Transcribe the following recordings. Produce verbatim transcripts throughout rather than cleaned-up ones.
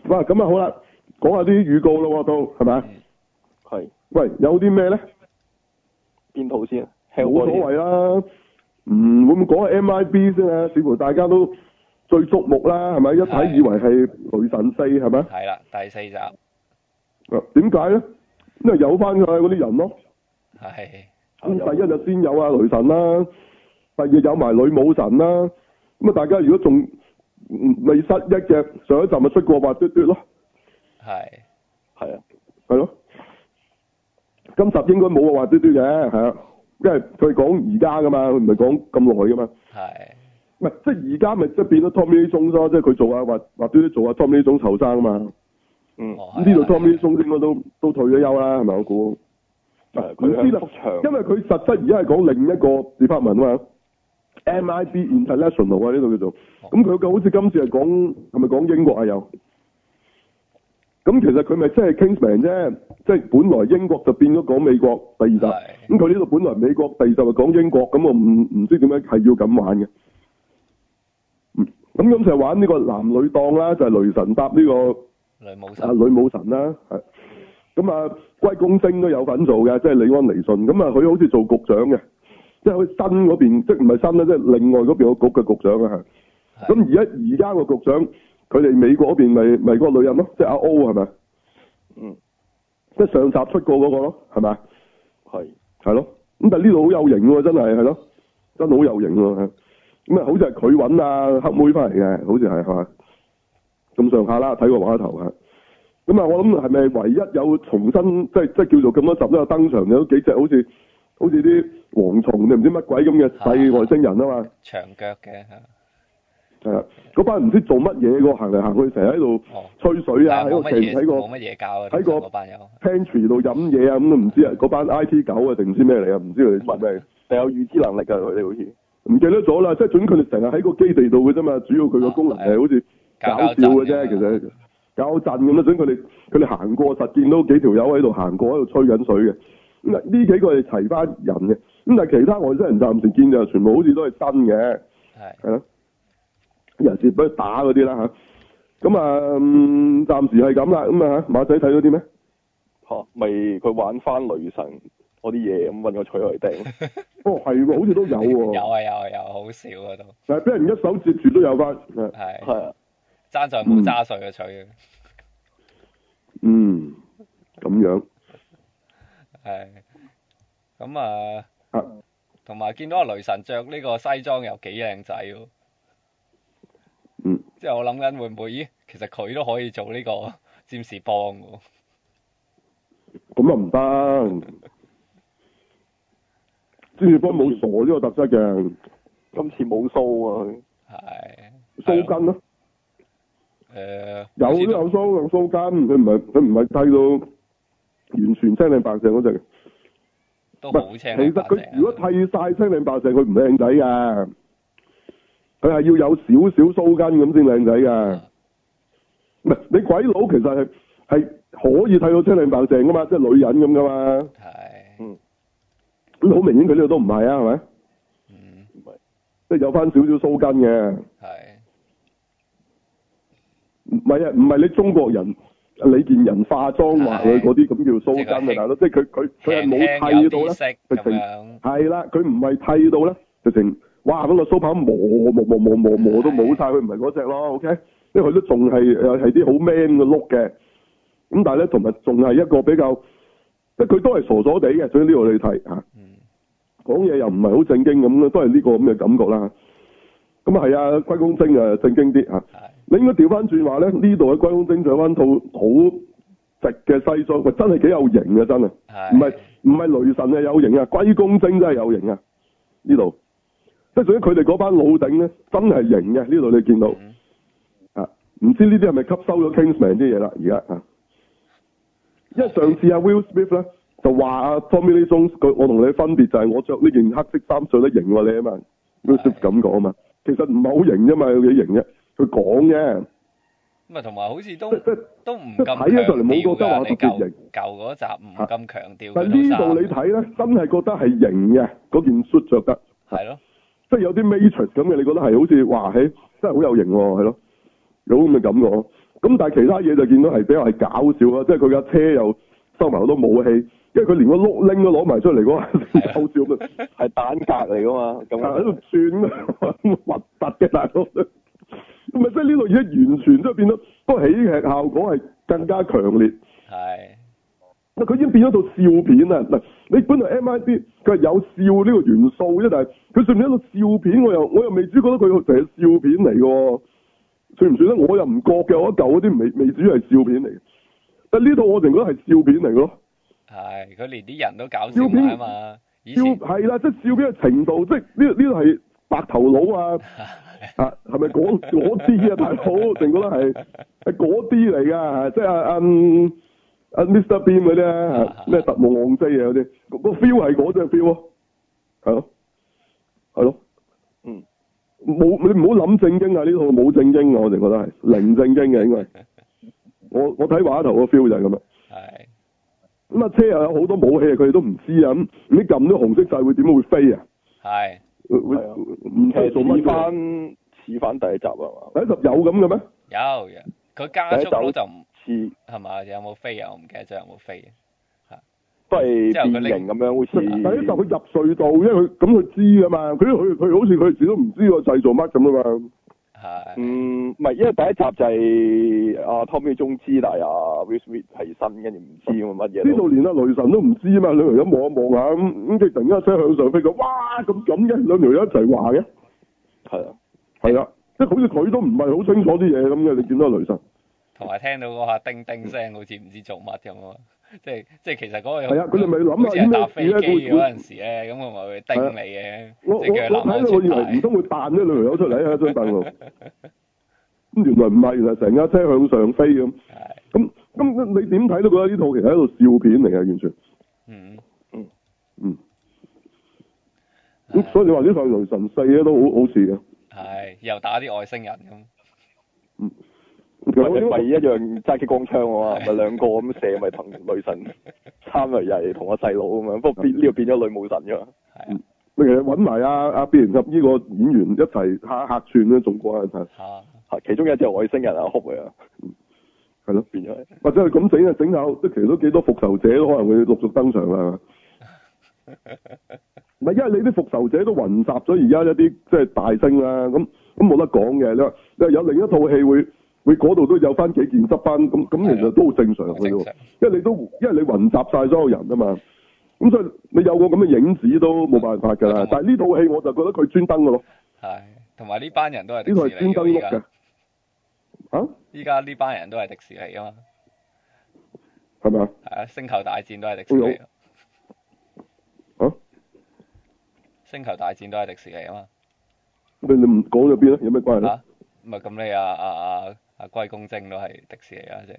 哇，咁啊好啦，講下啲預告咯，都係咪？ 係。 喂，有啲咩咧？ 邊套先？ 冇所謂啦，唔會唔會講下 M I B 先啊？似乎大家都最矚目啦，係咪？一睇以為係雷神四係咪？ 係啦，第四集。 啊，點解咧？因為有翻佢嗰啲人咯。 係。 咁第一就先有啊雷神啦，第二有埋女武神啦。咁啊，大家如果仲未失憶嘅，上一集咪出過滑嘟嘟咯。 係。 係啊。 係咯。今集應該冇話滑嘟嘟嘅，係啊，因為佢講而家噶嘛，佢唔係講咁耐噶嘛。 係。 唔係，即係而家咪即係變咗 Tommy Lee Jones 咯，即係佢做啊滑滑嘟嘟做啊 Tommy Lee Jones 後生啊嘛。 嗯。 咁呢度 Tommy Lee Jones 應該都都退咗休啦，係咪我估？ 佢唔知啦，因為佢實質而家係講另一個 department 啊嘛 ，M I B International 啊呢度叫做。咁佢好似今次係講係咪講英國啊又？咁其實佢咪即係 Kingsman 啫，即係本來英國就變咗講美國第二集，咁佢呢度本來美國第二集係講英國，咁我唔唔知點解係要咁玩嘅。嗯，咁咁就係玩呢個男女檔啦，就係、是、雷神搭呢、這個女武神啊女武神啦，係。咁啊，龜公精都有份做嘅，即係李安尼遜。咁啊，佢好似做局長嘅，即係佢新嗰邊，即係唔係新啦，即係另外嗰邊個局嘅局長啊，係。咁而家而家個局長，佢哋美國嗰邊咪咪嗰個女人咯，即係阿 O 係咪？ 嗯。 即係上集出過嗰個咯，係咪？ 係。 係咯。咁但係呢度好有型喎，真係係咯，真係好有型喎。咁啊，好似係佢揾阿黑妹翻嚟嘅，好似係係嘛？咁上下啦，睇個畫頭啊。咁啊，我諗係咪唯一有重新即係即係叫做咁多集都有登場有幾隻好似好似啲蝗蟲定唔知乜鬼咁嘅細外星人啊嘛？ 長腳嘅係啊，嗰班唔知做乜嘢個行嚟行去，成日喺度吹水啊，喺個喺個冇乜嘢教啊， 喺個嗰班友 pantry 度飲嘢啊，咁都唔知啊，嗰班 I T 狗啊定唔知咩嚟啊？唔知佢哋做咩？ 定有預知能力㗎佢哋好似？ 唔記得咗啦，即係總佢哋成日喺個基地度嘅啫嘛，主要佢個功能係好似搞笑嘅啫，其實。搞震咁啦，所以佢哋佢哋行過實見到幾條友喺度行過喺度吹緊水嘅。咁啊呢幾個係齊班人嘅，咁但係其他外星人暫時見就全部好似都係真嘅，係係咯，人事俾佢打嗰啲啦嚇。咁啊嗯暫時係咁啦，咁啊馬仔睇到啲咩？ 嚇，咪佢玩翻雷神嗰啲嘢咁揾個錘嚟掟。 哦係喎，好似都有喎。 有啊有啊有啊，好少啊都。 但係俾人一手接住都有翻。 係。 係啊。 爭在冇揸碎嘅錘嘅。 嗯，咁樣。 係。咁啊，同埋見到阿雷神着呢個西裝又幾靚仔喎。 嗯。 即係我諗緊會唔會，咦？其實佢都可以做呢個占士邦喎。 咁啊唔得。占士邦冇傻呢個特質嘅。 今次冇鬚啊佢。 係。 鬚根咯。 誒、呃， 有都有鬚有鬚根，佢唔係佢唔係剃到完全青靚白淨嗰隻。 都好青。其實佢如果剃晒青靚白淨，佢唔靚仔噶。佢係要有少少鬚根咁先靚仔噶。唔係、嗯、你鬼佬其實係係可以剃到青靚白淨噶嘛，即係女人咁噶嘛。 係。 嗯。咁好明顯佢呢度都唔係啊，係咪？ 嗯。唔係。 即係有翻少少鬚根嘅。係。唔係啊，唔係你中國人李健仁化妝話佢嗰啲咁叫鬚根啊，大佬，即係佢佢佢係冇剃到咧，直情係啦，佢唔係剃到咧，直情哇咁個鬚刨磨磨磨磨磨磨到冇晒，佢唔係嗰隻咯 ，OK，因為佢都仲係誒係啲好 man 嘅 look 嘅，咁但係咧同埋仲係一個比較，即係佢都係傻傻地嘅，所以呢度你睇吓，講嘢又唔係好正經咁咯，都係呢個咁嘅感覺啦。咁啊係啊，龜公精啊正經啲吓。你應該調翻轉話咧，呢度嘅龜公精着翻套好直嘅西裝，喂真係幾有型啊真係，唔係唔係雷神啊有型啊，龜公精真係有型啊呢度，即係屬於佢哋嗰班老頂咧真係型嘅呢度你見到，嗯、啊唔知呢啲係咪吸收咗 Kingsman 啲嘢啦而家啊，因為上次阿 Will Smith 咧就話阿 Tommy Lee Jones 我同你分別就係我着呢件黑色衫着得型過你啊嘛 ，Will Smith 咁講啊嘛，其實唔係好型啫嘛，有幾型啫。佢講啫， 咁啊同埋好似都即都唔咁睇咗上嚟冇覺得話特別型， 舊嗰集唔咁強調。 但係呢度你睇咧，真係覺得係型嘅，嗰件 suit 着得。 係咯， 即係有啲 Matrix 咁嘅，你覺得係好似話，嘿，真係好有型喎，係咯，有咁嘅感覺。 咁但係其他嘢就見到係比較係搞笑啦，即係佢架車又收埋好多武器，因為佢連個碌拎都攞埋出嚟嗰下搞笑咁啊， 係蛋格嚟噶嘛，咁喺度轉啊，核突嘅大佬，咁咪即係呢度而家完全即係變咗，不過喜劇效果係更加強烈。 係。 佢已經變咗套笑片啊！嗱，你本來 M I B 佢係有笑呢個元素啫，但係佢算唔算一套笑片？我又我又未知覺得佢成係笑片嚟嘅，算唔算咧？我又唔覺嘅，我一舊嗰啲未未至於係笑片嚟嘅。但係呢套我淨覺得係笑片嚟咯。係， 佢連啲人都搞笑埋啊嘛！ 笑係啦，即係笑片嘅程度，即係呢呢度係白頭佬啊！啊，係咪嗰嗰啲啊？大佬，淨覺得係係嗰啲嚟㗎，即係啊嗯。啊 Mister Bean 嗰啲咧，咩特務昂西啊嗰啲，個 feel 係嗰隻 feel 咯，係咯，係咯， 嗯， 冇你唔好諗正經啊！呢套冇正經啊，我哋覺得係零正經嘅應該。我我睇畫頭個 feel 就係咁啦。係。咁啊，車又有好多武器，佢哋都唔知啊。咁你撳啲紅色掣會點會飛啊？ 係。 會會唔知做乜翻似翻第一集啊嘛？ 第一集有咁嘅咩？ 有，佢加速咗就唔。係嘛？有冇飛啊？我唔記得咗有冇飛啊？ 都係變形咁樣，好似第一集佢入隧道，因為佢咁佢知噶嘛，佢佢佢好似佢自己都唔知個製造乜咁啊嘛。 係。 嗯，唔係，因為第一集就係阿 Tommy 中知，但係阿 Will Smith 係新，跟住唔知咁乜嘢。呢度連阿雷神都唔知啊嘛，兩條友望一望下咁，咁佢突然間車向上飛咗，哇咁咁嘅，兩條友一齊話嘅。係啊，係啊，即係好似佢都唔係好清楚啲嘢咁嘅，你見到雷神。 同埋聽到嗰下叮叮聲，好似唔知做乜咁啊！即係即係其實嗰個係啊，佢哋咪諗下搭飛機嗰陣時咧，咁我咪會叮你嘅。 我我我睇到我以為唔通會彈呢兩條友出嚟喺張凳度，咁原來唔係，原來成架車向上飛咁。咁咁你點睇都覺得呢套其實係一套笑片嚟嘅，完全。嗯嗯嗯。咁所以你話呢套雷神四咧都好好似嘅。係， 又打啲外星人咁。 嗯。 咪咪一樣揸激光槍喎，咪兩個咁射，咪同女神參嚟又係同個細佬咁樣，不過變呢個變咗女武神㗎嘛。係啊， 咪其實揾埋阿阿變形俠呢個演員一齊客客串咧，仲過癮睇。 嚇！其中一隻外星人啊，哭嚟啊。 係咯， 變咗。 或者係咁整啊，整下即係其實都幾多復仇者都可能會陸續登場啦。唔係，因為你啲復仇者都雲集咗而家一啲即係大星啦，咁咁冇得講嘅。你話你話有另一套戲會？會嗰度都有翻幾件執翻，咁咁其實都好正常嘅喎，因為你都因為你雲集晒所有人啊嘛，咁所以你有個咁嘅影子都冇辦法㗎啦。但係呢套戲我就覺得佢專登嘅咯。 係，同埋呢班人都係呢套係專登碌嘅。啊？ 依家呢班人都係迪士尼啊嘛。 係咪啊？ 係啊，星球大戰都係迪士尼。 啊？ 星球大戰都係迪士尼啊嘛。 你你唔講咗邊咧？有咩關係咧？ 唔係咁你啊啊啊啊龜公精都係迪士尼啊，即係。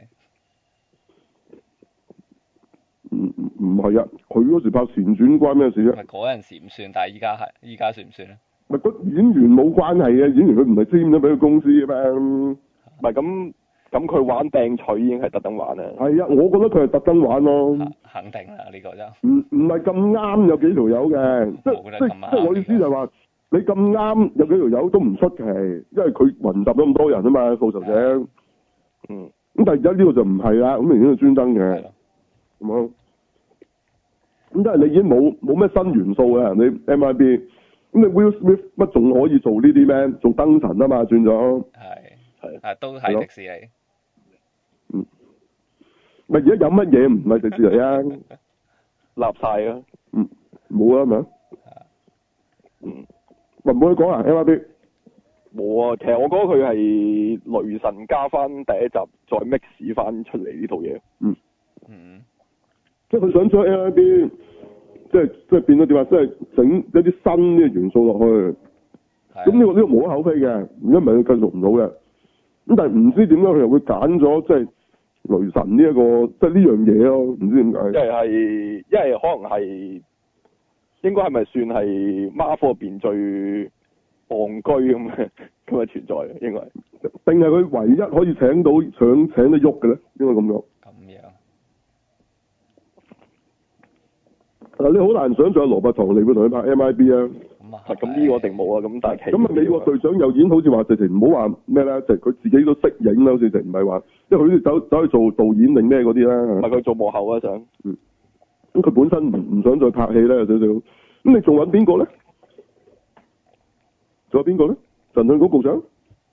唔唔唔係啊！佢嗰時拍前傳關咩事啫？ 唔係嗰陣時唔算，但係依家係，依家算唔算咧？ 唔係個演員冇關係嘅，演員佢唔係簽咗俾個公司嘅咩？ 唔係咁咁佢玩掟錘已經係特登玩啦。係啊，我覺得佢係特登玩咯。 肯定啦，呢、呢個就。 唔唔係咁啱有幾條友嘅，即即即我意思就係話。你咁啱有幾條友都唔出奇，因為佢雲集咗咁多人啊嘛，復仇者。嗯。咁但係而家呢個就唔係啦，咁明顯係專登嘅。咁樣。咁即係你已經冇冇咩新元素嘅，你 M I B。咁你 Will Smith 乜仲可以做呢啲咩？做燈神啊嘛，轉咗。 係。係。啊，都係迪士尼。 嗯。咪而家有乜嘢唔係迪士尼啊？ 立晒啊！ 嗯。冇啊，係咪啊？嗯。唔好去講啊 M I B 冇啊，其實我覺得佢係雷神加翻第一集再 mix 翻出嚟呢套嘢。嗯嗯， 即係佢想將 M I B 即係即係變咗點啊？即係整一啲新嘅元素落去。咁呢、呢個呢、呢個無可厚非嘅，如果唔係佢繼續唔到嘅。咁但係唔知點解佢又會揀咗即係雷神呢、呢、一個即係呢樣嘢咯？唔知點解。 因為係，因為可能係。應該係咪算係 Marvel 入邊最戇居咁嘅咁嘅存在？應該定係佢唯一可以請到想請得喐嘅咧？應該咁講。 咁樣嗱，你好難想象羅伯唐尼會同佢拍 M I B 啊。 咁咁啊。 咁呢個定冇啊，咁但係咁啊，美國隊長又演好似話直情唔好話咩咧，就佢自己都識影啦，好似直唔係話，因為佢走走去做導演定咩嗰啲啦。 唔係佢做幕後啊想。 嗯。咁佢本身唔唔想再拍戲咧，有少少。咁你仲揾邊個咧？仲有邊個咧？神盾局局長？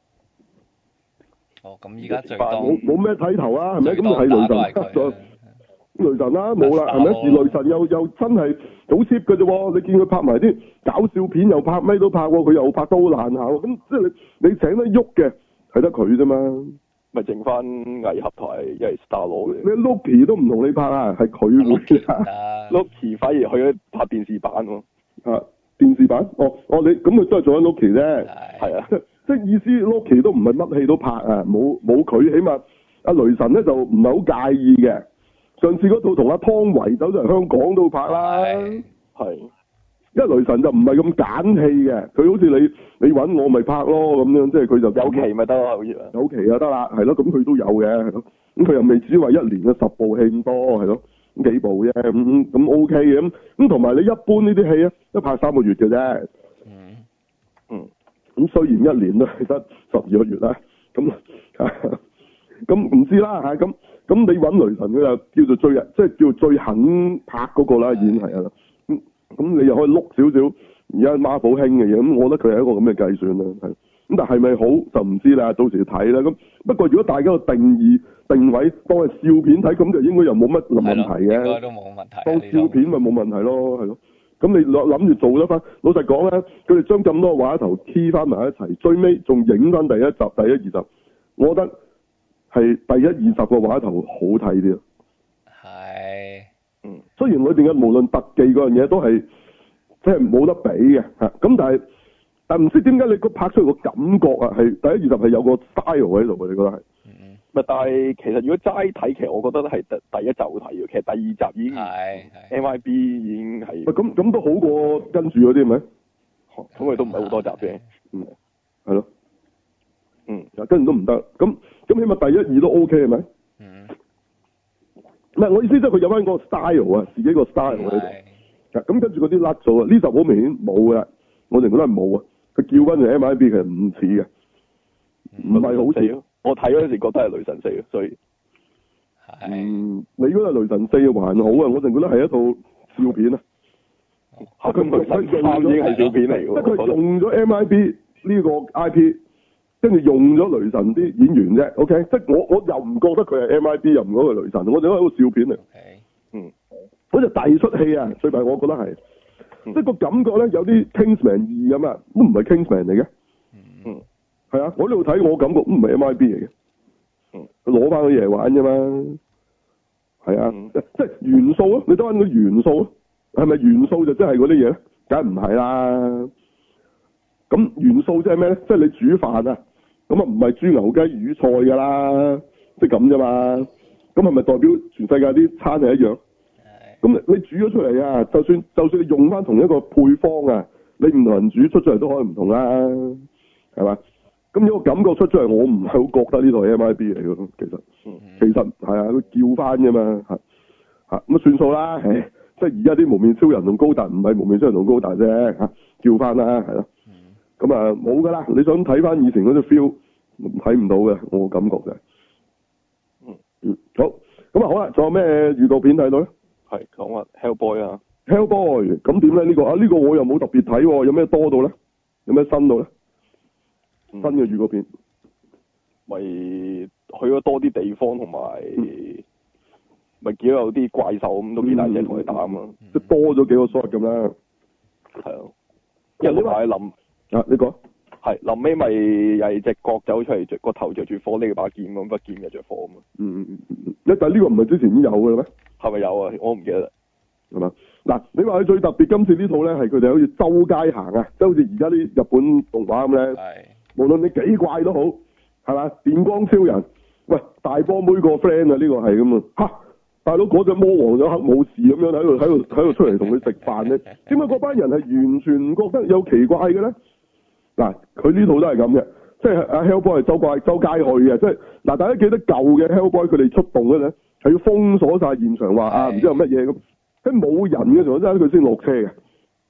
哦，咁依家最多冇冇咩睇頭啊？係咪？咁就係雷神再雷神啦，冇啦，係咪？而雷神又又真係好 cheap 嘅啫喎！你見佢拍埋啲搞笑片，又拍咩都拍喎，佢又拍到好爛下喎。咁即係你你請得喐嘅係得佢啫嘛。 咪剩翻藝合台一係 Star Lord 嘅。 你 Loki 都唔同你拍啊，係佢會拍。 Loki 反而去咗拍電視版喎。 啊，電視版？哦哦，你咁佢都係做緊 Loki 啫。 係啊。 即係意思 Loki 都唔係乜戲都拍啊，冇冇佢，起碼阿雷神咧就唔係好介意嘅。上次嗰套同阿湯唯走咗嚟香港都拍啦。 係。 因為雷神就唔係咁揀戲嘅，佢好似你你揾我咪拍咯咁樣，即係佢就有期咪得咯，好似啊。 有期就得啦，係咯，咁佢都有嘅，係咯。咁佢又未至於話一年嘅十部戲咁多，係咯，咁幾部啫，咁咁 OK 嘅，咁咁同埋你一般呢啲戲咧，都拍三個月嘅啫。 嗯。 嗯。咁雖然一年都係得十二個月啦，咁咁唔知啦嚇，咁咁你揾雷神佢就叫做最即係叫做最肯拍嗰個啦，已經係啦。咁咁你又可以碌少少而家 Marvel 興嘅嘢，咁我覺得佢係一個咁嘅計算啦，係。咁但係咪好就唔知啦，到時睇啦。咁不過如果大家個定義定位當係笑片睇，咁就應該又冇乜問題嘅。 應該都冇問題。 當笑片咪冇問題咯，係咯。咁你諗諗住做得翻，老實講咧，佢哋將咁多畫頭 key 翻埋一齊，最尾仲影翻第一集、第一二集，我覺得係第一二集個畫頭好睇啲。 係。 嗯。雖然裏邊嘅無論特技嗰樣嘢都係即係冇得比嘅嚇，咁但係但係唔知點解你個拍出嚟個感覺啊，係第一二集係有個 style 喺度嘅，你覺得係？ 嗯。咪但係其實如果齋睇，其實我覺得係第第一集好睇嘅，其實第二集已經係 M I B 已經係。咁咁都好過跟住嗰啲係咪？ 咁佢都唔係好多集啫。 嗯。係咯。 嗯。 跟住都唔得，咁咁起碼第一二都 OK 係咪？ 嗯。 唔係我意思，即係佢有翻個 style 啊，自己個 style 喺度。咁跟住嗰啲甩咗啊！呢集好明顯冇嘅，我哋覺得係冇啊。佢叫翻嚟 M I B 其實唔似嘅，唔係好似咯。我睇嗰陣時覺得係雷神四嘅，所以嗯，你覺得雷神四還好啊？我淨覺得係一套笑片啊。嚇！佢佢佢用咗已經係笑片嚟㗎。即係佢用咗 M I B 呢個 I P，跟住用咗雷神啲演員啫。OK，即係我我又唔覺得佢係 M I B，又唔覺得佢係雷神，我哋覺得係一個笑片嚟。嗯。好似第二出戲啊，最弊我覺得係，即係個感覺咧有啲 Kingsman 二咁啊，都唔係 Kingsman 嚟嘅。嗯。係啊，我呢度睇我感覺都唔係 M I B 嚟嘅。嗯。佢攞翻啲嘢玩啫嘛。係啊，嗯、即係元素啊，你得翻個元素啊，係咪元素就真係嗰啲嘢咧？梗係唔係啦。咁元素即係咩咧？即係你煮飯啊，咁啊唔係豬牛雞魚菜㗎啦，即係咁啫嘛。咁係咪代表全世界啲餐係一樣？咁你煮咗出嚟啊，就算就算你用翻同一個配方啊，你唔同人煮出出嚟都可以唔同啦，係嘛？咁呢個感覺出出嚟，我唔係好覺得呢台 M I B 嚟嘅，其實，嗯、其實係啊，佢叫翻啫嘛，嚇嚇咁啊算數啦，誒，即係而家啲無面超人同高達唔係無面超人同高達啫，嚇叫翻啦，係咯，咁啊冇噶啦，你想睇翻以前嗰啲 feel，睇唔到嘅，我感覺嘅，嗯嗯，好，咁啊好啦，仲有咩預告片睇到咧？ 係講話 Hellboy 啊 ，Hellboy，咁點咧？呢、這個啊呢、這個我又冇特別睇喎，有咩多到咧？有咩新到咧？新嘅預告片， 咪、嗯、去咗多啲地方，同埋咪見到有啲怪獸咁，都幾大隻同佢打啊嘛， 即係多咗幾個 shot 咁啦。 係啊，因為臨啊，你講係臨尾咪又係隻角走出嚟，着個頭着住火呢把劍咁，把劍又着火啊嘛。 嗯嗯嗯嗯，但係呢個唔係之前已經有嘅咩？係咪有啊？我唔記得啦。 係嘛？嗱，你話佢最特別，今次呢套咧係佢哋好似周街行啊，即係好似而家啲日本動畫咁咧。係。無論你幾怪都好，係嘛？電光超人，喂，大波妹個 friend 啊，呢、這個係咁啊，吓，大佬嗰隻魔王咗黑武士咁樣喺度喺度喺度出嚟同佢食飯咧，點解嗰班人係完全唔覺得有奇怪嘅咧？嗱，佢呢套都係咁嘅，即係阿 Hellboy 係周怪周街去嘅，即係嗱，大家記得舊嘅 Hellboy 佢哋出動嘅咧，係要封鎖晒現場，話啊唔知有乜嘢咁，喺冇人嘅時候真係佢先落車嘅。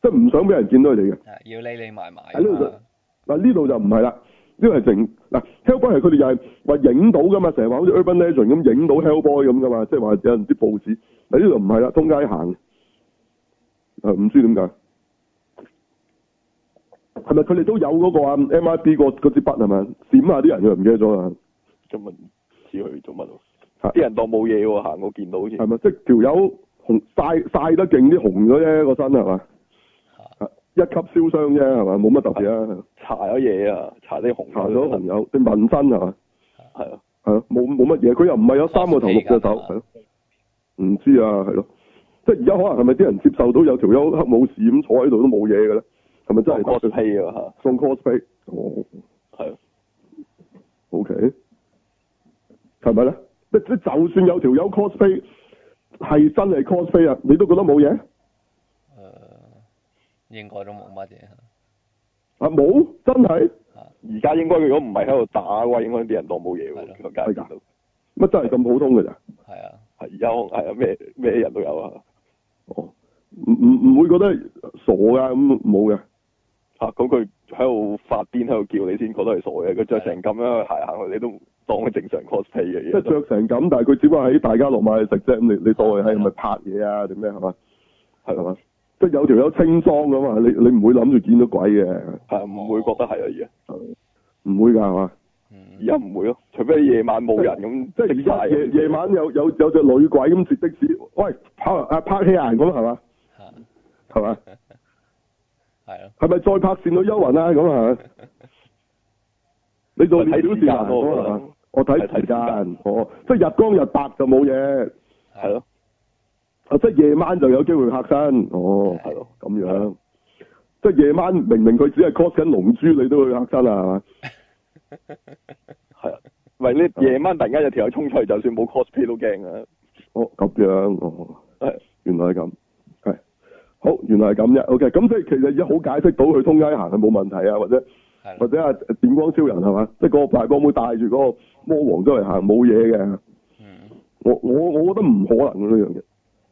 即係唔想俾人見到佢哋嘅。 係要匿匿埋埋。 喺呢度嗱呢度就唔係啦，呢個係淨嗱 Hellboy 係佢哋又係話影到噶嘛，成日話好似 Urban Legend 咁影到 Hellboy 咁噶嘛，即係話有人啲報紙。喺呢度唔係啦，通街行。誒唔知點解？係咪佢哋都有嗰個啊 M I B 個嗰支筆係咪？閃下啲人佢唔記得咗啦。 做乜唔知佢做乜喎？啲人當冇嘢喎，行過見到好似。係咪？即係條友紅曬曬得勁啲紅咗啫個身係嘛？一級燒傷啫係嘛？冇乜特別啊。 搽咗嘢啊！搽啲紅。 搽咗紅油，啲紋身係嘛？ 係啊。 係咯，冇冇乜嘢，佢又唔係有三個頭六隻手，係咯。唔知啊，係咯。即係而家可能係咪啲人接受到有條友黑武士咁坐喺度都冇嘢嘅咧？係咪真係 cosplay 啊？嚇， 送 cosplay 哦， 係啊 ，OK，係咪咧？即即就算有條友 cosplay 係真係 cosplay 啊，你都覺得冇嘢？誒、 呃，應該都冇乜嘢。 啊冇，真係？ 而家應該如果唔係喺度打嘅話，應該啲人當冇嘢喎。係㗎。 乜真係咁普通嘅咋？ 係啊。 係而家係啊，咩咩人都有啊。 哦，唔唔唔會覺得傻㗎咁冇嘅。 嚇、啊！咁佢喺度發癲喺度叫你先覺得係傻嘅，佢着成咁樣行行去，你都當佢正常 cosplay 嘅嘢。即係着成咁，但係佢只不過喺大家樂買食啫。咁你你當佢係咪拍嘢啊？定咩係嘛？係係嘛？即係有條友清裝㗎嘛？你你唔會諗住見到鬼嘅。係唔會覺得係啊？而家唔會㗎係嘛？而家唔會咯，除非夜晚冇人咁。即係而家夜夜晚有有有隻女鬼咁截的士，喂拍啊拍戲啊咁係嘛？係嘛？ 係咯。 係咪再拍倩女幽魂啊？咁啊？你做睇小時啊？我睇時間，哦，即係日光日白就冇嘢。係咯。啊，即係夜晚就有機會嚇親。哦，係咯，咁樣。即係夜晚明明佢只係 cos 緊龍珠，你都會嚇親啊？係嘛？係啊，喂，你夜晚突然間有條友衝出嚟，就算冇 cosplay 都驚啊！哦，咁樣，哦，係，原來係咁，係，好，原來係咁啫。OK，咁即係其實已經好解釋到佢通街行係冇問題啊，或者或者啊電光超人係嘛，即係個大幫妹帶住嗰個魔王周圍行冇嘢嘅。我我我覺得唔可能嘅呢樣嘢。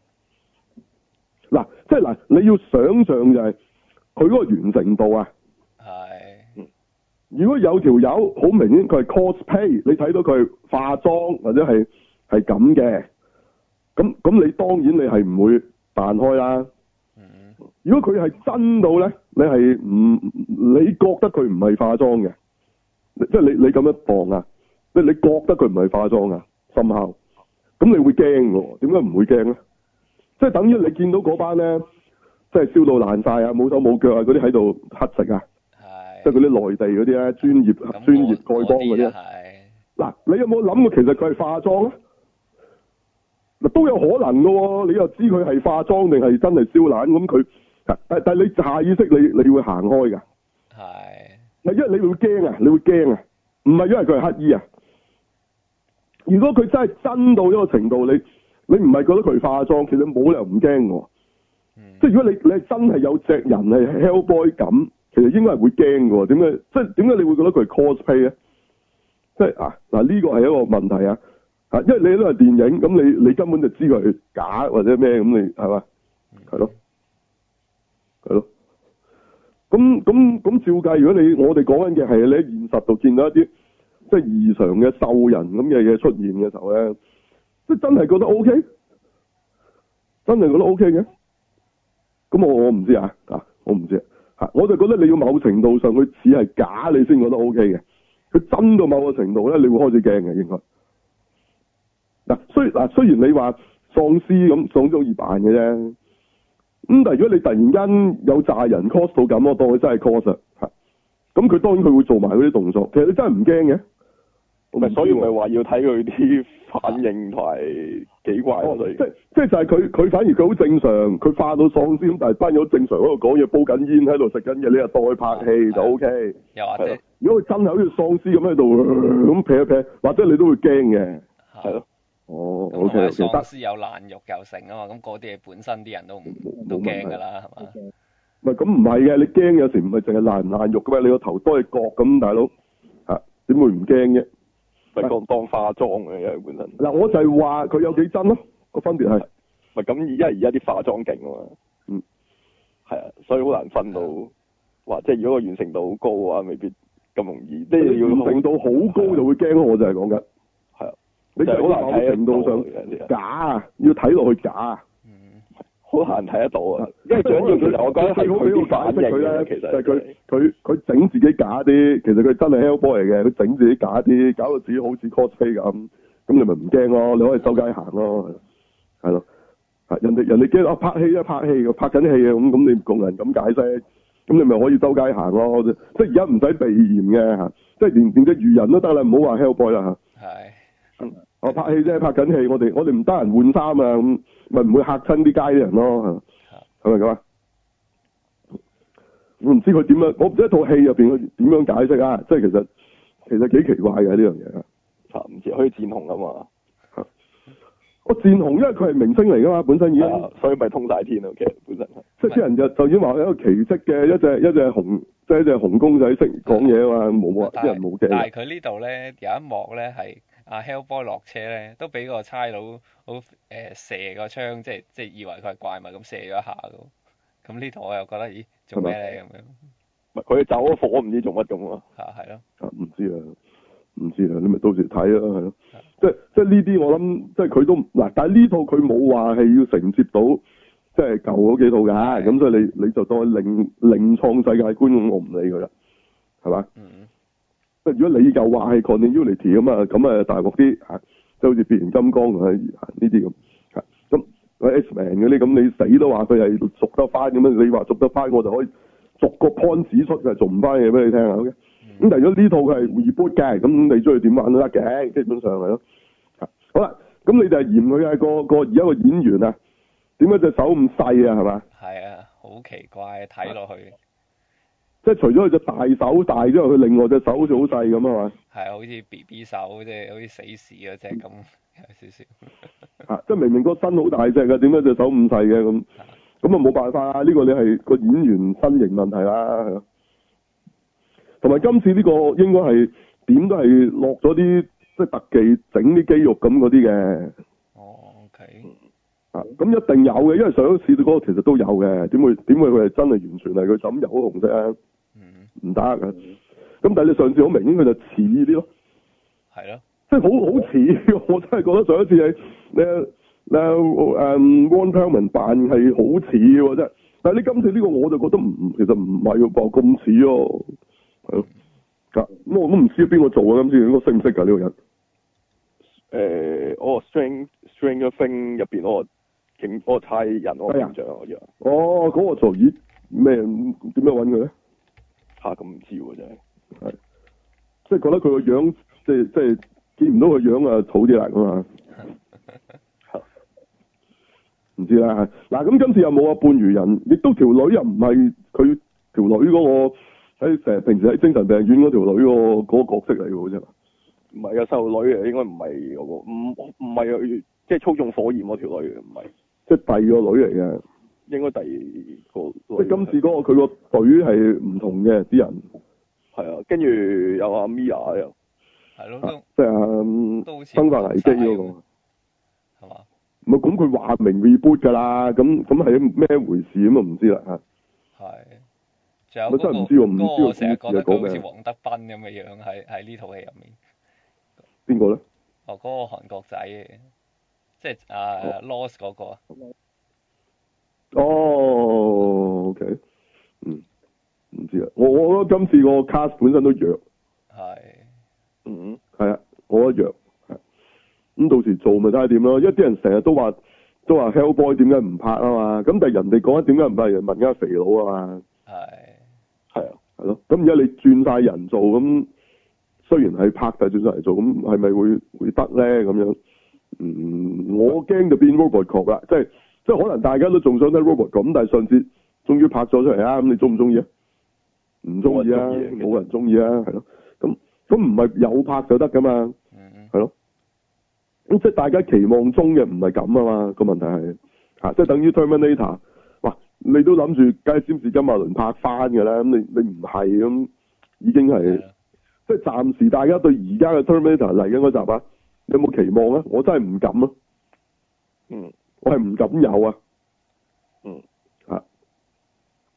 嗱，即係嗱，你要想象就係佢嗰個完成度啊。係。如果有條友好明顯佢係 cosplay，你睇到佢化妝或者係係咁嘅，咁咁你當然你係唔會彈開啦。嗯、如果佢係真到咧，你係唔你覺得佢唔係化妝嘅，即係你你咁樣當啊，即係你覺得佢唔係化妝啊，深刻，咁你會驚喎？點解唔會驚咧？即係等於你見到嗰班咧，即係燒到爛晒啊，冇手冇腳啊，嗰啲喺度乞食啊。即係嗰啲內地嗰啲咧，專業專業丐幫嗰啲。嗱，你有冇諗過其實佢係化妝咧？嗱，都有可能噶喎。你又知佢係化妝定係真係燒爛咁佢？但但係你下意識你你會行開噶。係。嗱，因為你會驚啊，你會驚啊，唔係因為佢係乞衣啊。如果佢真係真到一個程度，你你唔係覺得佢化妝，其實冇理由唔驚喎。嗯、即係如果你你係真係有隻人係 Hellboy 咁。其實應該係會驚嘅喎，點解？即係點解你會覺得佢係 cosplay 咧？即係啊嗱，呢個係一個問題啊！啊，因為你都係電影，咁你你根本就知佢係假或者咩咁，你係嘛？係咯，係咯。咁咁咁照計，如果你我哋講緊嘅係你喺現實度見到一啲即係異常嘅獸人咁嘅嘢出現嘅時候咧，即係真係覺得 O K，真係覺得 O K 嘅。咁我我唔知啊，啊我唔知。我就覺得你要某程度上佢似係假，你先覺得 O K 嘅。佢真到某個程度咧，你會開始驚嘅應該。嗱，雖嗱雖然你話喪屍咁喪咗易扮嘅啫，咁但係如果你突然間有炸人 cos 到咁，我當佢真係 cos 啊。咁佢當然佢會做埋嗰啲動作，其實你真係唔驚嘅。咪所以咪話要睇佢啲反應同埋幾怪咯，即即就係佢佢反而佢好正常，佢化到喪屍咁，但係班友正常喺度講嘢，煲緊煙喺度食緊嘢，你又當佢拍戲就 O K。又或者，如果佢真係好似喪屍咁喺度咁劈一劈，或者你都會驚嘅。係咯。哦，O K。喪屍有爛肉又成啊嘛，咁嗰啲嘢本身啲人都唔都驚㗎啦，係嘛？唔係咁唔係嘅，你驚有時唔係淨係爛唔爛肉㗎嘛，你個頭多隻角咁，大佬嚇點會唔驚啫？咪當當化妝嘅，因為本身嗱，我就係話佢有幾真咯，個分別係咪咁？因為而家啲化妝勁啊嘛，嗯， 係啊，所以好難分到，話即係如果個完成度好高嘅話，未必咁容易。即係要完成度好高就會驚咯，我就係講緊。 係啊， 你就好難睇程度上假啊，要睇落去假啊。 好難睇得到啊！因為最緊要其實我覺得係佢啲反應咧，其實佢佢佢整自己假啲，其實佢真係 Hellboy 嚟嘅，佢整自己假啲，搞到自己好似 cosplay 咁，咁你咪唔驚咯，你可以周街行咯，係咯，人哋人哋驚啊拍戲啊拍戲，拍緊戲啊咁，咁你共人咁解釋，咁你咪可以周街行咯，即係而家唔使避嫌嘅嚇，即係連連隻魚人都得啦，唔好話 Hellboy 啦嚇。係。我拍戲啫，拍緊戲，我哋我哋唔得閒換衫啊，咁咪唔會嚇親啲街啲人咯，係咪咁啊？我唔知佢點樣，我唔知一套戲入邊佢點樣解釋啊！即係其實其實幾奇怪嘅呢樣嘢啊！ 唔知可以戰紅啊嘛？ 我戰紅，因為佢係明星嚟噶嘛，本身已經， 所以咪通晒天咯。其實本身即係啲人就就已經話一個奇蹟嘅一隻一隻紅，即係一隻紅公仔識講嘢啊嘛，冇啊，啲人冇驚。 但係佢呢度咧有一幕咧係。阿 Hellboy 落車咧，都俾個差佬好誒射個槍，即係即係以為佢係怪物咁射咗一下咯。咁呢度我又覺得，咦，做咩咧咁樣？ 唔係佢走咗火，唔知做乜咁啊？ 嚇係咯。啊唔知啊，唔知啊，你咪到時睇咯，係咯。即係即係呢啲我諗，即係佢都嗱，但係呢套佢冇話係要承接到即係舊嗰幾套㗎，咁所以你你就當另另創世界觀，我唔理佢啦，係嘛？嗯。即係如果你又話係 continuity 咁啊，咁啊大鑊啲嚇，即係好似變形金剛啊呢啲咁嚇，咁 X-Men 嗰啲咁你死都話佢係續得翻咁樣，你話續得翻我就可以逐個 point 指出佢係續唔翻嘢俾你聽啊 ，OK？咁、嗯、但係如果呢套佢係 reboot 嘅，咁你中意點玩都得嘅，基本上係咯。好啦，咁你就係嫌佢係個個而家個演員啊，點解隻手咁細啊？係嘛？ 係啊，好奇怪睇落去。 即係除咗佢隻大手大之外，佢另外隻手好似好細咁啊嘛。 係好似 B B 手，即係好似死士嗰隻咁，有少少。 啊！即係明明個身好大隻嘅，點解隻手咁細嘅咁？咁啊冇辦法啊！呢、呢個你係個演員身形問題啦，係咯。同埋今次呢個應該係點都係落咗啲即係特技整啲肌肉咁嗰啲嘅。 哦 ，OK。 啊，咁一定有嘅，因為上一次嗰個其實都有嘅，點會點會佢係真係完全係佢枕油紅色啊？唔得嘅。咁、嗯、但係你上次好明顯佢就似啲咯。 係咯。即係好好似，我真係覺得上一次係你你誒 Ron Perlman 扮係好似喎，真係。但係你今次呢個我就覺得唔，其實唔係喎，咁似咯，係咯。咁、嗯、我都唔知邊個做啊，今次應該識唔識㗎呢個人？ 誒，我 String Stranger Things 入邊嗰個警嗰個差人我印象我以為。哦， 嗰、那個做咦咩？點樣揾佢咧？ 嚇咁唔知喎，真係。 係。即係覺得佢個樣，即係即係見唔到佢樣啊，好啲啦咁啊。唔知啦，嗱咁今次又冇啊半魚人，亦都條女又唔係佢條女嗰、那個喺成日平時喺精神病院嗰條女個嗰個角色嚟嘅好似。 唔係啊，細路女啊，應該唔係嗰個，唔唔係啊，即係操縱火焰嗰條女嘅，唔係， 即係第二個女嚟嘅， 應該第二個。 即係今次嗰個佢個隊係唔同嘅啲人。 係啊，跟住有阿 Mia 又。 係咯， 即係生化危機嗰、那個。 係嘛？ 唔係咁佢話明 reboot 㗎啦，咁咁係咩回事咁啊？唔知啦嚇。係。 仲有嗰、那個。我真係唔知喎，唔知個我成日覺得佢好似黃德斌咁嘅樣，喺喺呢套戲入面。 邊個咧？ 哦，嗰、那個韓國仔嘅，即係啊 Lost 嗰個啊。 哦 ，OK，嗯，唔知啊，我我覺得今次個 cast 本身都弱。係。嗯。係啊，我覺得弱。咁到時做咪睇下點咯，因為啲人成日都話都話 Hellboy 點解唔拍啊嘛，咁但係人哋講點解唔拍，人問緊肥佬啊嘛。係。係啊，係咯，咁而家你轉晒人做咁。雖然係拍，但係轉上嚟做，咁係咪會會得咧？咁樣，嗯，我驚就變 Robocop 啦，即係即係可能大家都仲想睇 Robocop，咁但係上次終於拍咗出嚟啊！咁你中唔中意啊？唔中意啊！冇人中意啊！係咯，咁咁唔係有拍就得噶嘛？係咯，咁即係大家期望中嘅唔係咁啊嘛？個問題係嚇，即係等於 Terminator，哇！你都諗住梗係詹士金馬倫拍翻㗎啦，咁你你唔係咁已經係。即係暫時大家對而家嘅 Terminator 嚟緊嗰集啊，你有冇期望啊？我真係唔敢啊！嗯，我係唔敢有啊！嗯，啊，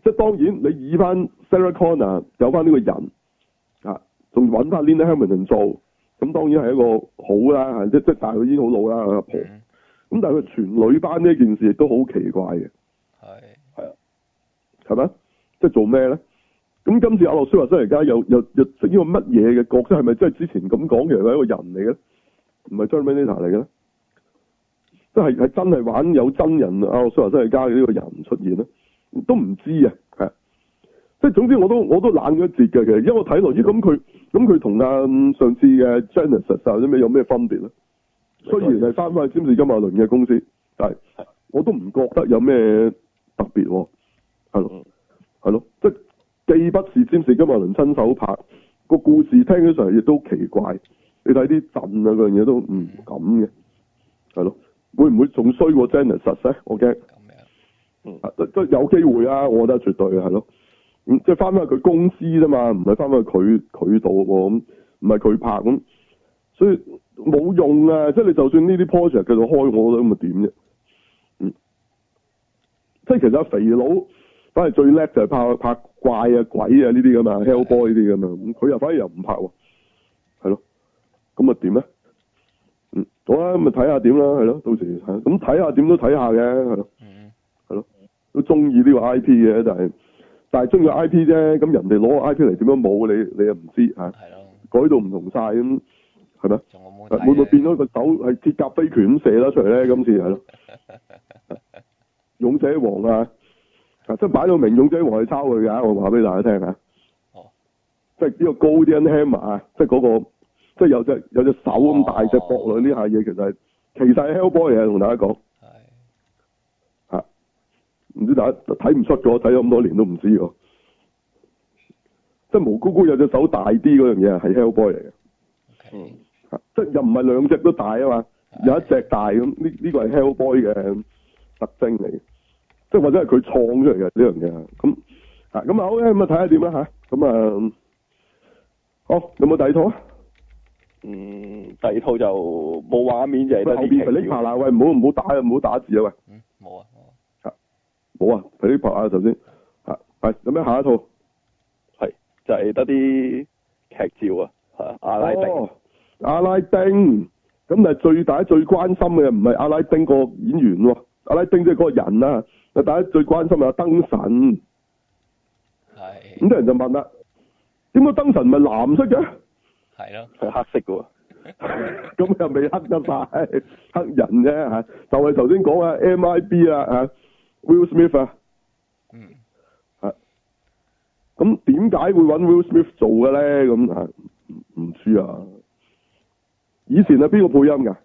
即係當然你以翻 Sarah Connor 有翻呢個人啊，仲揾翻 Linda Hamilton 做，咁當然係一個好啦，即即但係佢已經好老啦阿婆。咁、嗯、但係佢全女班呢件事亦都好奇怪嘅。 係係啊，係咪？即係做咩咧？咁今次阿諾舒華辛力加又又又飾呢個乜嘢嘅角色？係咪真係之前咁講嘅係一個人嚟嘅？唔係 Terminator 嚟嘅咧？即係係真係玩有真人阿諾舒華辛力加嘅呢個人出現咧？都唔知啊，係。即係總之我都我都冷咗一截嘅，其實因為我睇落咦咁佢咁佢同阿上次嘅 Genesis 或者咩有咩分別咧？雖然係翻返去詹士金馬倫嘅公司，但係我都唔覺得有咩特別喎，係咯，係咯，即係。既不是詹士金馬倫親手拍，個故事聽起上嚟亦都奇怪。你睇啲陣啊，嗰樣嘢都唔咁嘅，係咯。會唔會仲衰過 Genesis 咧？我驚。咁樣。嗯。即有機會啊！我覺得絕對係咯。咁即係翻返去佢公司啫嘛，唔係翻返去佢佢度喎。咁唔係佢拍咁，所以冇用啊！即係你就算呢啲 project 繼續開，我覺得咁咪點啫？嗯。即係其實阿肥佬。反而最叻就係拍拍怪啊鬼啊呢啲噶嘛 Hellboy 呢啲噶嘛，咁佢又反而又唔拍喎，係咯，咁啊點咧？嗯，好啦，咁咪睇下點啦，係咯，到時咁睇下點都睇下嘅，係咯，係咯，都中意呢個 I P 嘅，但係但係中意 I P 啫，咁人哋攞個 I P 嚟點樣冇你你又唔知嚇，改到唔同晒咁，係咪？會唔會變咗個手係鐵甲飛拳咁射得出嚟咧？今次係咯，勇者王啊！即係擺到明勇者王係抄佢㗎，我話俾大家聽嚇。哦。即係呢個 Golden Hammer 啊，即係嗰個，即係有隻有隻手咁大隻駁落呢下嘢，其實係其實係 Hellboy 嚟嘅，同大家講。係。嚇！唔知大家睇唔出咗，睇咗咁多年都唔知喎。即係毛姑姑有隻手大啲嗰樣嘢係 Hellboy 嚟嘅。嗯。嚇！即係又唔係兩隻都大啊嘛，有一隻大咁，呢呢個係 Hellboy 嘅特徵嚟嘅。即係或者係佢創出嚟嘅呢樣嘢，咁啊咁啊好嘅，咁啊睇下點啦吓，咁啊好有冇第二套啊？ 嗯，第二套就冇畫面就係得啲劇照。皮力拍啦，喂唔好唔好打啊，唔好打字啊喂。 嗯，冇啊， 嚇冇啊，皮力拍啊頭先嚇係有咩下一套？ 係就係得啲劇照啊嚇阿拉丁。 哦，阿拉丁咁啊最大最關心嘅唔係阿拉丁個演員喎，阿拉丁即係嗰個人啊。大家最關心係燈神，係咁啲人就問啦，點解燈神唔係藍色嘅？ 係咯， 係黑色嘅喎， 咁又未黑得晒，黑人啫嚇，就係頭先講啊 M I B 啊嚇 Will Smith 啊， 嗯， 係，咁點解會揾 Will Smith 做嘅咧？咁啊唔唔知啊，以前係邊個配音㗎？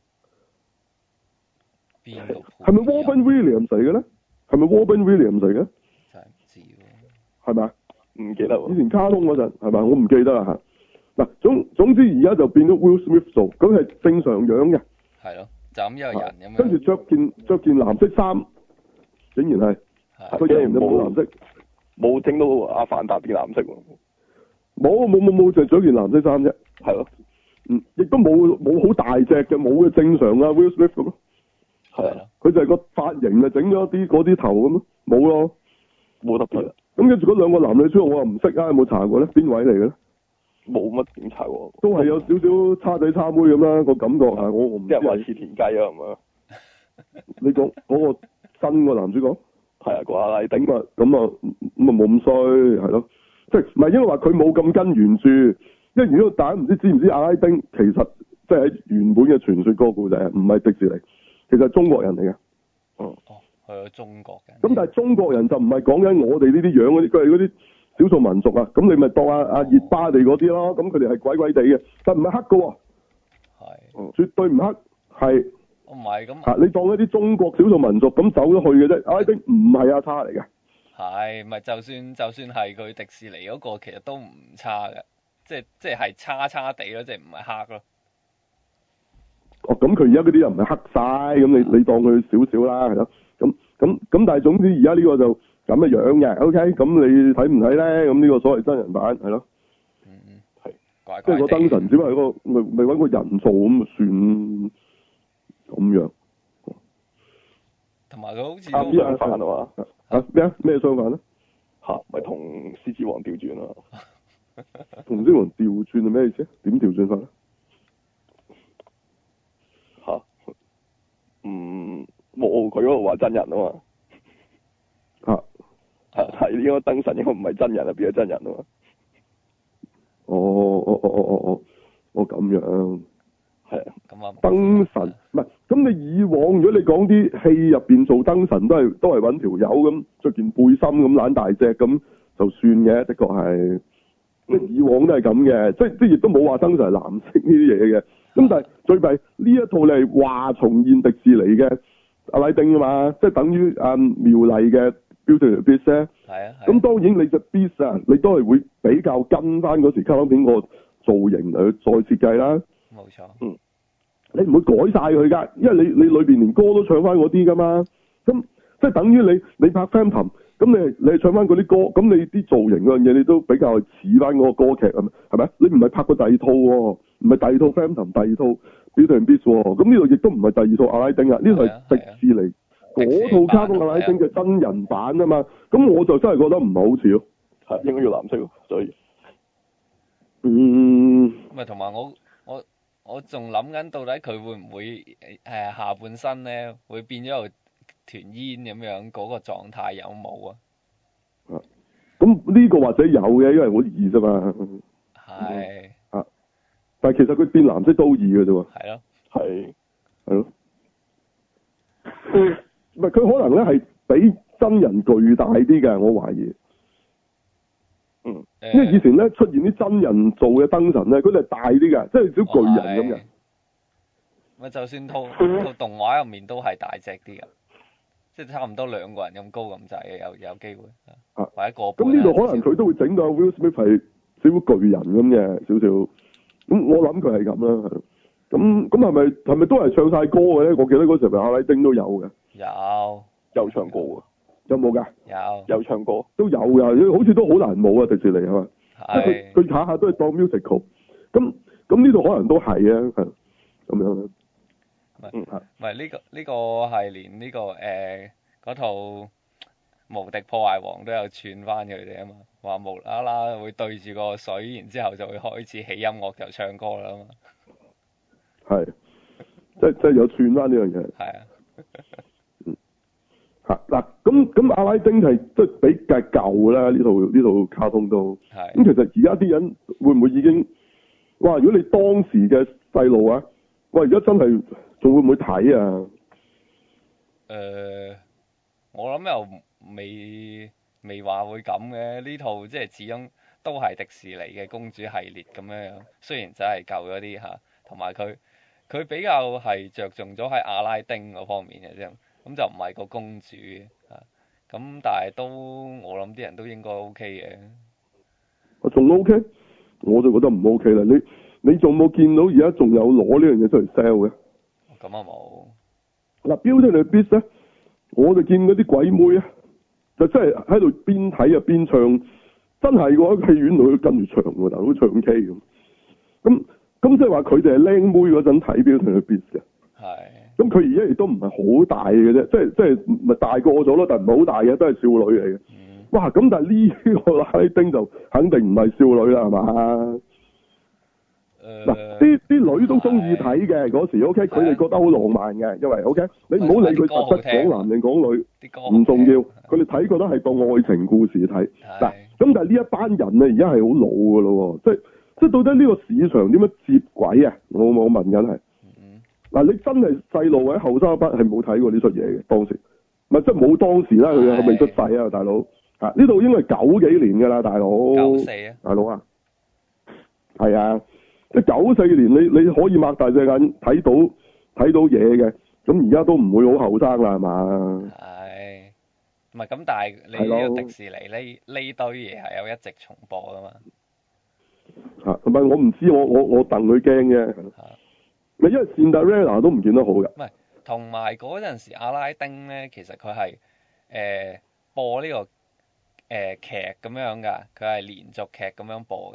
係咪 Robin Williams 嚟嘅咧？係咪 Robin Williams 嚟嘅？ 真係唔知喎。 係咪？ 唔記得喎。 以前卡通嗰陣係咪？我唔記得啦嚇。嗱總總之而家就變咗 Will Smith 做，咁係正常樣嘅。 係咯，就咁一個人咁樣。 跟住着件着件藍色衫，竟然係。佢竟然就冇藍色， 冇整到阿凡達變藍色喎。 冇冇冇冇，就着件藍色衫啫。 係咯。 嗯，亦都冇冇好大隻嘅，冇嘅正常啊 Will Smith 咁咯。係啊，佢就係個髮型啊，整咗啲嗰啲頭咁咯，冇咯， 冇特別。 咁跟住嗰兩個男女主角我又唔識啊，有冇查過咧？邊位嚟嘅咧？ 冇乜點查過。 都係有少少叉仔叉妹咁啦，個感覺係我我唔知。 即係話似田雞啊，係嘛？ 你講嗰個新個男主角？ 係啊，個阿拉丁。 咁啊咁啊咁啊冇咁衰係咯，即係唔係因為話佢冇咁跟原著，因為如果大家唔知知唔知阿拉丁其實即係喺原本嘅傳說嗰個故仔唔係迪士尼。其實係中國人嚟嘅， 哦哦，係啊，中國嘅。咁但係中國人就唔係講緊我哋呢啲樣嗰啲，佢係嗰啲少數民族啊。咁你咪當阿阿熱巴地嗰啲咯。咁佢哋係鬼鬼地嘅，但唔係黑嘅喎。係。絕對唔黑，係。 唔係咁。 嚇！你當一啲中國少數民族咁走咗去嘅啫。阿拉丁唔係阿叉嚟嘅。 係，咪就算就算係佢迪士尼嗰個，其實都唔差嘅，即係即係係差差地咯，即係唔係黑咯。 哦，咁佢而家嗰啲又唔係黑晒，咁你你當佢少少啦，係咯，咁咁咁，但係總之而家呢個就咁嘅樣嘅 ，OK，咁你睇唔睇咧？咁呢個所謂真人版係咯， 嗯嗯，係，怪怪即係個燈神只不過係個咪咪搵個人做咁算咁樣， 同埋佢好似啱相反啊嘛， 啊咩啊咩相反咧？ 嚇，咪同獅子王調轉咯。 同獅子王調轉係咩意思？點調轉法咧？ 嚇，嗯，冇佢嗰度話真人啊嘛。 嚇係係呢個燈神應該唔係真人啊，變咗真人啊嘛。 哦哦哦哦哦哦，哦咁樣。 係啊。 咁啊。 燈神唔係，咁你以往如果你講啲戲入邊做燈神都係都係揾條友咁着件背心咁懶大隻咁就算嘅，的確係。即係以往都係咁嘅，即係即係亦都冇話燈神係藍色呢啲嘢嘅。咁但係最弊呢一套你係話重現迪士尼嘅阿拉丁啊嘛，即係等於阿妙麗嘅 Beauty and the Beast 咧。 係啊。 咁當然你隻 Beast 啊，你都係會比較跟翻嗰時卡通片個造型嚟去再設計啦。 冇錯。 嗯。你唔會改晒佢㗎，因為你你裏邊連歌都唱翻嗰啲㗎嘛。咁即係等於你你拍 Phantom。咁你你唱翻嗰啲歌，咁你啲造型嗰樣嘢，你都比較似翻嗰個歌劇啊？係咪？你唔係拍過第二套喎，唔係第二套 Phantom， 第二套 Beauty and Beast 喎。咁呢度亦都唔係第二套阿拉丁啊，呢度係迪士尼嗰套卡通阿拉丁嘅真人版啊嘛。咁我就真係覺得唔係好似咯， 係應該要藍色咯，所以嗯。 咪同埋我我我仲諗緊，到底佢會唔會誒下半身咧會變咗個團煙咁樣嗰個狀態有冇啊？ 啊，咁呢個或者有嘅，因為好易啫嘛。 係。 啊，但係其實佢變藍色都易嘅啫喎。 係咯。 係。 係咯。唔係佢可能咧係比真人巨大啲嘅，我懷疑。 嗯。 因為以前咧出現啲真人做嘅燈神咧，佢哋係大啲嘅，即係小巨人咁嘅。 咪就算套套動畫入面都係大隻啲嘅。即係差唔多兩個人咁高咁滯嘅，有有機會啊，或者個半。 咁呢度可能佢都會整到 Will Smith 係少少巨人咁嘅少少。咁我諗佢係咁啦，係。咁咁係咪係咪都係唱晒歌嘅咧？我記得嗰時咪阿拉丁都有嘅。 有。 有唱歌㗎。 有冇㗎？ 有。 有唱歌。 都有㗎，好似都好難冇啊！迪士尼係嘛？ 係。 佢佢下下都係當 musical。咁咁呢度可能都係啊，係咁樣啦。 唔係，唔係呢個呢個係連呢個誒嗰套無敵破壞王都有串翻佢哋啊嘛，話無啦啦會對住個水，然之後就會開始起音樂就唱歌啦嘛。 係，即係即係有串翻呢樣嘢。 係啊。 嗯。嚇嗱，咁咁阿拉丁係即係比較舊啦，呢套呢套卡通都。係。咁其實而家啲人會唔會已經，哇！如果你當時嘅細路啊，哇！而家真係〜仲會唔會睇啊？ 誒、呃，我諗又未未話會咁嘅，呢套即係始終都係迪士尼嘅公主系列咁樣樣。雖然真係舊咗啲嚇，同埋佢佢比較係着重咗喺阿拉丁嗰方面嘅啫，咁就唔係個公主嘅嚇。咁但係都我諗啲人都應該 O K 嘅。 我仲 O K，我就覺得唔 O K 啦。你你仲冇見到而家仲有攞呢樣嘢出嚟 sell 嘅？ 咁啊冇。 嗱，Beauty and the Beast咧，我就見嗰啲鬼妹啊，就真係喺度邊睇啊邊唱，真係喎喺戲院度跟住唱喎，大佬唱 K 咁。咁咁即係話佢哋係靚妹嗰陣睇 Beauty and the Beast 嘅。係。咁佢而家亦都唔係好大嘅啫，即係即係咪大個咗咯？但係唔係好大嘅，都係少女嚟嘅。嗯。哇！咁但係呢個拉丁就肯定唔係少女啦，係嘛？嗱，啲啲女都中意睇嘅嗰時 ，OK，佢哋覺得好浪漫嘅，因為 OK，你唔好理佢實質講男定講女，唔重要，佢哋睇覺得係當愛情故事睇。嗱，咁但係呢一班人咧，而家係好老噶咯，即係即係到底呢個市場點樣接軌啊？我我問緊係。嗱，你真係細路或者後生一班係冇睇過呢出嘢嘅，當時，咪即係冇當時啦，佢未出世啊，大佬。啊，呢度應該係九幾年噶啦，大佬。九四啊。大佬啊。係啊。即係九四年，你你可以擘大隻眼睇到睇到嘢嘅，咁而家都唔會好後生啦，係嘛？係，唔係咁，但係你呢個迪士尼呢呢堆嘢係有一直重播噶嘛？嚇，同埋我唔知，我我我戥佢驚嘅。咪因為 Cinderella 都唔見得好嘅。唔係，同埋嗰陣時阿拉丁咧，其實佢係誒播呢、呢個誒、呃、劇咁樣㗎，佢係連續劇咁樣播㗎。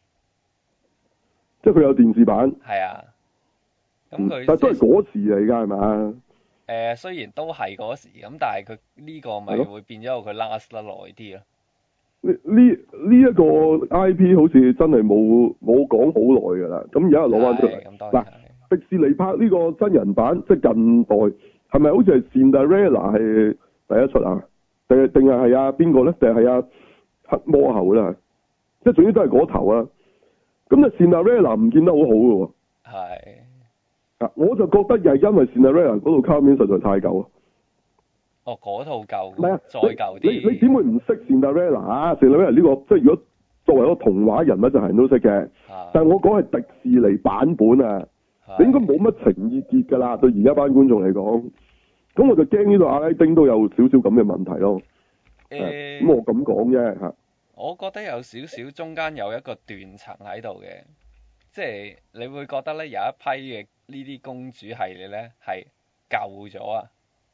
即係佢有電視版，係啊，咁佢、嗯、但係都係嗰時嚟㗎，係嘛？誒，雖然都係嗰時，咁但係佢呢個咪會變咗佢 last 得耐啲咯。 呢呢呢一個 I P 好似真係冇冇講好耐㗎啦，咁而家又攞翻出嚟。嗱，迪士尼拍呢個真人版，即係近代，係咪好似係 Cinderella 係第一出啊？定係定係係啊邊個咧？定係係啊黑魔后咧？即係總之都係嗰頭啊！咁啊 Cinderella 唔見得好好嘅喎。 係。 啊，我就覺得又係因為 Cinderella 嗰套卡面實在太舊啊！ 哦，嗰套舊， 唔係啊， 再舊啲。 你你點會唔識 Cinderella 啊 Cinderella 呢個即係如果作為一個童話人物就係人都識嘅。啊、但係我講係迪士尼版本啊，你應該冇乜情意結㗎啦，對而家班觀眾嚟講。咁我就驚呢度阿拉丁都有少少咁嘅問題咯。誒、欸，咁我咁講啫嚇。 我覺得有少少中間有一個斷層喺度嘅，即係你會覺得咧有一批嘅呢啲公主系列咧係舊咗啊。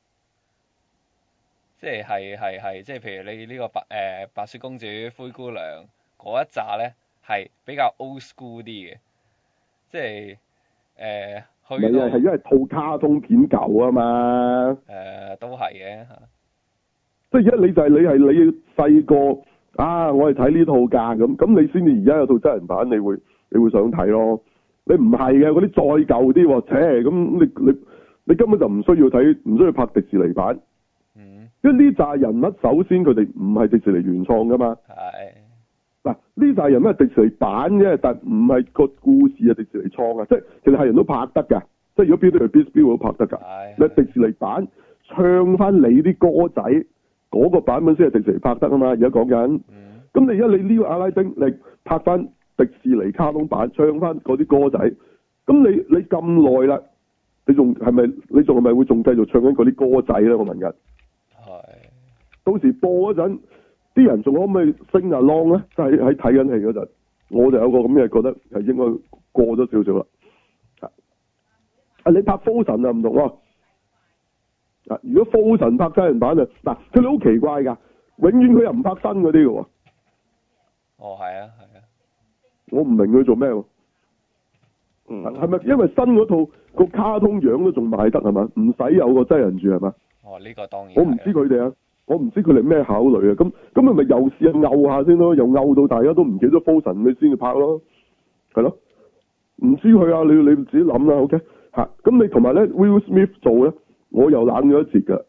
即係係係係，即係譬如你呢個白誒、呃、白雪公主、灰姑娘嗰一紮咧，係比較 old school 啲嘅，即係誒、呃、去到。唔係係因為套卡通片舊啊嘛。誒、呃，都係嘅嚇。即係而家你就係、是、你係你細個啊，我係睇呢套㗎咁，咁你先至而家有套真人版，你會你會想睇咯。你唔係嘅嗰啲再舊啲喎，切咁你你你根本就唔需要睇，唔需要拍迪士尼版。嗯，因為呢紮人物首先佢哋唔係迪士尼原創噶嘛，係嗱呢紮人物係迪士尼版啫，但唔係個故事係迪士尼創啊，即係其實係人都拍得噶，即係如果 Beauty and the Beast 都拍得噶，你迪士尼版唱翻你啲歌仔嗰、嗰個版本先係迪士尼拍得啊嘛，而家講緊，咁、嗯、你而家你呢個阿拉丁你拍翻迪士尼卡通版唱翻嗰啲歌仔，咁你你咁耐啦，你仲係咪你仲係咪會仲繼續唱緊嗰啲歌仔咧？我問緊。到時播嗰陣，啲人仲可唔可以 sing along 咧？即係喺睇緊戲嗰陣，我就有個咁嘅覺得係應該過咗少少啦。啊，你拍 Frozen 就唔同喎。啊，如果 Frozen 拍真人版啊，嗱，佢哋好奇怪㗎，永遠佢又唔拍新嗰啲㗎喎。哦，係啊，係啊。我唔明佢做咩喎？嗯。係咪因為新嗰套個卡通樣都仲賣得係嘛？唔使有個真人住係嘛？哦，呢、呢個當然。我唔知佢哋啊。我唔知佢哋咩考慮啊，咁咁咪咪又試下拗下先咯，又拗到大家都唔記得 Frozen 你先至拍咯，係咯，唔知佢啊，你你自己諗啦 ，OK 嚇，咁你同埋咧 Will Smith 做咧，我又冷咗一截㗎，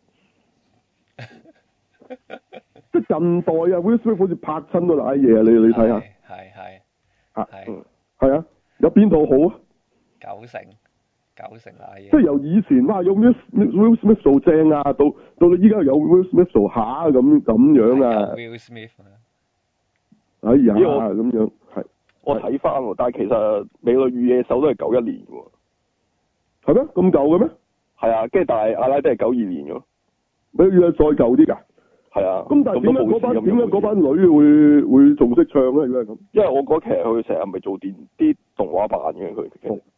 即係近代啊 Will Smith 好似拍親都瀨嘢啊，你你睇下，係係嚇，係啊，有邊套好啊？九成。九成瀨嘢，即係由以前哇有 Will Will Smith 做正啊，到到你依家有 Will Smith 做下咁咁樣啊。Will Smith 啊，哎呀咁樣係。我睇翻喎，但係其實美女與野獸都係九一年喎。係咩？咁舊嘅咩？係啊，跟住但係阿拉丁係九二年嘅。美女與野獸再舊啲㗎？係啊。咁但係點解嗰班點解嗰班女會會仲識唱咧？如果係咁，因為我嗰期佢成日咪做電啲動畫版嘅佢。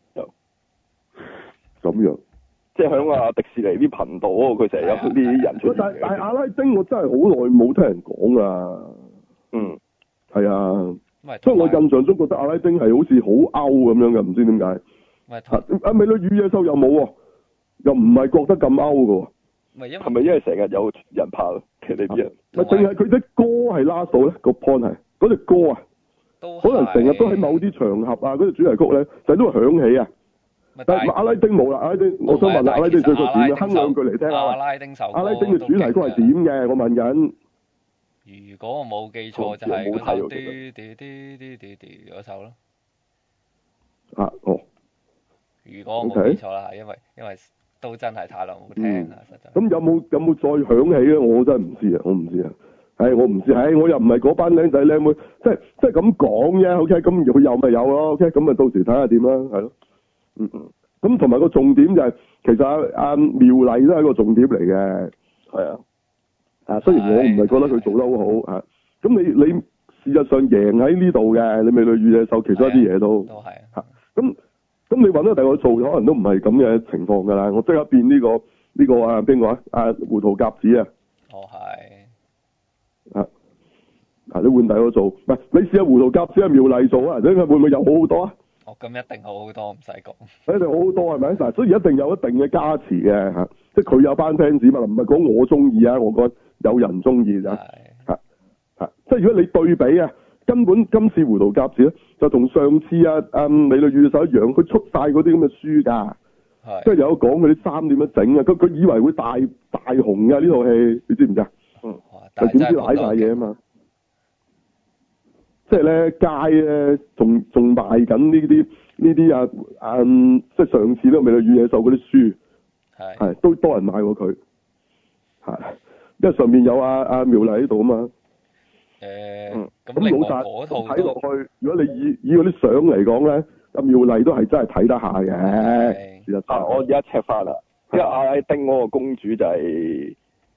咁樣，即係響啊迪士尼啲頻道嗰度，佢成日有啲人出。但係但係阿拉丁，我真係好耐冇聽人講啦。嗯，係啊。所以我印象中覺得阿拉丁係好似好 out 咁樣嘅，唔知點解。啊，美女與野獸又冇喎，又唔係覺得咁 out 嘅喎。係咪因為成日有人拍其實啲人？咪淨係佢啲歌係拉到咧個 point 係嗰隻歌啊，可能成日都喺某啲場合啊，嗰隻主題曲咧就都會響起啊。但係阿拉丁冇啦，阿拉丁，我想問下阿拉丁最初點嘅？哼兩句嚟聽下。阿拉丁首歌。阿拉丁嘅主題曲係點嘅？我問緊。如果我冇記錯就係嗰首啲啲啲啲啲啲嗰首咯。啊哦。如果我冇記錯啦，因為因為都真係太耐冇聽啦，實在。咁有冇有冇再響起咧？我真係唔知啊，我唔知啊。係我唔知，係我又唔係嗰班僆仔僆妹，即係即係咁講啫。OK，咁佢有咪有咯？OK，咁咪到時睇下點啦，係咯。嗯嗯，咁同埋個重點就係、是，其實阿阿妙麗都係一個重點嚟嘅，係啊，啊雖然我唔係覺得佢做得好好啊，咁你你事實上贏喺呢度嘅，你美女與野獸其中一啲嘢都都係嚇，咁咁你揾到第二個做，可能都唔係咁嘅情況㗎啦，我即刻變呢、這個呢、這個啊邊個啊？啊胡桃夾子啊，哦係，啊啊你換第二個做，唔係你試下胡桃夾子係妙麗做啊，睇下會唔會有好好多啊？哦，咁一定好好多，唔使講。一定好好多係咪？嗱，所以一定有一定嘅加持嘅嚇，即係佢有班 fans 嘛，唔係講我中意啊，我覺得有人中意咋嚇嚇， 即係如果你對比啊，根本今次胡桃夾子咧就同上次啊啊美女與野獸一樣，佢出晒嗰啲咁嘅書㗎。即係有講佢啲衫點樣整啊！佢佢以為會大大紅㗎呢套戲，你知唔知啊？嗯，就點知瀨晒嘢啊嘛！即係咧街咧，仲仲賣緊呢啲呢啲啊啊！即係上次都美女與野獸嗰啲書，係係都多人買過佢，係因為上面有阿阿妙麗喺度啊嘛。 誒，咁老實睇落去，如果你以以嗰啲相嚟講咧，阿妙麗都係真係睇得下嘅。事實上， 我而家 check 翻啦，因為阿拉丁嗰個公主就係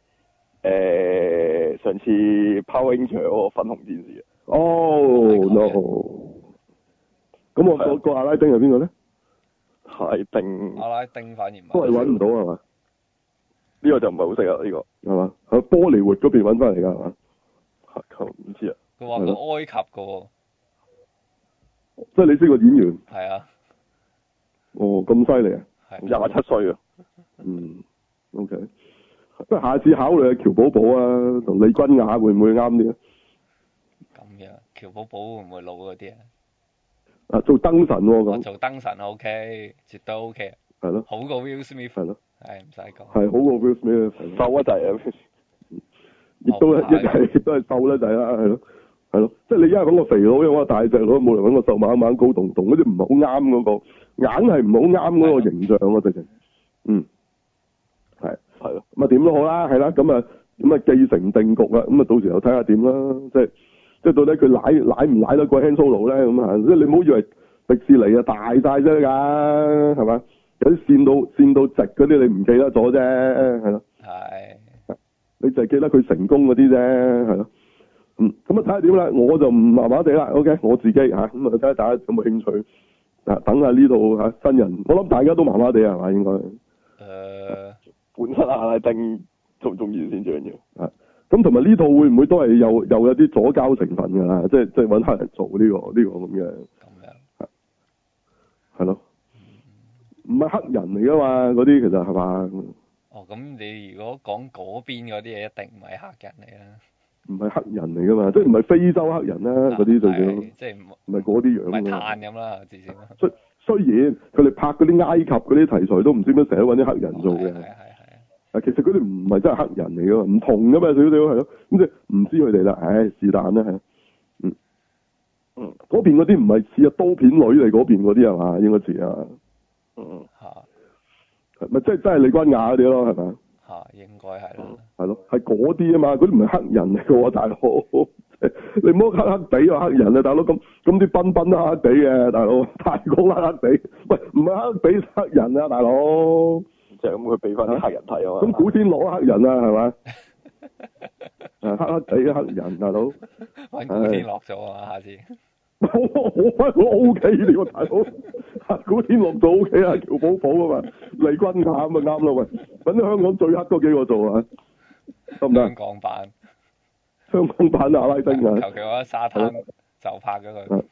誒上次 Power Ranger 嗰個粉紅戰士。 哦 no！咁我個個阿拉丁係邊個咧？ 阿拉丁。 阿拉丁反而都係揾唔到係嘛？ 呢個就唔係好識啊！呢個係嘛？喺波利活嗰邊揾翻嚟㗎係嘛？ 唔知啊。 佢話佢埃及㗎喎。 即係你識個演員？ 係啊。 哦，咁犀利啊！ 廿七歲啊。 嗯 ，OK。不過下次考慮下喬寶寶啊，同李君雅會唔會啱啲啊？ 咁樣，喬寶寶會唔會老嗰啲啊？ 啊，做燈神喎咁。 做燈神 OK，絕對 OK。 係咯。 好過 Will Smith。 係咯。 係唔使講。 係好過 Will Smith， 瘦一滯啊！ 亦都一係都係瘦啦，就係啦，係咯，係咯，即係你而家揾個肥佬，揾個大隻佬，冇嚟揾個瘦蜢蜢高棟棟嗰啲，唔係好啱嗰個，硬係唔好啱嗰個形象啊！直情，嗯，係係咯，咁啊點都好啦，係啦，咁啊咁啊既成定局啦，咁啊到時候睇下點啦，即係即係到底佢奶奶唔奶得過 Han Solo 咧咁啊，即係你唔好以為迪士尼啊大晒啫㗎，係嘛？有啲線到線到直嗰啲你唔記得咗啫，係咯。 係。 你就係記得佢成功嗰啲啫，係咯，嗯，咁啊睇下點啦，我就唔麻麻地啦 ，OK，我自己嚇，咁啊睇下大家有冇興趣，啊，等下呢度嚇新人，我諗大家都麻麻地係嘛應該，誒、 呃， 本身阿拉丁仲中意先最緊要， 啊，咁同埋呢套會唔會都係又又有啲左膠成分㗎啦，即係即係揾黑人做呢、呢個呢、呢個咁嘅， 咁樣， 係咯，唔係黑人嚟㗎嘛，嗰啲其實係嘛？ 哦，咁你如果講嗰邊嗰啲嘢，一定唔係黑人嚟啦。 唔係黑人嚟㗎嘛，即係唔係非洲黑人啦，嗰啲最少， 即係唔係嗰啲樣。 唔係炭咁啦，至少。 雖雖然佢哋拍嗰啲埃及嗰啲題材都唔知點解成日揾啲黑人做嘅。係係係。啊，其實佢哋唔係真係黑人嚟㗎嘛，唔同㗎嘛，少少係咯。咁即係唔知佢哋啦，唉，是但啦係。嗯。嗯。嗰邊嗰啲唔係似啊刀片女嚟嗰邊嗰啲係嘛？應該似啊。嗯。嚇。咪即係真係李君雅嗰啲咯，係咪？ 嚇，應該係咯。 係咯，係嗰啲啊嘛，嗰啲唔係黑人嚟嘅喎，大佬。你唔好黑黑地啊，黑人啊，大佬咁咁啲賓賓都黑黑地嘅，大佬。太過黑黑地，喂，唔係黑地黑人啊，大佬。 就係咁，佢俾翻啲黑人睇啊嘛。 咁古天樂黑人啊，係咪？誒，黑黑地黑人，大佬。 揾古天樂咗啊，下次。 我我我 O K 呢個大佬，古天樂做 O K 啊，喬寶寶啊嘛，黎君雅咁咪啱咯喂，揾啲香港最黑嗰幾個做啊，得唔得？ 香港版， 香港版阿拉丁啊， 求其我喺沙灘就拍咗佢，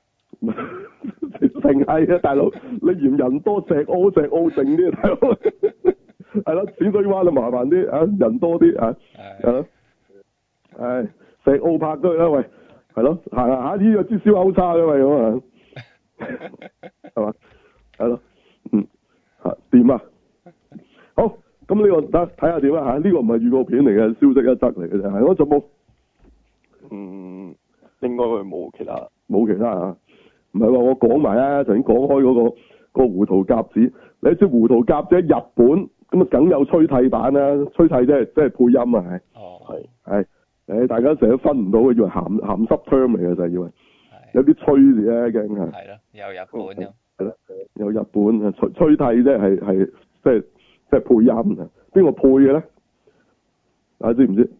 定係啊大佬，你嫌人多石澳石澳靜啲大佬，係咯，淺水灣就麻煩啲啊，人多啲啊，係咯，係石澳拍咗去啦喂。係咯，行下呢個支燒烤叉嘅嘛咁啊，係嘛，係咯，嗯，吓掂啊，好，咁呢、這個得睇下點啦吓，呢、這個唔係預告片嚟嘅，消息一則嚟嘅啫，係我仲冇， 嗯，應該佢冇其他， 冇其他啊，唔係話我講埋啊，頭先講開嗰、那個、那個胡桃夾子，你知胡桃夾子喺日本咁啊，梗有吹替版啦，吹替即係即係配音啊，係， 哦，係， 係。誒，大家成日都分唔到嘅，以為鹹鹹濕 term 嚟嘅就係以為，有啲吹字咧，驚係。係咯，有日本咁。 係咯，有日本啊，吹吹替啫，係係即係即係配音啊，邊個配嘅咧？大家知唔知？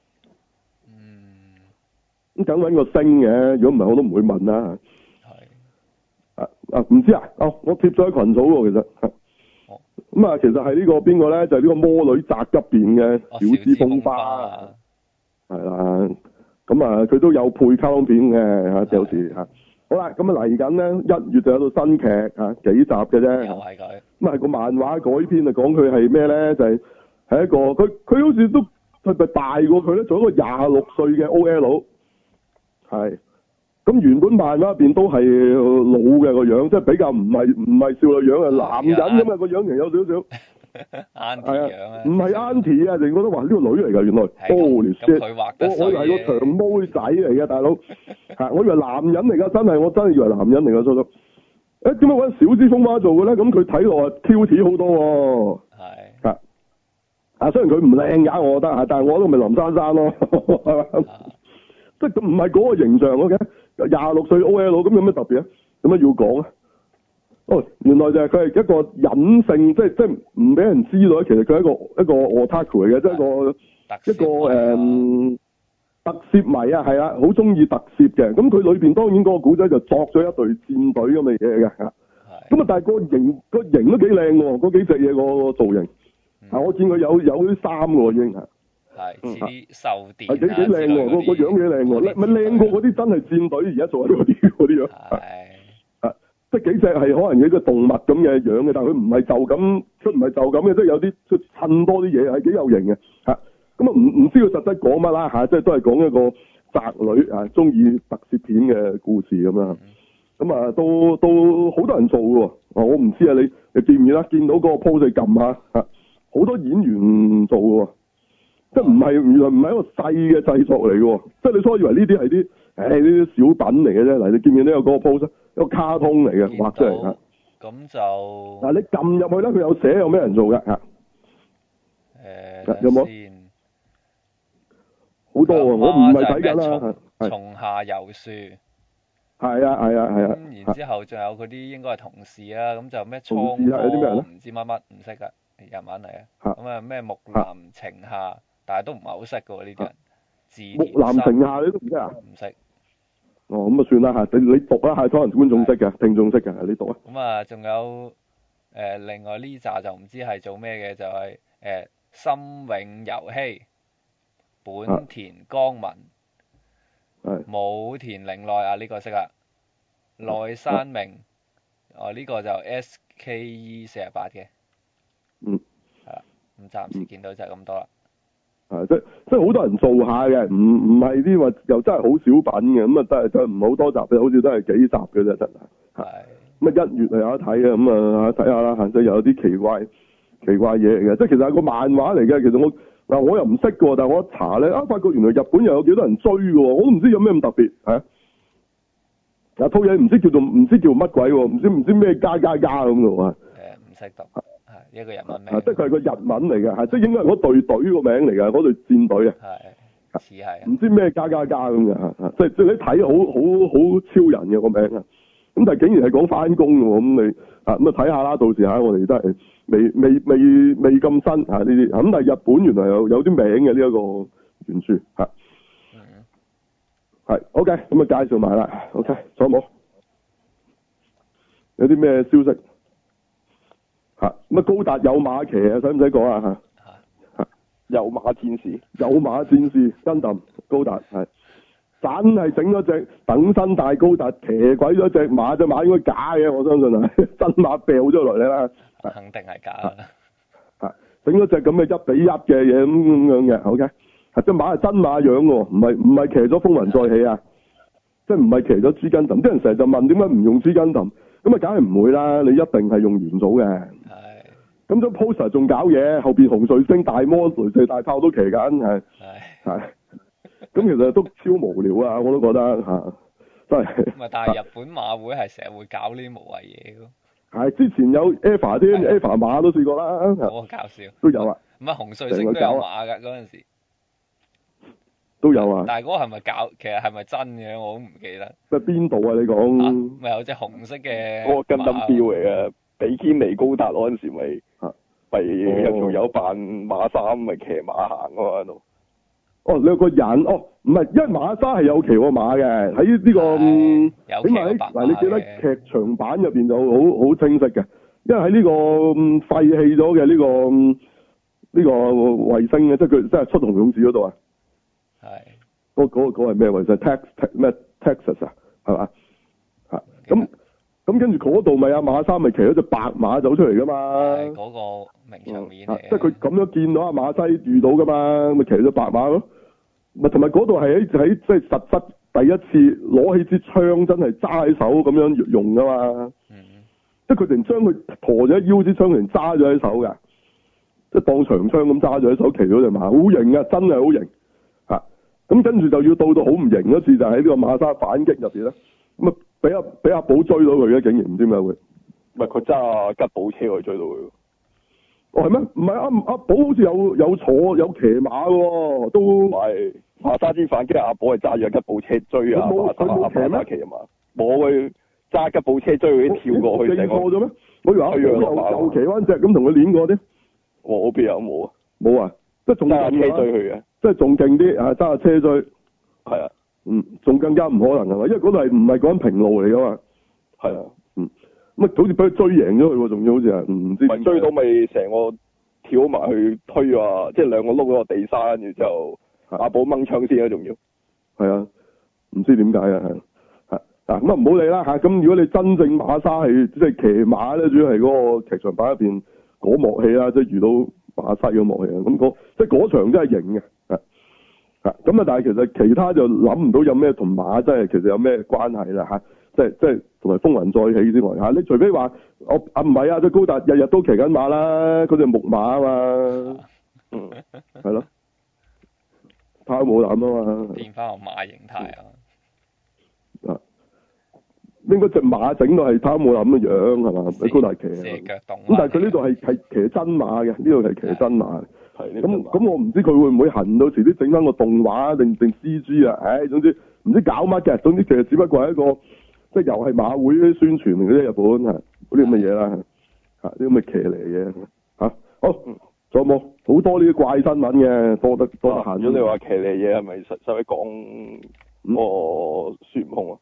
嗯。 咁梗揾個星嘅，如果唔係我都唔會問啦。係。啊啊，唔知啊？哦，我貼咗喺群組喎，其實。哦。咁啊，其實係呢個邊個咧？就係呢個魔女宅急便嘅小芝風花。係啦，咁啊，佢都有配卡通片嘅吓，有時吓。好啦，咁啊嚟緊咧，一月就有套新劇吓，幾集嘅啫。 又係佢。 咁係個漫畫改編啊，講佢係咩咧？就係、是、係一個佢佢好似都係咪大過佢咧？做一個廿六歲嘅 O L， 係。咁原本漫畫入邊都係老嘅個樣，即係比較唔係唔係少女樣啊，男人咁啊個樣型有少少。 Auntie 樣啊。 唔係 Auntie 啊，淨覺得話呢個女嚟㗎，原來。Holy shit！ 佢畫得我我以為個長毛仔嚟嘅大佬，係我以為男人嚟㗎，真係我真係以為男人嚟㗎，初初。誒點解揾小芝風花做嘅咧？咁佢睇落啊 cute 好多喎。係。啊。啊，雖然佢唔靚㗎，我覺得嚇，但係我都咪林珊珊咯，係嘛？即係唔係嗰個形象嘅，廿六歲 O L 咁有咩特別啊？有咩要講啊？哦，原來就係佢係一個隱性，即係即係唔俾人知道，其實佢係一個一個 otaku 嚟嘅，即係一個一個誒、嗯、特攝迷啊，係啦，好中意特攝嘅。咁佢裏邊當然嗰個古仔就作咗一隊戰隊咁嘅嘢嘅嚇。咁啊，但係個型個型都幾靚喎，嗰幾隻嘢個造型。啊、嗯，我見佢有有啲衫喎已經係。係似啲獸電係幾幾靚喎，個個樣幾靚喎，咪靚過嗰啲真係戰隊而家做緊嗰啲嗰啲樣。係啊，即係幾隻係可能有個動物咁嘅樣嘅，但係佢唔係就咁，佢唔係就咁嘅，即係有啲出襯多啲嘢，係幾有型嘅嚇。咁啊唔唔知佢實質講乜啦嚇，即係都係講一個宅女啊，中意特攝片嘅故事咁啦。咁、嗯、啊，都都好多人做嘅喎。我唔知啊，你你見唔見啦？見到嗰個 pose 撳下嚇，好多演員做嘅喎。即係唔係原來唔係一個細嘅製作嚟嘅，即係你初以為呢啲係啲誒呢啲小品嚟嘅啫。嗱，你見唔見呢個嗰個 pose？一個卡通嚟嘅，畫出嚟嚇。 咁就嗱，你撳入去咧，佢有寫有咩人做嘅嚇。誒，有冇？好多啊！我唔係睇緊啦。 松下由樹。係啊係啊係啊。 咁然之後仲有嗰啲應該係同事啦，咁就咩倉有啲咩人咧？ 唔知乜乜唔識㗎。日文嚟啊，咁啊咩木南晴夏，但係都唔係好識嘅喎呢啲人。字木南晴夏你都唔識啊？ 唔識。 哦，咁啊算啦嚇，你你讀啦嚇，可能觀眾識嘅，聽眾識嘅，你讀啊。 咁啊，仲有誒另外呢扎就唔知係做咩嘅，就係誒森永遊希、本田光文、武田玲奈啊呢個識啊，內山明，哦呢個就 S K E 四十八嘅。 嗯， 係啦，咁暫時見到就係咁多啦。 係即即係好多人做下嘅，唔唔係啲話又真係好少品嘅，咁啊真係真係唔係好多集嘅，好似都係幾集嘅啫，真係。係。咁啊一月係有得睇嘅，咁啊睇下啦，即係有啲奇怪奇怪嘢嚟嘅，即係其實係個漫畫嚟嘅。其實我嗱我又唔識嘅，但係我一查咧，啊發覺原來日本又有幾多人追嘅，我都唔知有咩咁特別係啊。嗱套嘢唔知叫做唔知叫乜鬼喎，唔知唔知咩加加加咁嘅喎。誒唔識讀。一個日文名， 即係佢係個日文嚟嘅，係即係應該係嗰隊隊個名嚟嘅，嗰隊戰隊啊， 係似係， 唔知咩加加加咁嘅，即係即係你睇好好好超人嘅個名啊，咁但係竟然係講翻工嘅喎，咁你啊咁啊睇下啦，到時嚇我哋都係未未未未咁新啊呢啲，咁但係日本原來有有啲名嘅呢一個原著嚇，嗯，係 OK，咁啊介紹埋啦 ，OK，仲有冇？有啲咩消息？吓咁啊！高達有馬騎啊，使唔使講啊？吓吓， 有馬戰士， 有馬戰士，Gundam高達係，真係整咗隻等身大高達，騎鬼咗隻馬，隻馬應該假嘅，我相信啊，真馬掉咗落嚟啦， 肯定係假啦。 吓，整咗隻咁嘅一比一嘅嘢咁咁樣嘅，OK，係隻馬係真馬樣嘅，唔係唔係騎咗風雲再起啊，即係唔係騎咗 G Gundam，啲人成日就問點解唔用 G Gundam，咁啊梗係唔會啦，你一定係用元祖嘅。咁張 poster 仲搞嘢，後邊紅彗星大魔雷射大炮都騎緊，係係，咁其實都超無聊啊！我都覺得嚇、啊，真係。 唔係，但係日本馬會係成日會搞呢啲無謂嘢嘅。 係之前有 Eva 啲 Eva 馬都試過啦， 好搞笑。 都有啊。 唔係紅彗星都有馬㗎嗰陣時。 都有啊。 但係嗰個係咪搞？其實係咪真嘅？我都唔記得。 即係邊度啊？你講？ 咪、啊、有隻紅色嘅。 嗰個 Gundam Build嚟嘅。比堅尼高達嗰陣時咪咪有條友扮馬衫咪騎馬行喎喺度。 哦，你有個人哦，唔係，因為馬莎係有騎過馬嘅，喺呢、這個起碼喺嗱，你記得劇場版入邊就好好清晰嘅，因為喺呢、這個廢棄咗嘅呢個呢、這個衛星嘅，即係佢即係出同勇士嗰度啊。係。嗰嗰嗰係咩衛星 ？Tex 咩 Texas 啊？係嘛？嚇咁。咁跟住嗰度咪阿馬莎咪騎咗隻白馬走出嚟噶嘛？ 係嗰、那個名場面嚟、嗯、 即係佢咁樣見到阿馬西遇到噶嘛，咪騎咗白馬咯。咪同埋嗰度係喺喺即係實質第一次攞起支槍真係揸喺手咁樣用噶嘛。 嗯。 即係佢哋將佢陀咗腰支槍，嚟揸咗喺手㗎，即係當長槍咁揸咗喺手，騎咗隻馬，好型啊！真係好型嚇。咁跟住就要到到好唔型嗰次，就喺呢個馬沙反擊入邊咧，咁啊俾阿俾阿寶追到佢嘅，竟然唔知點解會， 唔係佢揸吉寶車去追到佢。 哦係咩？唔係阿阿寶好似有有坐有騎馬喎，都唔係馬沙之反擊，阿寶係揸住吉寶車追啊， 佢冇佢冇騎咩？ 騎啊嘛，冇佢。揸吉寶車追佢跳過去， 認錯咗咩？我以為阿寶又又騎翻隻咁同佢練過啲。 我邊有冇啊？ 冇啊，即係仲揸車追佢嘅， 即係仲勁啲啊！揸下車追， 係啊， 嗯，仲更加唔可能係嘛？因為嗰度係唔係講平路嚟噶嘛？ 係啊， 嗯，咁啊好似俾佢追贏咗佢喎，仲要好似係唔知。 咪追到咪成個跳埋去推啊！即係兩個碌嗰個地沙，跟住就阿寶掹槍先啊，仲要。係啊，唔知點解啊？係。嗱咁啊唔好理啦嚇，咁如果你真正馬沙係即係騎馬咧，主要係嗰個劇場版入邊嗰幕戲啦，即係遇到馬西嗰幕戲啊，咁嗰即係嗰場真係型嘅，係係咁啊！但係其實其他就諗唔到有咩同馬真係其實有咩關係啦嚇，即係即係同埋風雲再起之外嚇，你除非話我啊唔係啊，即高達日日都騎緊馬啦，嗰隻木馬啊嘛，嗯係咯，太冇膽啊嘛， 變翻個馬形態啊！ 啊！應該隻馬整到係貪冇諗嘅樣係嘛？喺高達騎啊！咁但係佢呢度係係騎真馬嘅，呢度係騎真馬。係咁咁，我唔知佢會唔會行到遲啲整翻個動畫定定 C G 啊？唉、哎，總之唔知搞乜嘅。總之其實只不過係一個即係又係馬會啲宣傳嚟嘅啫，日本啊嗰啲咁嘅嘢啦嚇，啲咁嘅騎呢嘢嚇。好，仲有冇好多呢啲怪新聞嘅？多得多得閒咗。 你話騎呢嘢係咪實實喺講個孫悟空啊？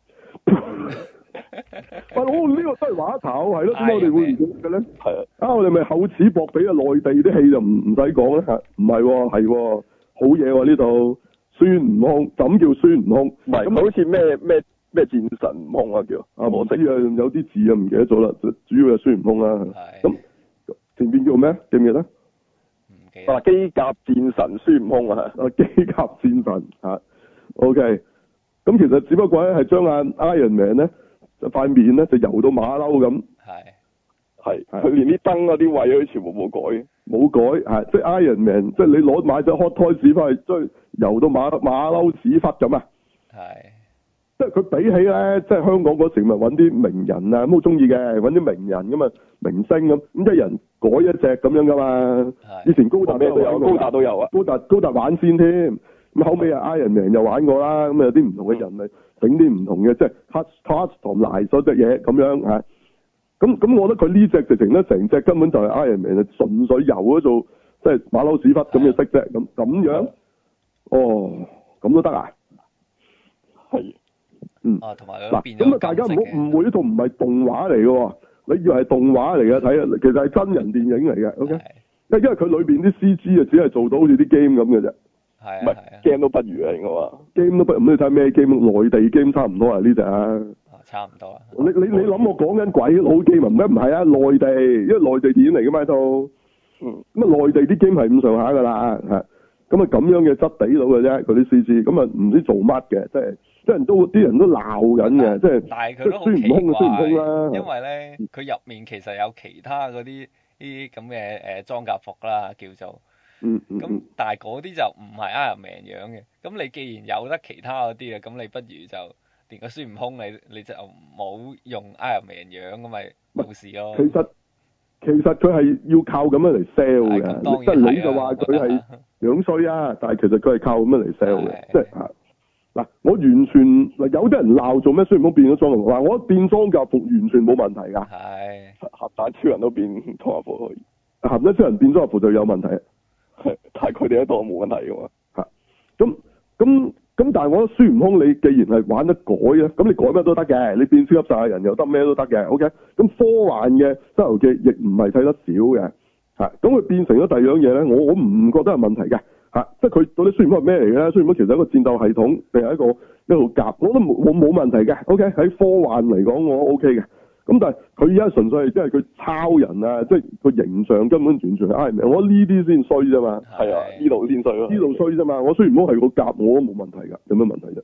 喂，我呢個都係話頭，係咯？點解我哋會唔記得嘅咧？ 係啊， 啊，我哋咪厚此薄彼啊！內地啲戲就唔唔使講啦，唔係喎，係喎，好嘢喎呢度。孫悟空，咁叫孫悟空？ 唔係，咁好似咩咩咩戰神悟空啊叫？ 啊，我死啊，有啲字啊唔記得咗啦，主要係孫悟空啦。係。咁前邊叫咩？記唔記得？ 唔記得。 啊，機甲戰神孫悟空啊！ 啊，機甲戰神嚇 ，OK。咁其實只不過咧係將阿 Iron Man 咧就塊面咧就油到馬騮咁，係係佢連啲燈嗰啲位都全部冇改，冇改係即係 Iron Man，即係你攞買隻 Hot Toys 翻去，將油到馬馬騮屎忽咁啊！係即係佢比起咧，即係香港嗰時咪揾啲名人啊，咁好中意嘅揾啲名人咁啊明星咁，咁一人改一隻咁樣噶嘛。以前高達咩都有，高達都有啊，高達高達玩先添。咁後尾啊 Iron Man 又玩過啦，咁有啲唔同嘅人咪整啲唔同嘅，即係 touch touch 同埋嗰隻嘢咁樣嚇。咁咁，我覺得佢呢隻直情咧，成隻根本就係 Iron Man 啊，純粹油嗰做，即係馬騮屎忽咁嘅色啫。咁咁樣，哦，咁都得啊？係，嗯。啊，同埋嗱，咁啊，大家唔好誤會，呢套唔係動畫嚟嘅喎。你以為係動畫嚟嘅睇啊？其實係真人電影嚟嘅。OK，因因為佢裏邊啲 C G 啊，只係做到好似啲 game 咁嘅啫。係唔係 game 都不如啊，應該話 game 都不如。咁你睇咩 game？內地 game 差唔多啊呢隻啊。差唔多啊。你你你諗我講緊鬼佬 game 啊？唔係唔係啊？內地，因為內地電影嚟嘅嘛呢套。嗯。咁啊，內地啲 game 係咁上下噶啦，係。咁啊，咁樣嘅質地到嘅啫，嗰啲 C G，咁啊唔知做乜嘅，即係即係都啲人都鬧緊嘅，即係。但係佢都好奇怪。孫悟空啊，孫悟空啦。因為咧，佢入面其實有其他嗰啲啲咁嘅誒裝甲服啦，叫做。嗯咁、嗯、但係嗰啲就唔係 Iron Man 樣嘅，咁你既然有得其他嗰啲啊，咁你不如就連個孫悟空你你就冇用 Iron Man 樣咁咪冇事咯。其實其實佢係要靠咁樣嚟 sell 嘅，即係你就話佢係樣衰啊，但係其實佢係靠咁樣嚟 sell 嘅，即係嚇嗱，我完全嗱有啲人鬧做咩孫悟空變咗裝甲服，嗱我變裝甲服完全冇問題㗎，係鹹蛋超人都變裝甲服可以，鹹蛋超人變裝甲服就有問題。係，但係佢哋一度冇問題嘅嘛。嚇，咁咁咁，但係我覺得孫悟空你既然係玩得改啊，咁你改咩都得嘅，你變超級賽亞人又得咩都得嘅。OK，咁科幻嘅《西遊記》亦唔係睇得少嘅。嚇，咁佢變成咗第二樣嘢咧，我我唔覺得係問題嘅。嚇，即係佢到底孫悟空係咩嚟嘅咧？孫悟空其實係一個戰鬥系統定係一個一路夾，我覺得冇冇冇問題嘅。OK，喺科幻嚟講我 OK 嘅。咁但係佢而家純粹係即係佢抄人啊，即係個形象根本完全係 Iron Man，我覺得呢啲先衰啫嘛。係啊，呢度先衰咯。呢度衰啫嘛，我雖然唔好係個夾，我都冇問題㗎，有咩問題啫？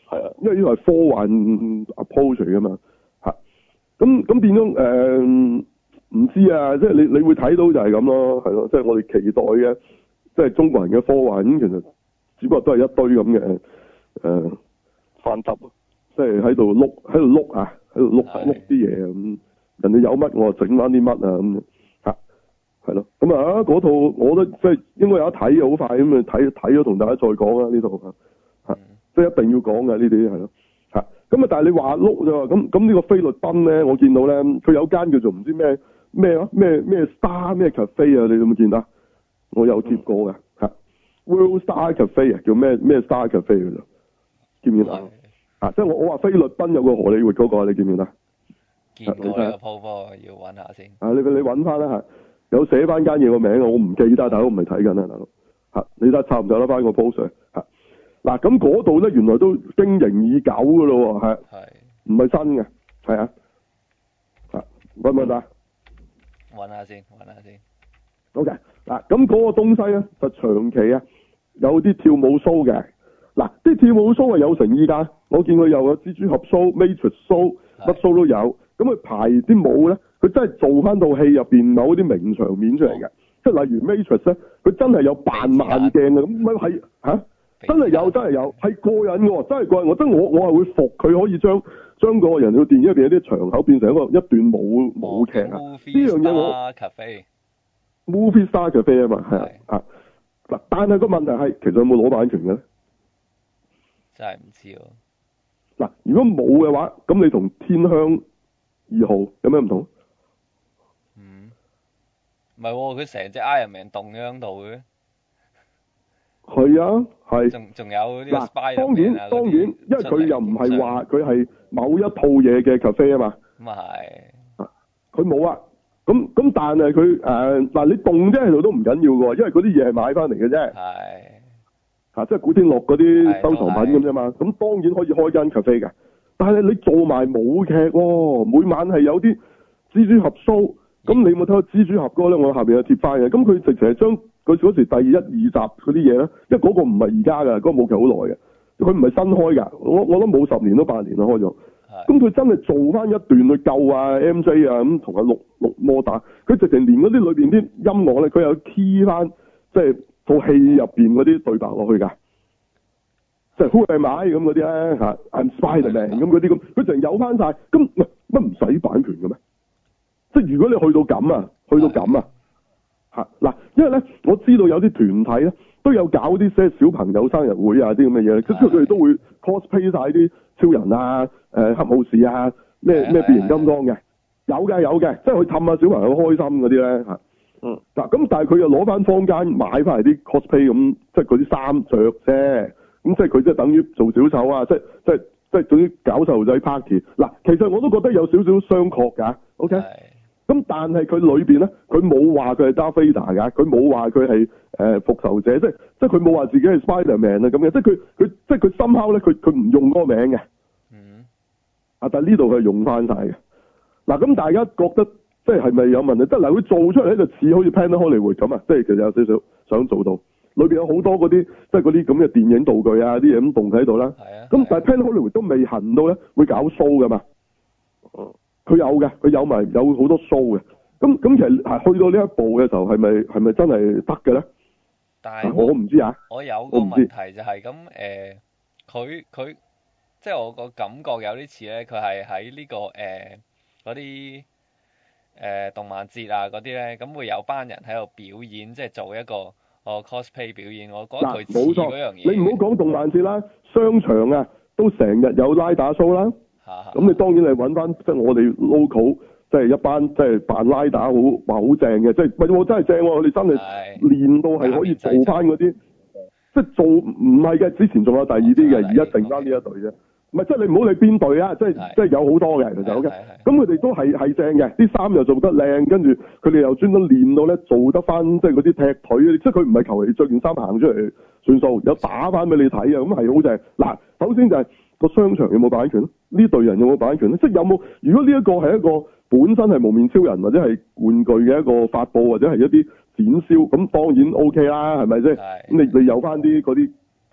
係啊， 因為呢個係科幻 approach 嚟噶嘛嚇。咁咁變咗誒唔知啊，即係你你會睇到就係咁咯，係咯，即係我哋期待嘅，即係中國人嘅科幻咁，其實只不過都係一堆咁嘅誒翻執， 即係喺度碌喺度碌啊，喺度碌碌啲嘢咁，人哋有乜我就整翻啲乜啊咁嚇，係咯，咁啊嗰套我覺得即係應該有得睇好快咁啊，睇睇咗同大家再講啦呢套嚇嚇，即係一定要講嘅呢啲係咯嚇，咁啊但係你話碌啫，咁咁呢個菲律賓咧，我見到咧佢有間叫做唔知咩咩啊咩咩 Star 咩 Cafe 啊，你有冇見到？我有接過嘅嚇 World Star Cafe 啊，叫咩咩 Star Cafe 㗎咋？見唔見啊？啊，即係我我話菲律賓有個荷里活嗰個，你見唔見啊？ 見過呢個鋪波，要揾下先。 啊，你你揾翻啦嚇，有寫翻間嘢個名啊，我唔記得，大佬唔係睇緊啊，大佬嚇，你睇差唔多得翻個 post 嚇。嗱咁嗰度咧，原來都經營已久㗎咯喎，係唔係新嘅？係啊，啊揾唔揾到？ 揾下先，揾下先。 OK，嗱咁嗰個東西咧就長期啊有啲跳舞 show 嘅，嗱啲跳舞 show 係有誠意㗎，我見佢又有蜘蛛俠 show、Matrix show，乜 show 都有，咁佢排啲舞咧，佢真係做翻套戲入邊某啲名場面出嚟嘅，即係例如 Matrix 咧，佢真係有扮慢鏡嘅，咁咪係嚇，真係有真係有，係過癮嘅喎，真係過癮，我真我我係會服佢可以將將個人嘅電影入邊有啲場口變成一個一段舞舞劇啊，呢樣嘢我。Movie Star Cafe 啊嘛，係啊啊嗱，但係個問題係，其實有冇攞版權嘅咧？ 真係唔知喎。 嗱，如果冇嘅話，咁你同天香二號有咩唔同？ 嗯，唔係喎，佢成隻 Iron Man 動喺度嘅。 係啊，係。 仲仲有呢個 Spider-Man 當然當然，因為佢又唔係話佢係某一套嘢嘅 cafe 啊嘛。 咁啊係。 啊，佢冇啊。咁咁，但係佢誒嗱，你動啫喺度都唔緊要嘅喎，因為嗰啲嘢係買翻嚟嘅啫。係。嚇，即係古天樂嗰啲收藏品咁啫嘛。咁當然可以開間 cafe 嘅，但係你做埋舞劇喎，每晚係有啲蜘蛛俠 show。咁你有冇睇過蜘蛛俠嗰個咧？我下邊有貼翻嘅。咁佢直情係將佢嗰時第一二集嗰啲嘢咧，因為嗰個唔係而家㗎，嗰個舞劇好耐嘅，佢唔係新開㗎。我我諗冇十年都八年啦開咗。咁佢真係做翻一段去救啊 M J 啊，咁同阿綠綠魔打，佢直情連嗰啲裏邊啲音樂咧，佢有 key 翻，即係套戲入邊嗰啲對白落去㗎，即係 Who am I咁嗰啲咧嚇 I'm Spider-Man 咁嗰啲咁，佢直情有翻晒。咁乜唔使版權嘅咩？即係如果你去到咁啊，去到咁啊嚇嗱，因為咧我知道有啲團體咧都有搞啲些小朋友生日會啊啲咁嘅嘢，即係佢哋都會 cosplay 晒啲超人啊、誒、呃、黑武士啊、咩咩變形金剛嘅，有嘅有嘅，即係去氹下小朋友開心嗰啲咧嚇。嗯，嗱咁但係佢又攞翻坊間買翻嚟啲 cosplay 咁，即係嗰啲衫着啫，咁即係佢即係等於做小丑啊，即係即係即係總之搞細路仔 party。嗱，其實我都覺得有少少商榷㗎 ，OK？咁但係佢裏邊咧，佢冇話佢係 Darth Vader 㗎，佢冇話佢係誒復仇者，即係即係佢冇話自己係 Spider-Man 啊咁嘅，即係佢佢即係佢somehow咧，佢佢唔用嗰個名嘅。嗯。啊，但係呢度佢係用翻晒嘅。嗱，咁大家覺得即係係咪有問題？即係嗱，佢做出嚟咧就似好似 Planet Hollywood 咁啊，即係其實有少少想做到，裏邊有好多嗰啲即係嗰啲咁嘅電影道具啊，啲嘢咁動喺度啦。係啊。咁但係 Planet Hollywood 都未行到咧，會搞 show 㗎嘛。嗯。佢有嘅，佢有埋有好多 show 嘅，咁咁其實係去到呢一步嘅時候，係咪係咪真係得嘅咧？ 但係我唔知啊。 我有個問題就係咁誒，佢佢即係我個感覺有啲似咧，佢係喺呢個誒嗰啲誒動漫節啊嗰啲咧，咁會有班人喺度表演，即係做一個哦 cosplay 表演。我覺得佢似嗰樣嘢。 你唔好講動漫節啦，商場啊都成日有拉打 show 啦。咁你當然係揾翻即係我哋 local，即係一班即係扮拉打好話好正嘅，即係唔係我真係正喎！我哋真係練到係可以做翻嗰啲，即係做唔係嘅。之前仲有第二啲嘅，而家剩翻呢一隊啫。唔係即係你唔好理邊隊啊！即係即係有好多嘅其實 OK。咁佢哋都係係正嘅，啲衫又做得靚，跟住佢哋又專登練到咧做得翻，即係嗰啲踢腿，即係佢唔係求其着件衫行出嚟算數，有打翻俾你睇啊！咁係好正。嗱，首先就係、是。個商場有冇版權咧？呢隊人有冇版權咧？即係有冇？如果呢一個係一個本身係無面超人或者係玩具嘅一個發佈或者係一啲展銷，咁當然 O K 啦，係咪先？咁你你有翻啲嗰啲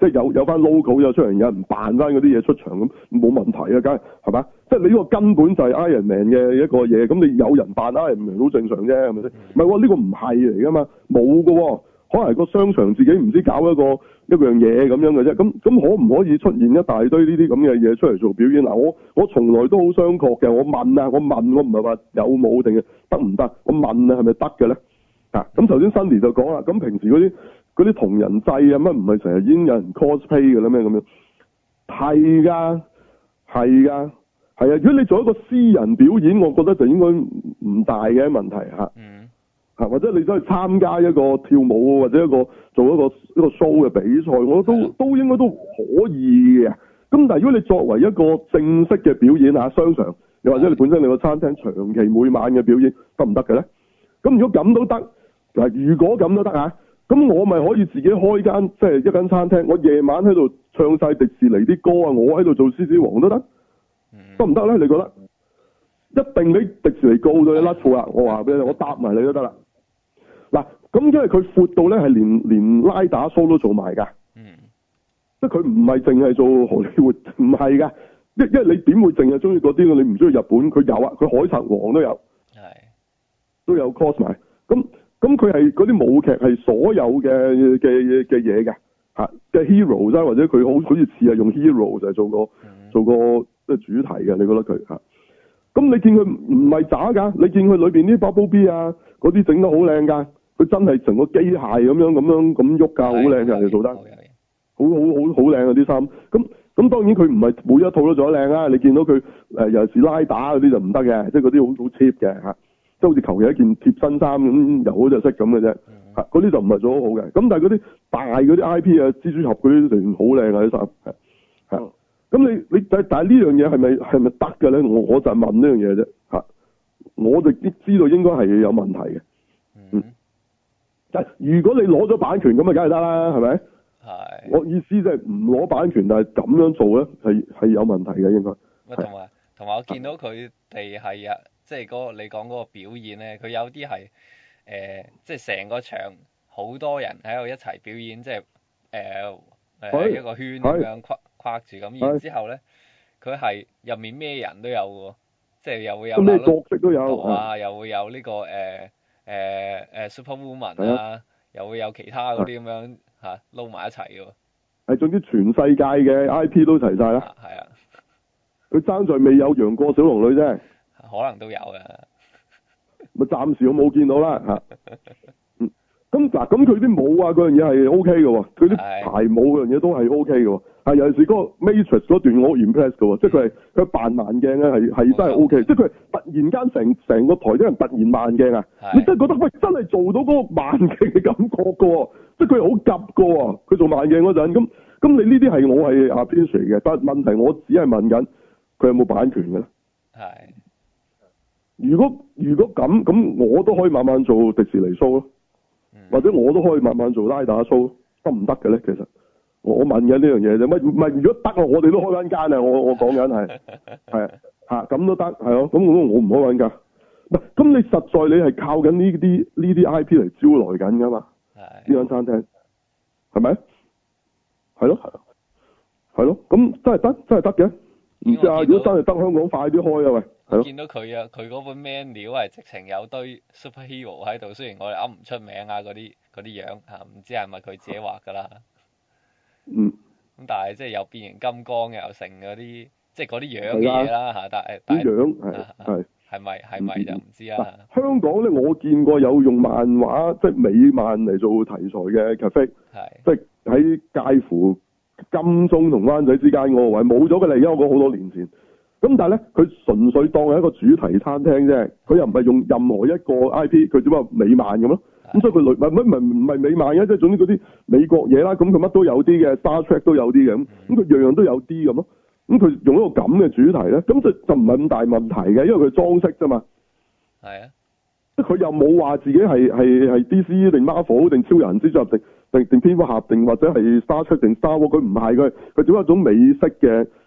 即係有有翻 logo 有出嚟，有人扮翻嗰啲嘢出場咁，冇問題啊，梗係係嘛？即係你呢個根本就係 Iron Man 嘅一個嘢，咁你有人扮 Iron Man 好正常啫，係咪先？唔係喎，呢個唔係嚟噶嘛，冇噶喎，可能係個商場自己唔知搞一個一樣嘢咁樣嘅啫。咁咁可唔可以出現一大堆呢啲咁嘅嘢出嚟做表演？嗱，我我從來都好商榷嘅。我問啊，我問我唔係話有冇定係得唔得？我問啊，係咪得嘅咧？啊，咁頭先 Sunny 就講啦，咁平時嗰啲。嗰啲同人祭啊，乜唔係成日已經有人 cosplay 嘅啦咩咁樣？係㗎，係㗎，係啊！如果你做一個私人表演，我覺得就應該唔大嘅問題嚇。 嗯。 嚇，或者你走去參加一個跳舞或者一個做一個一個 show 嘅比賽，我都都應該都可以嘅。咁但係如果你作為一個正式嘅表演嚇，商場又或者你本身你個餐廳長期每晚嘅表演得唔得嘅咧？咁如果咁都得嗱，如果咁都得啊？咁我咪可以自己開間即係一間餐廳，我夜晚喺度唱晒迪士尼啲歌啊，我喺度做獅子王都得，得唔得咧？你覺得？一定俾迪士尼告到你甩褲啦！我話俾你，我答埋你都得啦。嗱，咁因為佢闊到咧係連連拉打 show 都做埋㗎，嗯，即係佢唔係淨係做荷里活，唔係㗎，因因為你點會淨係中意嗰啲？你唔中意日本，佢有啊，佢海賊王都有，係都有 cos 埋，咁。咁佢係嗰啲舞劇係所有嘅嘅嘅嘢嘅嚇嘅 hero 啫，或者佢好好似似係用 hero 就係做個、嗯、做個即係主題嘅，你覺得佢嚇？咁你見佢唔係渣㗎，你見佢裏邊啲 bubble bee 啊嗰啲整得好靚㗎，佢真係成個機械咁樣咁樣咁喐㗎，好靚㗎，你做得好好好好靚啊啲衫。咁咁當然佢唔係每一套都做得靚啊，你見到佢誒尤其是拉打嗰啲就唔得嘅，即係嗰啲好好 cheap 嘅嚇。即係好似求其一件貼身衫咁，又好就識咁嘅啫。嚇，嗰啲就唔係做得好嘅。咁但係嗰啲大嗰啲 I P 啊，蜘蛛俠嗰啲成好靚啊啲衫。係係。咁你你但但係呢樣嘢係咪係咪得嘅咧？我我就係問呢樣嘢啫。嚇，我就知道應該係有問題嘅。嗯。但係如果你攞咗版權咁啊，梗係得啦，係咪？係。我意思即係唔攞版權，但係咁樣做咧，係係有問題嘅應該。 同埋同埋，我見到佢哋係啊。即係嗰個你講嗰個表演咧，佢有啲係誒，即係成個場好多人喺度一齊表演，即係誒誒一個圈咁樣框框住咁。然之後咧，佢係入面咩人都有喎，即係又會有咩角色都有啊，又會有呢個誒誒誒 Superwoman 啊，又會有其他嗰啲咁樣嚇撈埋一齊嘅喎。 係總之全世界嘅 I P 都齊晒啦。係啊，佢爭在未有楊過小龍女啫。 可能都有嘅， 咪暫時我冇見到啦嚇。嗯，咁嗱，咁佢啲舞啊嗰樣嘢係 O K 嘅喎，佢啲排舞嗰樣嘢都係 O K 嘅喎。係尤其是嗰個 Matrix 嗰段我好 impress 嘅喎，即係佢係佢扮慢鏡咧係係真係 O K，即係佢係突然間成成個台啲人突然慢鏡啊，你真係覺得喂真係做到嗰個慢鏡嘅感覺嘅喎，即係佢係好急嘅喎，佢做慢鏡嗰陣咁咁你呢啲係我係 appreciate嘅，但係問題我只係問緊佢有冇版權嘅咧？係。如果如果咁咁，我都可以慢慢做迪士尼 show 咯，嗯，或者我都可以慢慢做拉打 show，得唔得嘅咧？其實我問緊呢樣嘢啫，乜唔係？如果得啊，我哋都開翻間啊！我我講緊係係嚇咁都得係咯，咁我我唔開緊間。唔係咁，你實在你係靠緊呢啲呢啲 I P 嚟招來緊㗎嘛？係呢間餐廳係咪？係咯係咯係咯，咁真係得真係得嘅。唔知啊，如果真係得，香港快啲開啊喂！ 我見到佢啊，佢嗰本 menu 係直情有堆 superhero 喺度，雖然我哋噏唔出名啊嗰啲嗰啲樣嚇，唔知係咪佢自己畫㗎啦。 嗯。 咁但係即係有變形金剛又成嗰啲，即係嗰啲樣嘅嘢啦嚇，但係但係。 啲樣係係。 係咪係咪就唔知啊？ 香港咧，我見過有用漫畫即係美漫嚟做題材嘅 cafe，即係喺介乎金鐘同灣仔之間嗰個位，冇咗嘅啦，而家我講好多年前。咁但係咧，佢純粹當係一個主題餐廳啫，佢又唔係用任何一個 I P，佢只不過美漫咁咯。咁所以佢類唔係唔係美漫嘅，即係總之嗰啲美國嘢啦。咁佢乜都有啲嘅 Star Trek 都有啲嘅咁，咁佢樣樣都有啲咁咯。咁佢用一個咁嘅主題咧，咁就就唔係咁大問題嘅，因為佢裝飾啫嘛。係啊，即係佢又冇話自己係係係 D C 定 Marvel 定超人之作定定定蝙蝠俠定或者係 Star Trek 定 Star Wars，佢唔係佢佢只係一種美式嘅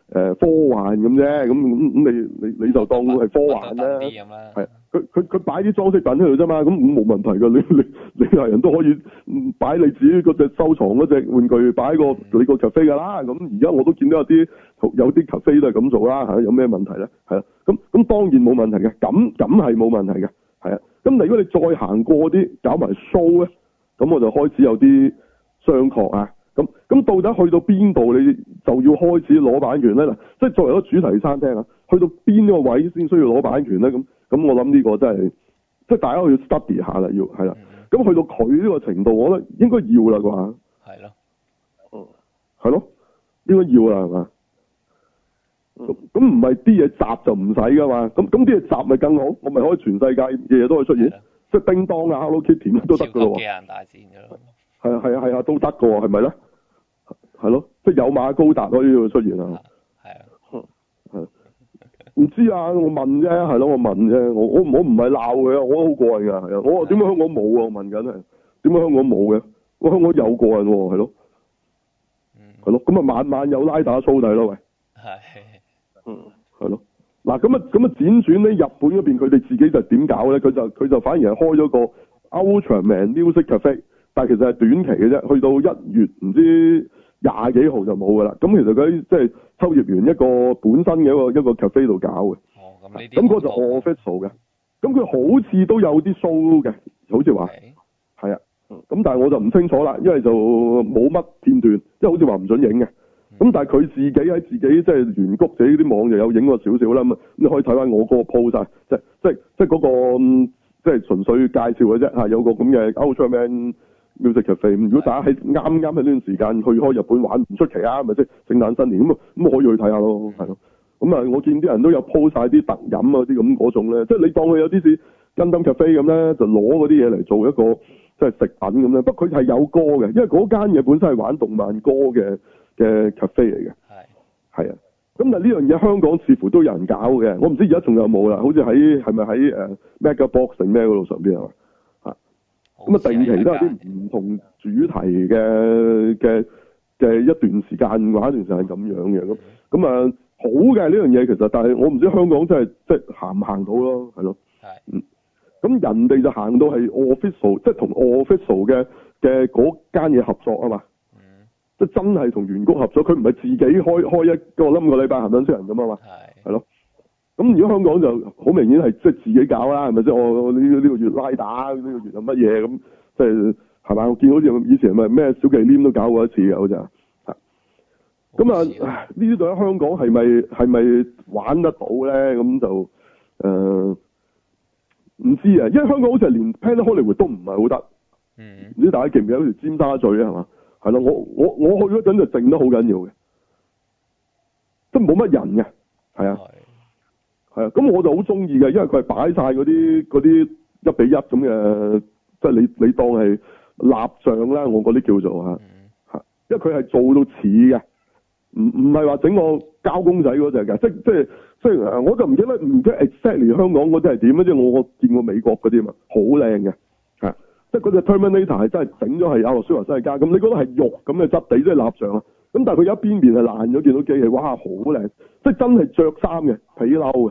誒科幻咁啫，咁咁咁你你你就當係科幻啦，係佢佢佢擺啲裝飾品喺度啫嘛，咁冇問題㗎，你你你係人都可以擺你自己嗰隻收藏嗰隻玩具擺個、嗯、你個 cafe 㗎啦，咁而家我都見到有啲有啲 cafe 都係咁做啦嚇，有咩問題咧？係啊，咁咁當然冇問題嘅，咁咁係冇問題嘅，係啊，咁如果你再行過啲搞埋 show 咧，咁我就開始有啲商榷啊。咁咁到底去到邊度你就要開始攞版權咧？嗱，即係作為一個主題餐廳啊，去到邊個位先需要攞版權咧？咁咁我諗呢個真係即係大家要 study 下啦，要係啦。咁去到佢呢個程度，我覺得應該要啦啩。係咯。嗯。係咯，應該要啦係嘛？咁咁唔係啲嘢集就唔使噶嘛？咁咁啲嘢集咪更好？我咪可以全世界嘅嘢都可以出現，即係叮當啊、Hello Kitty 都得噶咯喎。超級機械人大戰㗎咯。係啊係啊係啊，都得噶喎，係咪咧？係咯，即係有馬高達可以出現啊！係啊，係唔知啊？我問啫，係咯，我問啫。我我我唔係鬧佢啊，我都好過癮噶，係啊。我話點解香港冇啊？我問緊係點解香港冇嘅？我香港有過癮喎，係咯，係咯。咁啊，晚晚有拉打蘇弟咯，喂。係。嗯，係咯。嗱，咁啊，咁啊，輾轉咧，日本嗰邊佢哋自己就點搞咧？佢就佢就反而係開咗個 Ultraman Music Cafe， 但係其實係短期嘅啫，去到一月唔知廿幾號就冇噶啦，咁其實佢即係秋葉原一個本身嘅一個一個 cafe 度搞嘅。哦，咁呢啲咁嗰就 official 嘅，咁佢好似都有啲 show 嘅，好似話係啊，咁但係我就唔清楚啦，因為就冇乜片段，即係好似話唔准影嘅。咁、嗯、但係佢自己喺自己即係原谷自己啲網就有影過少少啦，咁你可以睇翻我嗰個 post 啊，即係即係即係嗰個即係純粹介紹嘅啫嚇，有個咁嘅 Ultraman Music Cafe， 如果大家喺啱啱喺呢段時間去開日本玩唔出奇啊，咪即係聖誕新年咁啊，咁可以去睇下咯，係咯。咁啊，我見啲人都有 po 晒啲特飲啊啲咁嗰種咧，即係你當佢有啲似 Gundam Cafe 咁咧，就攞嗰啲嘢嚟做一個即係食品咁咧。不過佢係有歌嘅，因為嗰間嘢本身係玩動漫歌嘅嘅 cafe 嚟嘅。係。係啊。咁但係呢樣嘢香港似乎都有人搞嘅，我唔知而家仲有冇啦。好似喺係咪喺誒 Mega Box 定咩嗰度上邊啊？咁啊，定期都有啲唔同主題嘅嘅嘅一段時間玩一段時間咁樣嘅，咁咁啊好嘅呢樣嘢其實，但係我唔知香港真係即係行唔行到咯，係咯，係，嗯，咁人哋就行到係 official，即係同 official 嘅嘅嗰間嘢合作啊嘛，嗯，即係真係同原谷合作，佢唔係自己開開一個冧個禮拜行緊出人咁啊嘛，係，係咯。咁如果香港就好明顯係即係自己搞啦，係咪先？我呢呢個月拉打，呢個月係乜嘢咁？即係係咪？我見好似以前咪咩小忌廉都搞過一次嘅，好似啊。咁啊，呢啲度喺香港係咪係咪玩得到咧？咁就誒唔、呃、知啊，因為香港好似係連 Planet Hollywood 都唔係好得。嗯。唔知大家記唔記得好似尖沙咀啊？係嘛？係咯，我我我去嗰陣就靜得好緊要嘅，即係冇乜人嘅，係啊。係啊，咁我就好中意嘅，因為佢係擺晒嗰啲嗰啲一比一咁嘅，即係你你當係蠟像啦，我嗰啲叫做嚇嚇，因為佢係做到似嘅，唔唔係話整個膠公仔嗰隻嘅，即即即係我就唔記得唔記得 exactly 香港嗰啲係點啊，即係我我見過美國嗰啲嘛，好靚嘅，係即係嗰隻 Terminator 係真係整咗係亞諾舒華辛力加，咁你覺得係肉咁嘅質地，即係蠟像啊，咁但係佢有一邊面係爛咗，見到機器，哇好靚，即係真係着衫嘅皮褸嘅。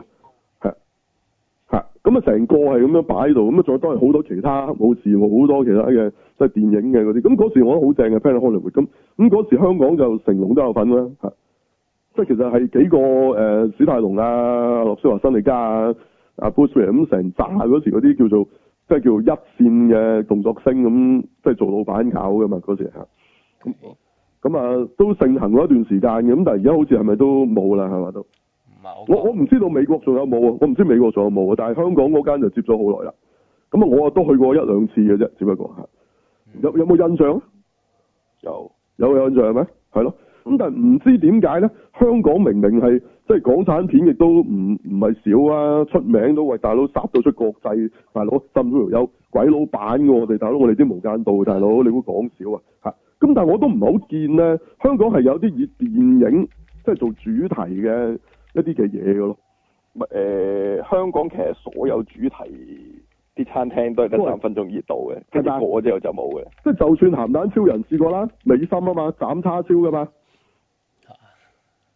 咁啊，成個係咁樣擺喺度，咁啊，再都係好多其他武士，好多其他嘅即係電影嘅嗰啲。咁嗰時我覺得好正嘅 Planet Hollywood。咁咁嗰時香港就成龍都有份啦，嚇！即係其實係幾個誒、呃、史泰龍啊、諾舒華辛力加啊、阿 Bruce Willis 咁成扎嗰時嗰啲叫做即係叫做一線嘅動作星咁，即係做老闆搞㗎嘛嗰時嚇。咁咁啊都盛行咗一段時間嘅，咁但係而家好似係咪都冇啦？係嘛都？我我唔知道美國仲有冇啊，我唔知美國仲有冇啊，但係香港嗰間就接咗好耐啦。咁啊，我啊都去過一兩次嘅啫，只不過係有有冇印象？有有有印象咩？係咯。咁但係唔知點解咧？香港明明係即係港產片，亦都唔唔係少啊，出名都為大佬殺到出國際，大佬甚至乎有鬼佬版嘅我哋大佬，我哋啲無間道大佬，你會講少啊？嚇！咁但係我都唔係好見咧，香港係有啲以電影即係做主題嘅一啲嘅嘢嘅咯，誒、 呃、香港其實所有主題啲餐廳都係得三分鐘熱度嘅，跟住過咗之後就冇嘅。 即係就算鹹蛋超人試過啦，美心啊嘛，斬叉燒噶嘛，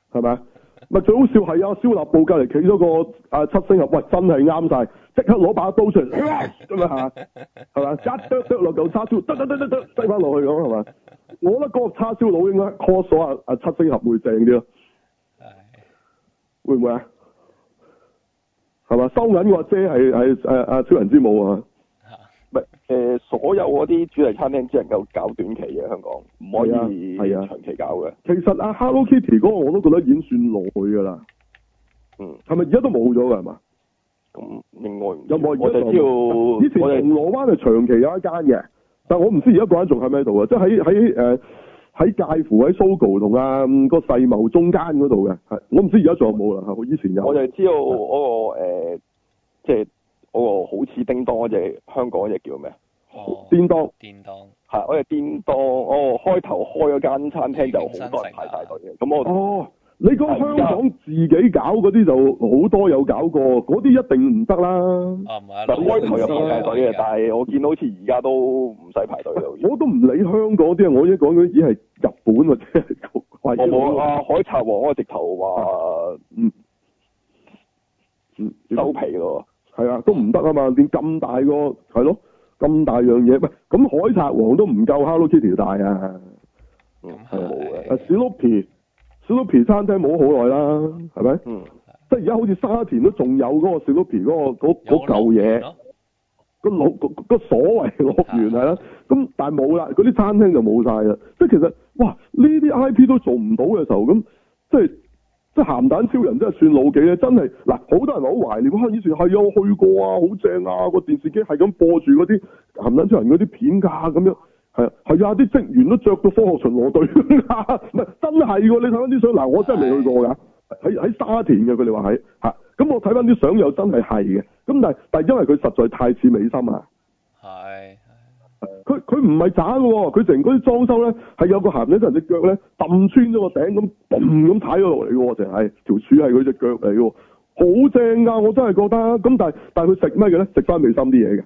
係咪？咪最好笑係啊！蕭立布隔離企咗個啊七星俠，喂真係啱晒，即刻攞把刀出嚟咁啊嚇，係嘛？一剁剁落嚿叉燒，得得得得得，擠翻落去咁係嘛？我覺得嗰個叉燒佬應該 call 咗啊啊七星俠會正啲咯，會唔會啊？係嘛？收銀個阿姐係係誒阿超人之母啊！ 唔係誒，所有嗰啲主題餐廳只能夠搞短期嘅，香港唔可以係啊長期搞嘅。 其實阿 Hello Kitty 嗰個我都覺得已經算耐㗎啦。 嗯， 係咪而家都冇咗㗎係嘛？ 咁另外有冇？ 我就知道以前銅鑼灣係長期有一間嘅，但係我唔知而家嗰間仲喺唔喺度啊？即係喺喺誒喺介乎喺 Sogo 同啊個世貿中間嗰度嘅，係我唔知而家仲有冇啦。我以前有。我就知道嗰、嗰個誒，即係嗰個好似叮當嗰隻香港嗰隻叫咩？ 哦， 叮當。 叮當。 係嗰隻叮當，哦，開頭開嗰間餐廳就好多人排晒隊嘅，咁我哦。你講香港自己搞嗰啲就好多有搞過，嗰啲一定唔得啦。 啊唔係， 開頭有排晒隊嘅，但係我見到好似而家都唔使排隊咯。 我都唔理香港啲啊，我而家講嗰啲已經係日本或者係貴。 我冇啊，海賊王嗰個直頭話嗯嗯收皮咯。 係啊，都唔得啊嘛，連咁大個係咯，咁大樣嘢，喂，咁海賊王都唔夠 Hello Kitty 大啊。 嗯，係冇嘅。 啊 Snoopy Snoopy 餐廳冇好耐啦，係咪？ 嗯。 即係而家好似沙田都仲有嗰個 Snoopy 嗰個嗰嗰嚿嘢，個老個個所謂樂園係啦，咁但係冇啦，嗰啲餐廳就冇晒啦。即係其實哇，呢啲 I P 都做唔到嘅時候，咁即係即係鹹蛋超人真係算老幾咧？真係嗱，好多人好懷念，哇！以前係啊，我去過啊，好正啊，個電視機係咁播住嗰啲鹹蛋超人嗰啲片㗎咁樣。係啊，係啊，啲職員都着到科學巡邏隊，唔係真係喎！你睇翻啲相，嗱，我真係未去過㗎，喺喺沙田嘅，佢哋話喺嚇，咁我睇翻啲相又真係係嘅，咁但係但係因為佢實在太似美心啊， 係， 佢佢唔係渣嘅喎，佢成嗰啲裝修咧係有個鹹仔人隻腳咧揼穿咗個頂咁，嘣咁踩咗落嚟嘅喎，淨係條柱係佢隻腳嚟嘅喎，好正㗎，我真係覺得，咁但係但係佢食咩嘅咧？食翻美心啲嘢嘅，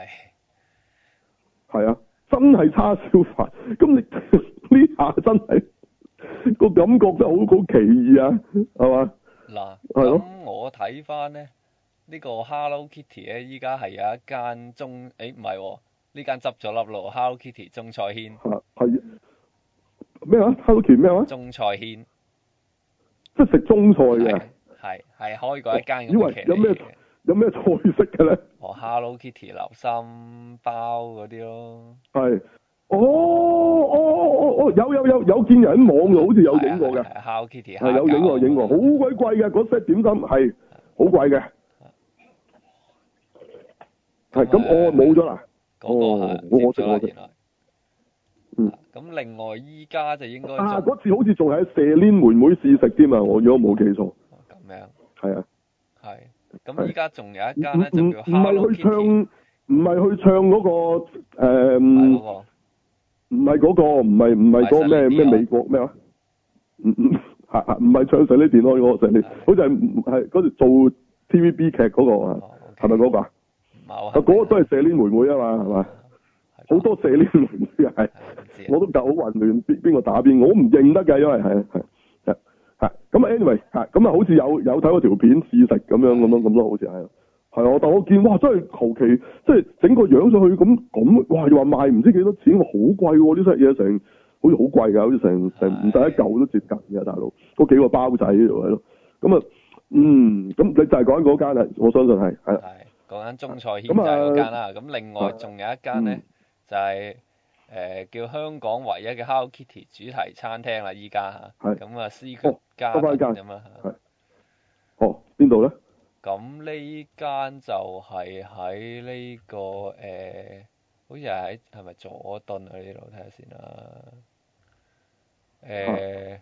係，係啊。真係叉燒飯，咁你呢下真係個感覺真係好好奇異啊，係嘛？ 嗱， 係咯。 咁我睇翻咧，呢個 Hello Kitty 咧，依家係有一間中，誒唔係喎，呢間執咗笠咯 ，Hello Kitty 中菜軒。 係係咩啊 ？Hello Kitty 咩話？ 中菜軒。 即係食中菜嘅。 係係開過一間咁嘅。 以為有咩有咩菜式嘅咧？ 哦 ，Hello Kitty 流心包嗰啲咯。 係，哦哦哦哦，有有有有見人喺網度好似有影過嘅。 係 Hello Kitty 係有影過影過，好鬼貴嘅嗰 set 點心係好貴嘅。係咁，我冇咗啦。 嗰個係我食我食。嗯。 咁另外依家就應該啊，嗰次好似仲喺舍蓮妹妹試食添啊！我如果冇記錯。 咁樣。 係啊。 係。咁依家仲有一間咧，就叫 Hello Kitty。唔係去唱，唔係去唱嗰個誒。唔係嗰個。唔係嗰個，唔係唔係嗰個咩咩美國咩話？唔唔係唔係唱上呢電嗰個上呢，好似係係嗰條做 T V B 劇嗰個啊，係咪嗰個啊？ 唔係啊。 嗰個都係舍蓮妹妹啊嘛，係嘛？好多舍蓮妹妹啊，係。我都搞好混亂，邊邊個打邊，我唔認得㗎，因為係係。係咁啊 anyway 係咁啊，好似有有睇嗰條片試食咁樣咁樣咁咯，好似係係啊，但我見哇真係求其即係整個樣上去咁咁，哇又話賣唔知幾多錢，好貴喎，呢隻嘢成好似好貴㗎，好似成成唔使一嚿都接近嘅大佬，嗰幾個包仔喺度係咯，咁啊嗯咁你就係講嗰間啦，我相信係係。係講緊中菜軒就係嗰間啦，咁另外仲有一間咧就係。誒、呃、叫香港唯一嘅 Hello Kitty 主題餐廳啦，依家嚇，咁啊 Secret Garden咁啊嚇。 哦，邊度咧？ 咁呢間就係喺呢個誒、呃，好似係喺係咪佐敦啊？呢度睇下先啦。誒，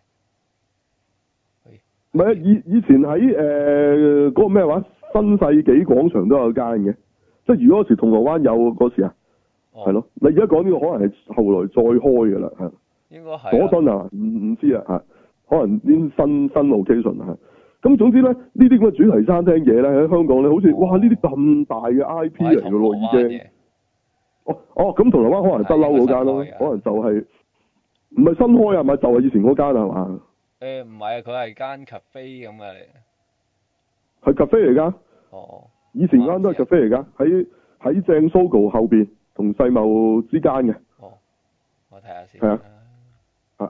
唔係啊！以以前喺誒嗰個咩話新世紀廣場都有間嘅，即係如果嗰時銅鑼灣有嗰時啊。係咯，你而家講呢個可能係後來再開嘅啦，係。 應該係。 佐敦啊，唔唔知啊，嚇，可能啲新新 location 啊，咁總之咧，呢啲咁嘅主題餐廳嘢咧喺香港咧，好似、哦、哇呢啲咁大嘅 I P 嚟嘅咯，已經。哦哦，咁銅鑼灣可能不嬲嗰間咯，可能就係唔係新開啊？咪就係、是、以前嗰間係嘛？ 誒唔係啊，佢係間 cafe 咁嘅嚟。 係 cafe 嚟㗎。 哦。 以前間都係 cafe 嚟㗎，喺喺正 Sogo 後邊同世貿之間嘅。 哦。我睇下先。 係啊。啊。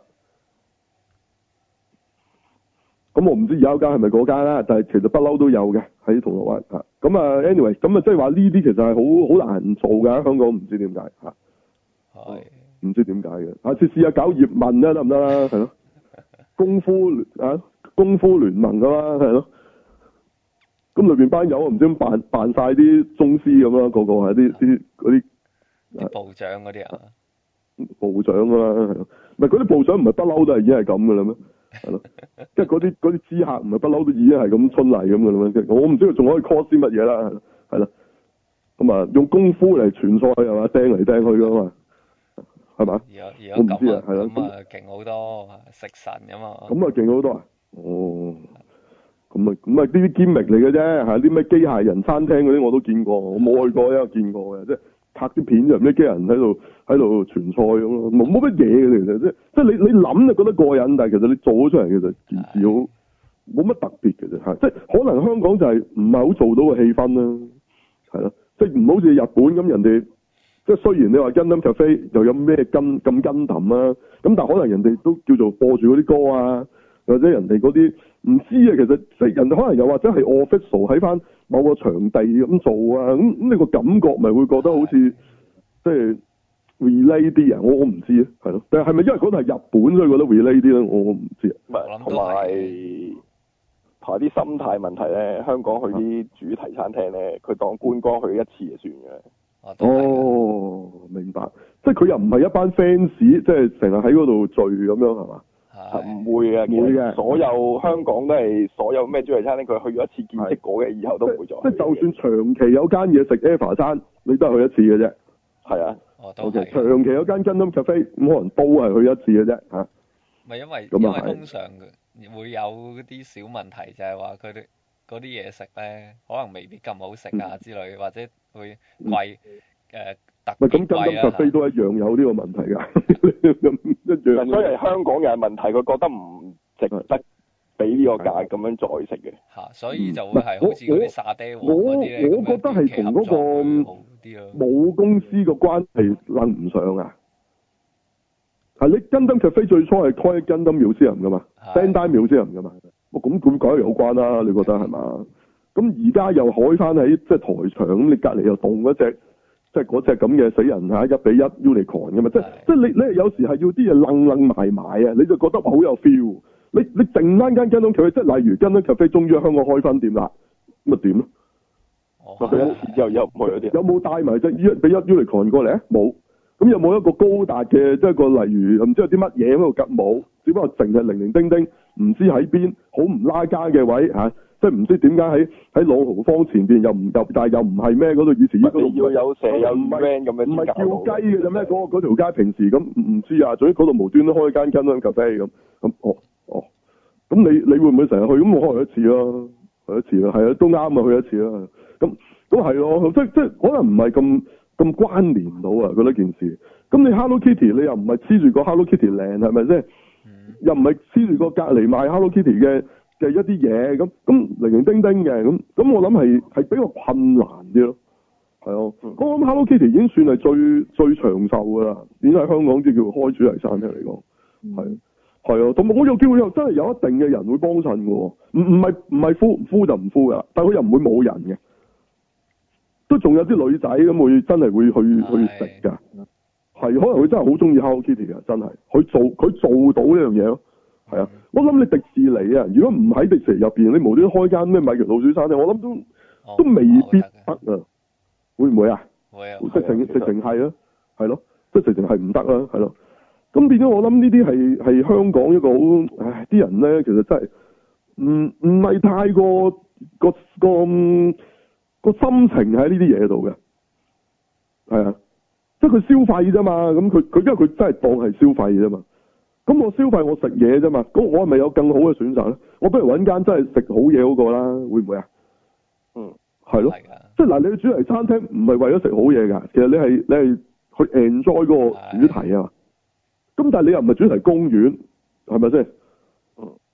咁我唔知而家嗰間係咪嗰間啦，但係其實不嬲都有嘅喺銅鑼灣嚇。咁啊 ，anyway，咁啊，即係話呢啲其實係好好難做㗎，香港唔知點解嚇。係。唔知點解嘅，下次試下搞葉問啦，得唔得啦？係咯。功夫啊，功夫聯盟㗎嘛，係咯。咁裏邊班友唔知點扮扮曬啲宗師咁啦，個個係啲啲嗰啲部長嗰啲啊。 部長㗎啦，係咯。唔係嗰啲部長唔係不嬲都係已經係咁㗎啦咩？係咯。即係嗰啲嗰啲知客唔係不嬲都已經係咁春麗咁㗎啦咩？我唔知佢仲可以 call 啲乜嘢啦，係咯。咁啊，用功夫嚟傳菜係嘛，掟嚟掟去㗎嘛。係嘛？我唔知啊，係咯。 咁啊，勁好多，食神㗎嘛。 咁啊，勁好多啊！哦，咁啊，咁啊，呢啲堅力嚟嘅啫，係啲咩機械人餐廳嗰啲我都見過，我冇去過，因為見過嘅，即係拍啲片就唔知機械人喺度喺度傳菜咁咯，冇冇乜嘢嘅其實，即即係你你諗就覺得過癮，但係其實你做咗出嚟其實件事好冇乜特別嘅啫，係即係可能香港就係唔係好做到個氣氛啦，係咯，即係唔好似日本咁人哋。即係雖然你話 Gundam Cafe 又有咩跟咁跟氹啊，咁但係可能人哋都叫做播住嗰啲歌啊，或者人哋嗰啲唔知啊，其實即係人哋可能又或者係 official 喺翻某個場地咁做啊，咁咁你個感覺咪會覺得好似即係 relate 啲啊？我我唔知啊，係咯，但係係咪因為嗰度係日本所以覺得 relate 啲咧？我我唔知啊。 唔係，同埋同埋啲心態問題咧，香港去啲主題餐廳咧，佢當觀光去一次就算嘅。 哦，明白，即係佢又唔係一班 fans，即係成日喺嗰度聚咁樣係嘛？ 係唔會嘅， 唔會嘅。 所有香港都係所有咩主題餐廳，佢去咗一次見識過嘅，以後都唔會再。 即係就算長期有間嘢食 Eva 餐，你都係去一次嘅啫。 係啊。 哦，都 OK，長期有間 Gundam Cafe，咁可能都係去一次嘅啫嚇。 唔係因為因為通常會有啲小問題，就係話佢哋嗰啲嘢食咧，可能未必咁好食啊之類，或者會貴誒特別貴啊。 咁 Gundam Cafe 都一樣有呢個問題㗎，一樣。 所以香港人問題，佢覺得唔值得俾呢個價咁樣再食嘅。 嚇，所以就會係好似嗰啲沙爹王嗰啲咧， 我我覺得係同嗰個母公司個關係諗唔上啊。係你 Gundam Cafe 最初係開 Gundam Museum 㗎嘛 Bandai Museum 㗎嘛，咁咁梗係有關啦，你覺得係嘛？咁而家又開翻喺即係台場，咁你隔離又動嗰隻，即係嗰隻咁嘅死人嚇一比一 Unicorn 㗎嘛？即係即係你你有時係要啲嘢愣愣埋埋啊，你就覺得好有 feel。你你剩翻間 Gundam Cafe，即係例如 Gundam Cafe 終於喺香港開分店啦，咁咪點咧？ 哦，又又唔去嗰啲。 有冇帶埋隻一比一 Unicorn 過嚟啊？冇。咁有冇一個高達嘅，即係個例如唔知有啲乜嘢喺度夾冇，只不過淨係零零丁丁，唔知喺邊，好唔拉更嘅位嚇、啊，即係唔知點解喺喺朗豪坊前邊又唔入，但係又唔係咩嗰度以前嗰度要有蛇有 van 咁樣， 唔係叫雞嘅啫咩？嗰嗰條街平時咁唔知啊，總之嗰度無端都開間 Gundam Cafe咁咁哦哦，咁你你會唔會成日去？咁我開一次咯，去一次咯，係啊，都啱啊，去一次啦。咁咁係咯，即即可能唔係咁。咁關聯到啊！覺得件事，咁你 Hello Kitty 你又唔係黐住個 Hello Kitty 靚係咪先？嗯、又唔係黐住個隔離賣 Hello Kitty 嘅嘅一啲嘢咁，咁零零丁丁嘅咁，咁我諗係係比較困難啲咯。係啊，我諗 Hello Kitty 已經算係最最長壽㗎啦，已經喺香港即叫開主題餐廳嚟講，係係啊，同埋我有機會又真係有一定嘅人會幫襯嘅喎，唔唔係唔係敷唔敷就唔敷㗎，但係佢又唔會冇人嘅。都仲有啲女仔咁會真係會去去食㗎，係可能佢真係好中意 Hello Kitty 㗎，真係佢做佢做到呢樣嘢咯，係啊，我諗你迪士尼啊，如果唔喺迪士尼入邊，你無端開間咩米奇老鼠餐廳，我諗都、哦、都未必得啊，會唔會啊？會啊，直情直情係啊，係咯，即係直情係唔得啦，係咯，咁變咗我諗呢啲係係香港一個好，唉，啲人咧其實真係唔唔係太過個個。個個心情喺呢啲嘢度嘅，係啊，即係佢消費啫嘛，咁佢佢因為佢真係當係消費啫嘛，咁我消費我食嘢啫嘛，咁我係咪有更好嘅選擇咧？我不如揾間真係食好嘢嗰個啦，會唔會啊？嗯，係咯，即係嗱，你去主題餐廳唔係為咗食好嘢㗎，其實你係你係去 enjoy 嗰個主題啊，咁但係你又唔係主題公園，係咪先？嗯，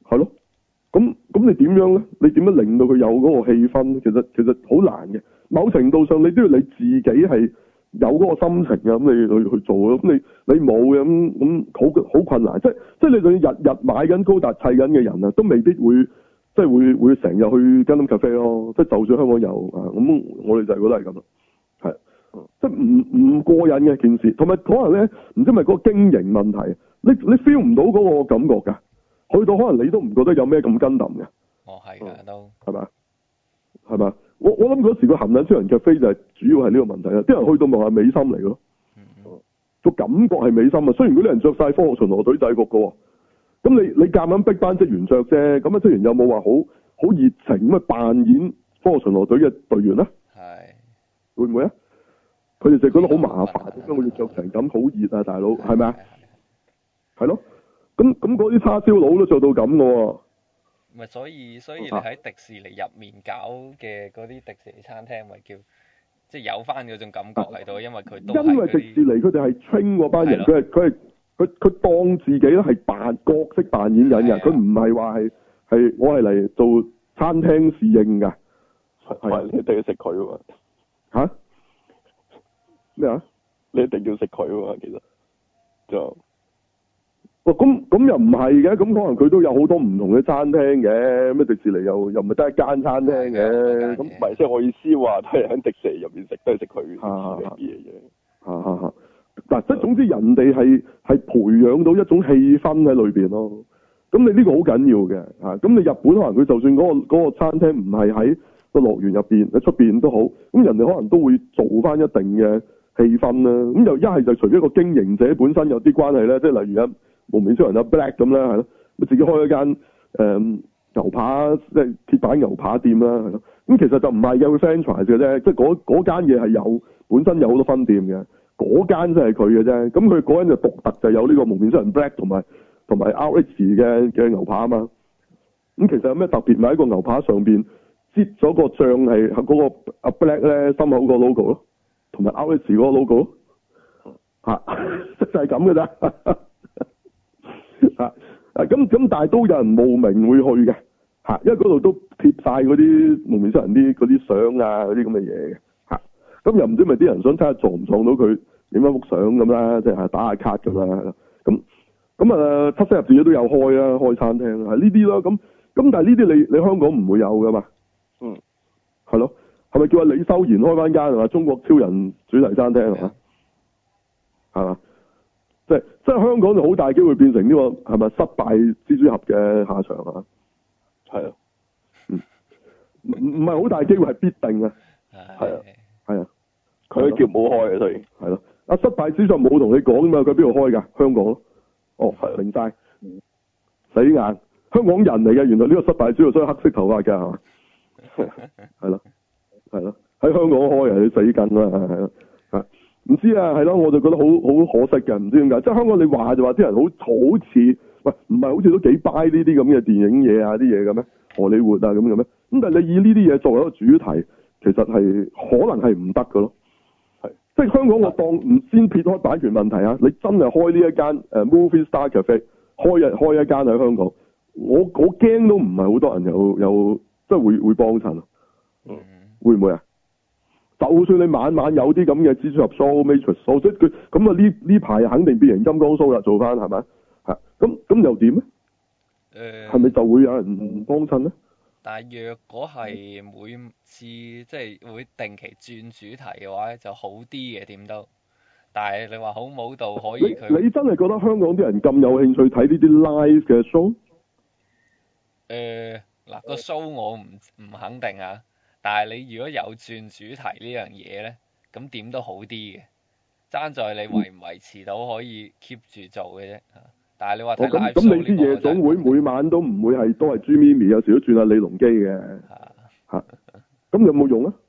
係咯，咁咁你點樣咧？你點樣令到佢有嗰個氣氛？其實其實好難嘅。某程度上，你都要你自己係有嗰個心情啊，咁你去去做咯。咁你你冇嘅咁咁好好困難。即即係你仲要日日買緊高達砌緊嘅人啊，都未必會即係會會成日去 Gundam Cafe 咯。即係就算香港有啊，咁我哋就係覺得係咁咯。係，即係唔唔過癮嘅件事，同埋可能咧唔知係咪嗰個經營問題，你你 feel 唔到嗰個感覺㗎。去到可能你都唔覺得有咩咁 Gundam嘅。 哦，係㗎都。係嘛？係嘛？我我諗嗰時個含撚超人嘅飛就係主要係呢個問題啦。啲人去到咪係美心嚟咯，個、嗯、感覺係美心啊。雖然嗰啲人着晒科學巡邏隊制服嘅，咁你你夾硬逼班職員着啫。咁啊職員有冇話好好熱情咁啊扮演科學巡邏隊嘅隊員咧？係會唔會啊？佢哋就覺得好麻煩，點解我要着成咁好熱啊，大佬係咪啊？係咯，咁咁嗰啲叉燒佬都做到咁嘅喎。 咪所以所以你喺迪士尼入面搞嘅嗰啲迪士尼餐廳，咪叫即係有翻嗰種感覺喺度，因為佢都因為迪士尼佢哋係 train 嗰班人，佢係佢係佢佢當自己咧係扮角色扮演緊嘅，佢唔係話係係我係嚟做餐廳侍應㗎，係你一定要食佢喎嚇咩啊？你一定要食佢喎，其實就。哇，咁咁又唔係嘅，咁可能佢都有好多唔同嘅餐廳嘅，咩迪士尼又又唔係得一間餐廳嘅，咁唔係即係我意思話，都係喺迪士尼入面食，都係食佢啲嘢嘅。嚇嚇嚇！嗱，即係總之人哋係係培養到一種氣氛喺裏邊咯。咁你呢個好緊要嘅嚇。咁你日本可能佢就算嗰個嗰個餐廳唔係喺個樂園入邊，喺出邊都好，咁人哋可能都會做翻一定嘅氣氛啦。咁又一係就除咗個經營者本身有啲關係咧，即係例如啊。無面超人有 Black 咁啦，係咯，咪自己開一間誒、嗯、牛扒，即係鐵板牛扒店啦，係咯。咁其實就唔係嘅，會 franchise 嘅啫，即係嗰嗰間嘢係有本身有好多分店嘅，嗰間先係佢嘅啫。咁佢嗰間就獨特，就有呢個無面超人 Black 同埋同埋 R X 嘅嘅牛扒啊嘛。咁其實有咩特別？咪喺個牛扒上邊擠咗個醬係嗰個阿 Black 咧心口個 logo 咯，同埋 R X 嗰個 logo 咯，嚇就係咁嘅咋。啊啊咁咁，但係都有人慕名會去嘅嚇，因為嗰度都貼晒嗰啲無面超人啲嗰啲相啊，嗰啲咁嘅嘢嘅嚇。咁又唔知咪啲人想睇下撞唔撞到佢影翻幅相咁啦，即係打下卡咁啦。咁咁啊，七星入邊都有開啊，開餐廳啊，係呢啲咯。咁咁，但係呢啲你你香港唔會有噶嘛？嗯，係咯，係咪叫阿李修賢開翻間係嘛？中國超人主題餐廳係嘛？係嘛？即係即係香港就好大機會變成呢、這個係咪失敗蜘蛛俠嘅下場啊？係啊，嗯，唔唔係好大機會係必定啊，係啊，係啊，佢都叫冇開啊，所以係咯。啊，失敗蜘蛛俠冇同你講嘛，佢邊度開㗎？香港咯，哦，係明晒，死硬，香港人嚟嘅，原來呢個失敗蜘蛛俠所以黑色頭髮㗎係嘛？係咯，係咯，喺香港開啊，你死梗啦，係咯，啊。唔知啊，係咯，我就覺得好好可惜嘅，唔知點解。即係香港你話就話啲人好好似，喂，唔係好似都幾 buy 呢啲咁嘅電影嘢啊啲嘢嘅咩？荷里活啊咁嘅咩？咁但係你以呢啲嘢作為一個主題，其實係可能係唔得嘅咯。係，即係香港我當唔先撇開版權問題啊，你真係開呢一間誒 Movie Star Cafe，開一開一間喺香港，我我驚都唔係好多人有有即係會會幫襯。嗯，會唔會啊？就算你晚晚有啲咁嘅蜘蛛俠 show、Matrix show，即係佢咁啊呢呢排肯定變形金剛 show 啦，做翻係咪？嚇咁咁又點咧？誒係咪就會有人幫襯咧？ 但係若果係每次即係會定期轉主題嘅話，就好啲嘅點都。但係你話好冇度可以佢？ 你真係覺得香港啲人咁有興趣睇呢啲 live 嘅 show？ 誒嗱個 show 我唔唔肯定啊。但係你如果有轉主題呢樣嘢咧，咁點都好啲嘅，爭在你維唔維持到可以 keep 住做嘅啫。但係你話睇 live show 咁你啲夜總會每晚都唔會係都係朱咪咪，有時都轉下李龍基嘅。嚇咁有冇用啊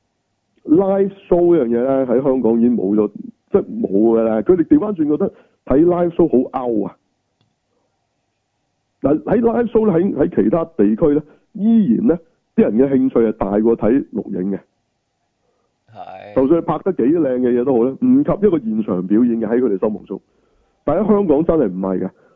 ？live show 呢樣嘢咧喺香港已經冇咗，即係冇㗎啦。佢哋調翻轉覺得睇 live show 好 out 啊！嗱喺 live show 咧喺喺其他地區咧依然咧。啲人嘅興趣係大過睇錄影嘅，係，就算佢拍得幾靚嘅嘢都好咧，唔及一個現場表演嘅喺佢哋心目中。但喺香港真係唔係嘅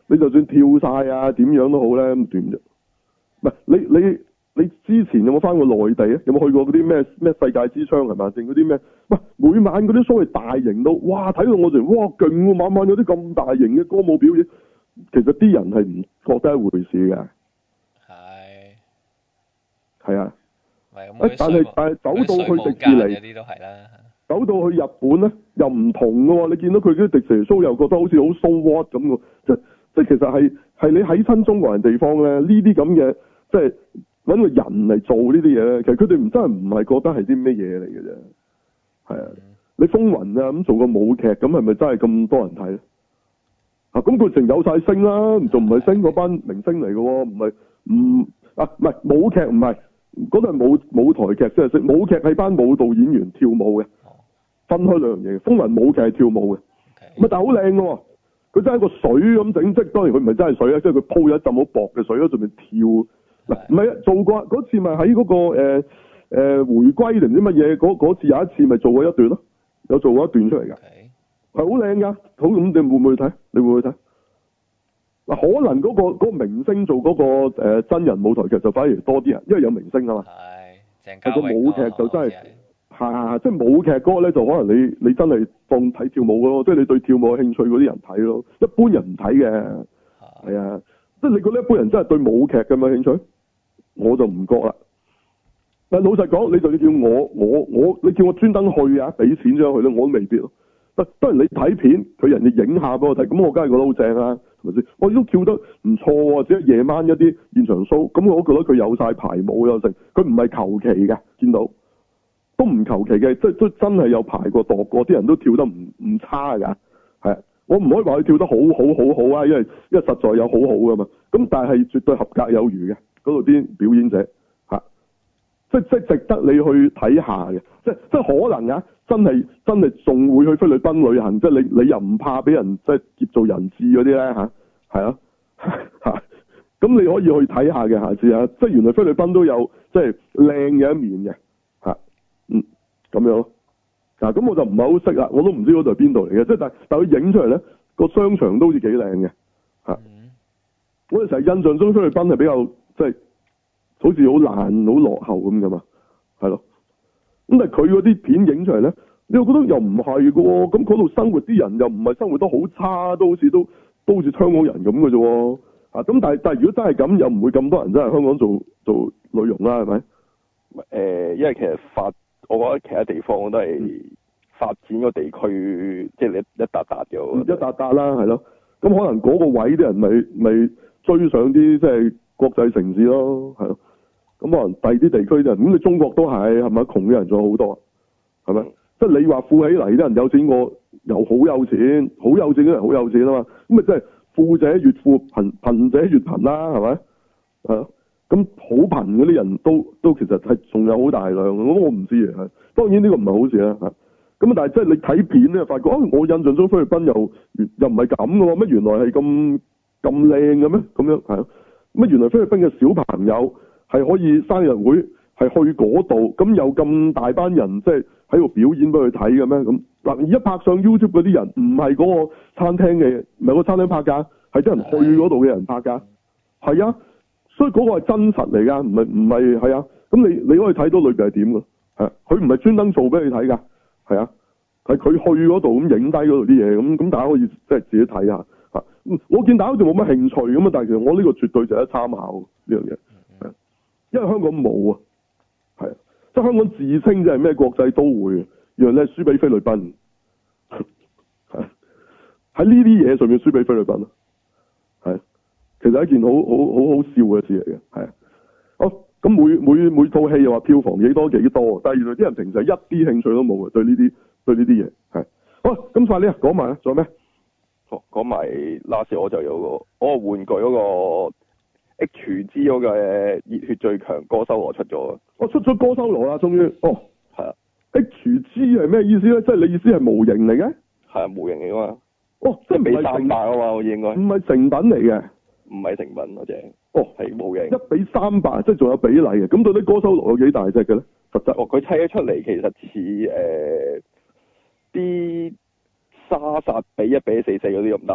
你就算跳晒啊，點樣都好咧，咁點啫？唔係你你你之前有冇翻過內地啊？有冇去過嗰啲咩咩世界之窗係嘛？定嗰啲咩？喂，每晚嗰啲所謂大型到，哇！睇到我哋哇勁喎，晚晚有啲咁大型嘅歌舞表演，其實啲人係唔覺得一回事嘅。 係。 係啊。 係但係但係走到去迪士尼， 啲都係啦。 走到去日本咧，又唔同嘅喎。你見到佢啲迪士尼 show 又覺得好似好 so what 咁嘅，即即其實係係你喺親中國人地方咧，呢啲咁嘅即係揾個人嚟做呢啲嘢咧，其實佢哋唔真係唔係覺得係啲咩嘢嚟嘅啫。係啊，嗯、你風雲啊咁做個舞劇，咁係咪真係咁多人睇咧？啊，咁佢成有晒星啦，仲唔係星嗰班明星嚟嘅喎？唔係唔啊唔係舞劇唔係。嗰度係舞舞台劇即係識舞劇係班舞蹈演員跳舞嘅，分開兩樣嘢。風雲舞劇係跳舞嘅，咁、okay. 但係好靚嘅喎，佢真係個水咁整，即係當然佢唔係真係水啊，即係佢鋪咗一浸好薄嘅水喺上面跳。嗱唔係啊，做過嗰次咪喺嗰個誒誒、呃呃、回歸定唔知乜嘢嗰次有一次咪做過一段咯，有做過一段出嚟㗎，係好靚㗎。好，咁你會唔會去睇？你會唔會去睇？嗱，可能嗰、嗰個嗰、嗰個明星做嗰、嗰個、呃、真人舞台劇就反而多啲人，因為有明星啊嘛。係，鄭個舞劇就真係係即係舞劇嗰個咧，就可能你你真係當睇跳舞咯，即係你對跳舞有興趣嗰啲人睇咯。一般人唔睇嘅，係啊，即係你覺得一般人真係對舞劇咁有興趣，我就唔覺啦。但老實講，你就要叫我我我，你叫我專登去啊，俾錢咗去咧，我都未必咯。當然你睇片，佢人哋影下俾我睇，咁我梗係覺得好正啦，係咪先？我都跳得唔錯喎，只係夜晚一啲現場 show，咁我都覺得佢有晒排舞有成，佢唔係求其嘅，見到都唔求其嘅，即係都真係有排過度過，啲人都跳得唔唔差㗎，係啊，我唔可以話佢跳得好好好好啊，因為因為實在有好好㗎嘛，咁但係絕對合格有餘嘅，嗰度啲表演者嚇，即即值得你去睇下嘅，即即可能啊。真係真係仲會去菲律賓旅行，即係你你又唔怕俾人即係劫做人質嗰啲咧嚇，係啊嚇，咁你可以去睇下嘅下次啊，即係原來菲律賓都有即係靚嘅一面嘅嚇，嗯咁樣咯，嗱咁我就唔係好識啦，我都唔知嗰度係邊度嚟嘅，即係但但佢影出嚟咧個商場都好似幾靚嘅嚇，我哋成日印象中菲律賓係比較即係好似好爛好落後咁噶嘛，係咯。咁但係佢嗰啲片影出嚟咧，你又覺得又唔係嘅喎，咁嗰度生活啲人又唔係生活得好差，都好似都都好似香港人咁嘅啫喎，啊咁但係但係如果真係咁，又唔會咁多人真係香港做做內容啦，係咪？誒、 呃，因為其實發，我覺得其他地方都係發展個地區，即係你一笪笪嘅， 一笪笪啦，係咯。咁可能嗰個位啲人咪咪追上啲即係國際城市咯，係咯。咁可能第二啲地區就咁，你中國都係係咪？窮嘅人仲有好多，係咪？即係你話富起嚟啲人有錢過，又好有錢，好有錢嘅人好有錢啊嘛。咁咪即係富者越富，貧貧者越貧啦，係咪？係咯。咁好貧嗰啲人都都其實係仲有好大量，咁我唔知啊。當然呢個唔係好事啦。咁但係即係你睇片咧，發覺啊，我印象中菲律賓又又唔係咁嘅喎，乜原來係咁咁靚嘅咩？咁樣係咯。乜原來菲律賓嘅小朋友係可以生日會係去嗰度，咁有咁大班人即係喺度表演俾佢睇嘅咩？咁嗱，而家拍上 YouTube 嗰啲人唔係嗰個餐廳嘅，唔係個餐廳拍㗎，係啲人去嗰度嘅人拍㗎。係啊，所以嗰個係真實嚟㗎，唔係唔係係啊。咁你你可以睇到裏邊係點㗎？係佢唔係專登做俾你睇㗎，係啊，係佢去嗰度咁影低嗰度啲嘢，咁咁大家可以即係自己睇下嚇。我見大家好似冇乜興趣咁啊，但係其實我呢個絕對就係一參考呢樣嘢。因為香港冇啊，係啊，即係香港自稱就係咩國際都會，原來咧輸俾菲律賓，係喺呢啲嘢上面輸俾菲律賓咯，係，其實係一件好好好好笑嘅事嚟嘅，係啊，好咁每每每套戲又話票房幾多幾多，但係原來啲人平時係一啲興趣都冇嘅，對呢啲對呢啲嘢係，好咁快啲啊，講埋啦，仲有咩？ 哦，講埋 last 我就有個我個玩具嗰個。H G 嗰個熱血最強歌修羅出咗啊！ 我出咗歌修羅啦，終於哦， 係啊 ！H G 係咩意思咧？即係你意思係模型嚟嘅？ 係啊，模型嚟噶嘛？ 哦，即係比三百啊嘛，我應該唔係成品嚟嘅， 唔係成品嗰隻。 哦， 係模型， 一比三百，即係仲有比例嘅。咁到底歌修羅有幾大隻嘅咧？實質哦，佢砌咗出嚟其實似誒啲、呃、沙薩比一比四四嗰啲咁大啊！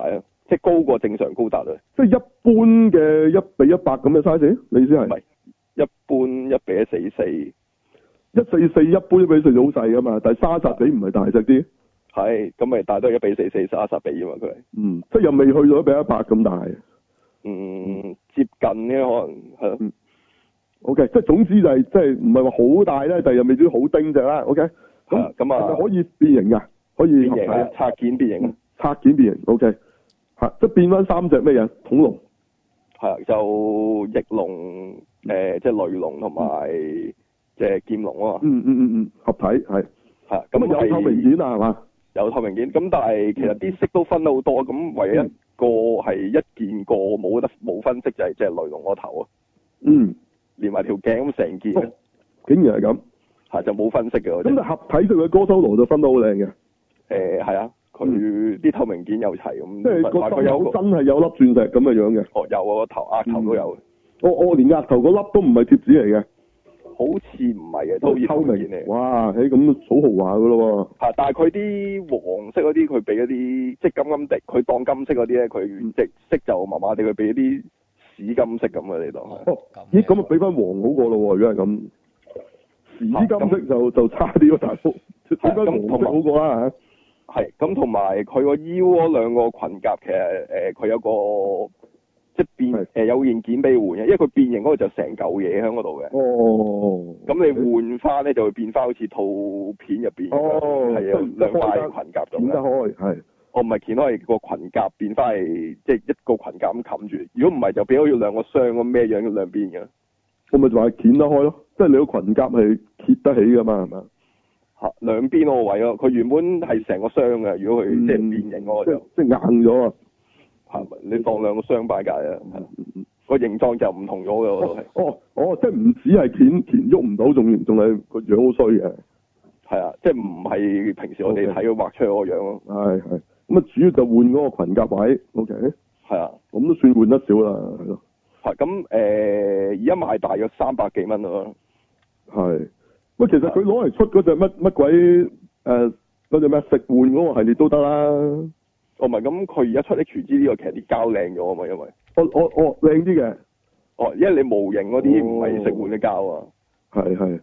即係高過正常高達啊。 即係一般嘅一比一百咁嘅 size，你意思係？ 唔係，一般一比一四四， 一四四一般一比四就好細噶嘛，但係沙薩比唔係大隻啲。 係，咁咪大都係一比四四沙薩比啊嘛，佢係。 嗯，即係又未去到一比一百咁大。 嗯，接近嘅可能係咯。 嗯。O K，即係總之就係、是、即係唔係話好大咧，但係又未至於好丁隻啦。O K。咁咁啊，可以變形噶，可以變形啊，拆件變形啊， 拆件變形。O K。吓，即係變翻三隻咩嘢？恐龍。 係啊，就翼龍，誒、呃，即係雷龍同埋即係劍龍啊嘛。嗯嗯嗯嗯，合體係。係。咁啊有透明件啊係嘛？ 有透明件，咁但係其實啲色都分得好多，咁唯一一個係一件過冇得冇分色就係即係雷龍個頭啊。 嗯。連埋條頸咁成件、哦。 竟然係咁。 係就冇分色嘅。咁就合體式嘅哥修羅就分得好靚嘅。 誒係啊，佢啲、嗯、透明件又齊咁。即係個心口真係有粒鑽石咁嘅樣嘅。 哦，有啊，個頭額頭都有。 我、嗯、我連額頭嗰粒都唔係貼紙嚟嘅。 好似唔係嘅，都透明嚟。 哇，誒咁好豪華噶咯喎。 係，但係佢啲黃色嗰啲，佢俾一啲即係金金地，佢當金色嗰啲咧，佢隻色就麻麻地，佢俾一啲屎金色咁嘅嚟當。 哦，咦，咁啊俾翻黃好過咯喎，如果係咁。屎金色就、啊、就差啲喎，大佬。俾翻黃色好過啦嚇。 係，咁同埋佢個腰嗰兩個裙甲，其實誒佢、呃、有個。即係變誒、呃、有件件俾換嘅，因為佢變形嗰個就成嚿嘢喺嗰度嘅。 哦。咁你換翻咧就會變翻好似套片入邊。哦。係啊，兩塊裙甲咁。剪得開係。哦，唔係剪開，係個裙甲變翻係即係一個裙甲咁冚住。如果唔係就變好似兩個箱咁咩樣嘅兩邊嘅。 我咪就話剪得開咯，即係你個裙甲係揭得起噶嘛，係嘛？ 嚇，兩邊嗰個位咯，佢原本係成個箱嘅，如果佢、嗯、即係變形嗰個就即係硬咗啊！ 你當兩個雙擺架啊，個形狀就唔同咗嘅，我都係。哦哦，即係唔止係鉗鉗喐唔到，仲仲係個樣好衰嘅。 係啊，即係唔係平時我哋睇佢畫出嚟個樣咯。 係係，咁啊主要就換嗰個裙甲位。O K。係啊，咁都算換得少啦，係咯。 係咁誒，而家賣大約三百幾蚊咯。 係。喂，其實佢攞嚟出嗰隻乜乜鬼誒嗰隻咩食玩嗰個系列都得啦。 哦，唔係，咁佢而家出 H G 呢個其實啲膠靚咗啊嘛，因為哦哦哦靚啲嘅， 哦，因為你模型嗰啲唔係食玩嘅膠啊， 係係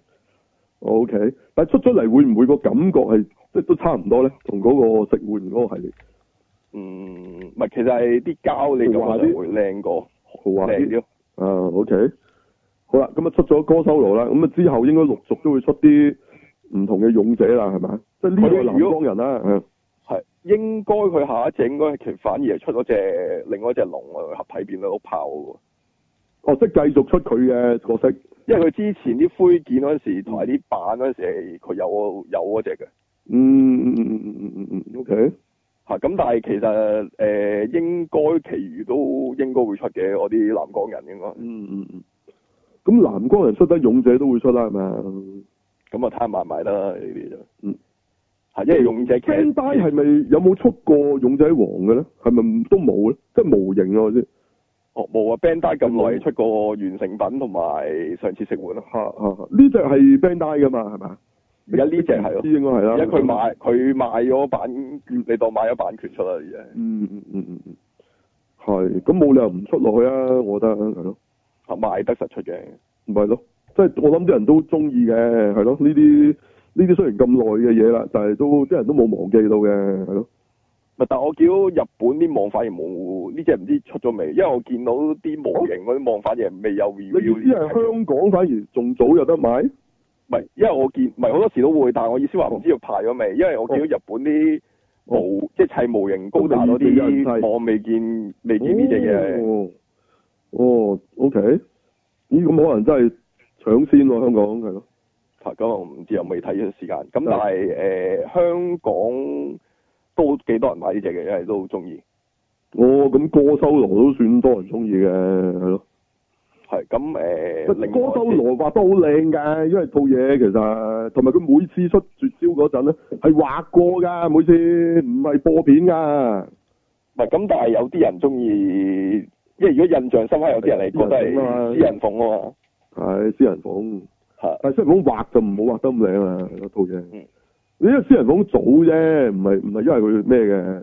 ，O K，但係出咗嚟會唔會個感覺係即係都差唔多咧？同嗰個食玩嗰個系列， 嗯，唔係，其實係啲膠你感覺會靚過， 豪華啲，啊 O K，好啦，咁啊出咗哥修羅啦，咁啊之後應該陸續都會出啲唔同嘅勇者啦，係咪？即係呢個南方人啦，嗯。 係應該佢下一隻應該其實反而係出咗隻另外一隻龍啊，合體變咗碌炮喎。 哦，即係繼續出佢嘅角色， 因為佢之前啲灰件嗰陣時同埋啲版嗰陣時佢有有嗰隻嘅。 嗯嗯嗯嗯嗯嗯嗯 O K。 嚇、okay，咁但係其實誒、呃、應該其餘都應該會出嘅，我啲南光人應該。 嗯嗯嗯。咁南光人出得勇者都會出啦，係咪啊？咁啊睇下賣唔賣得啦呢啲就。嗯。 因為勇者 Bandai 係咪有冇出過勇者王嘅咧？係咪都冇咧？即係模型啊！先哦，冇啊 Bandai 咁耐出過完成品同埋上次食玩咯。 嚇嚇呢隻係 Bandai 噶嘛？係咪？ 而家呢隻係咯， 應該係啦。 而家佢賣佢賣咗版，你當買咗版權出啦，而家。 嗯嗯嗯嗯嗯，係咁冇理由唔出落去啊！我覺得係咯， 嚇賣得實出嘅， 唔係咯，即係我諗啲人都中意嘅，係咯呢啲。呢啲雖然咁耐嘅嘢啦，但係都啲人都冇忘記到嘅，係咯。 但係我見到日本啲網反而冇呢隻唔知出咗未，因為我見到啲模型嗰啲網反而未有 review。你意思係香港反而仲早有得買？唔係，因為我見唔係好多時都會，但係我意思話唔知道排咗未，因為我見到日本啲模、哦、即係砌模型高達嗰啲，我未見未見呢隻嘢。哦， 哦 ，OK，咦，咁可能真係搶先喎，香港係咯。 咁我唔知，又未睇呢個時間。咁但係誒、呃、香港都幾多人買呢隻嘅，因為都好中意。 哦，咁哥修羅都算多人中意嘅，係咯。係咁誒，哥修羅畫得好靚㗎，因為套嘢其實同埋佢每次出絕招嗰陣咧係畫過㗎，每次唔係播片㗎。 唔係咁，但係有啲人中意，因為如果印象深刻，有啲人係覺得係私人鳳啊嘛。係私人鳳。但係私人鳳畫就唔好畫得咁靚啊！嗰套嘢，嗯，你因為私人鳳早啫，唔係唔係因為佢咩嘅，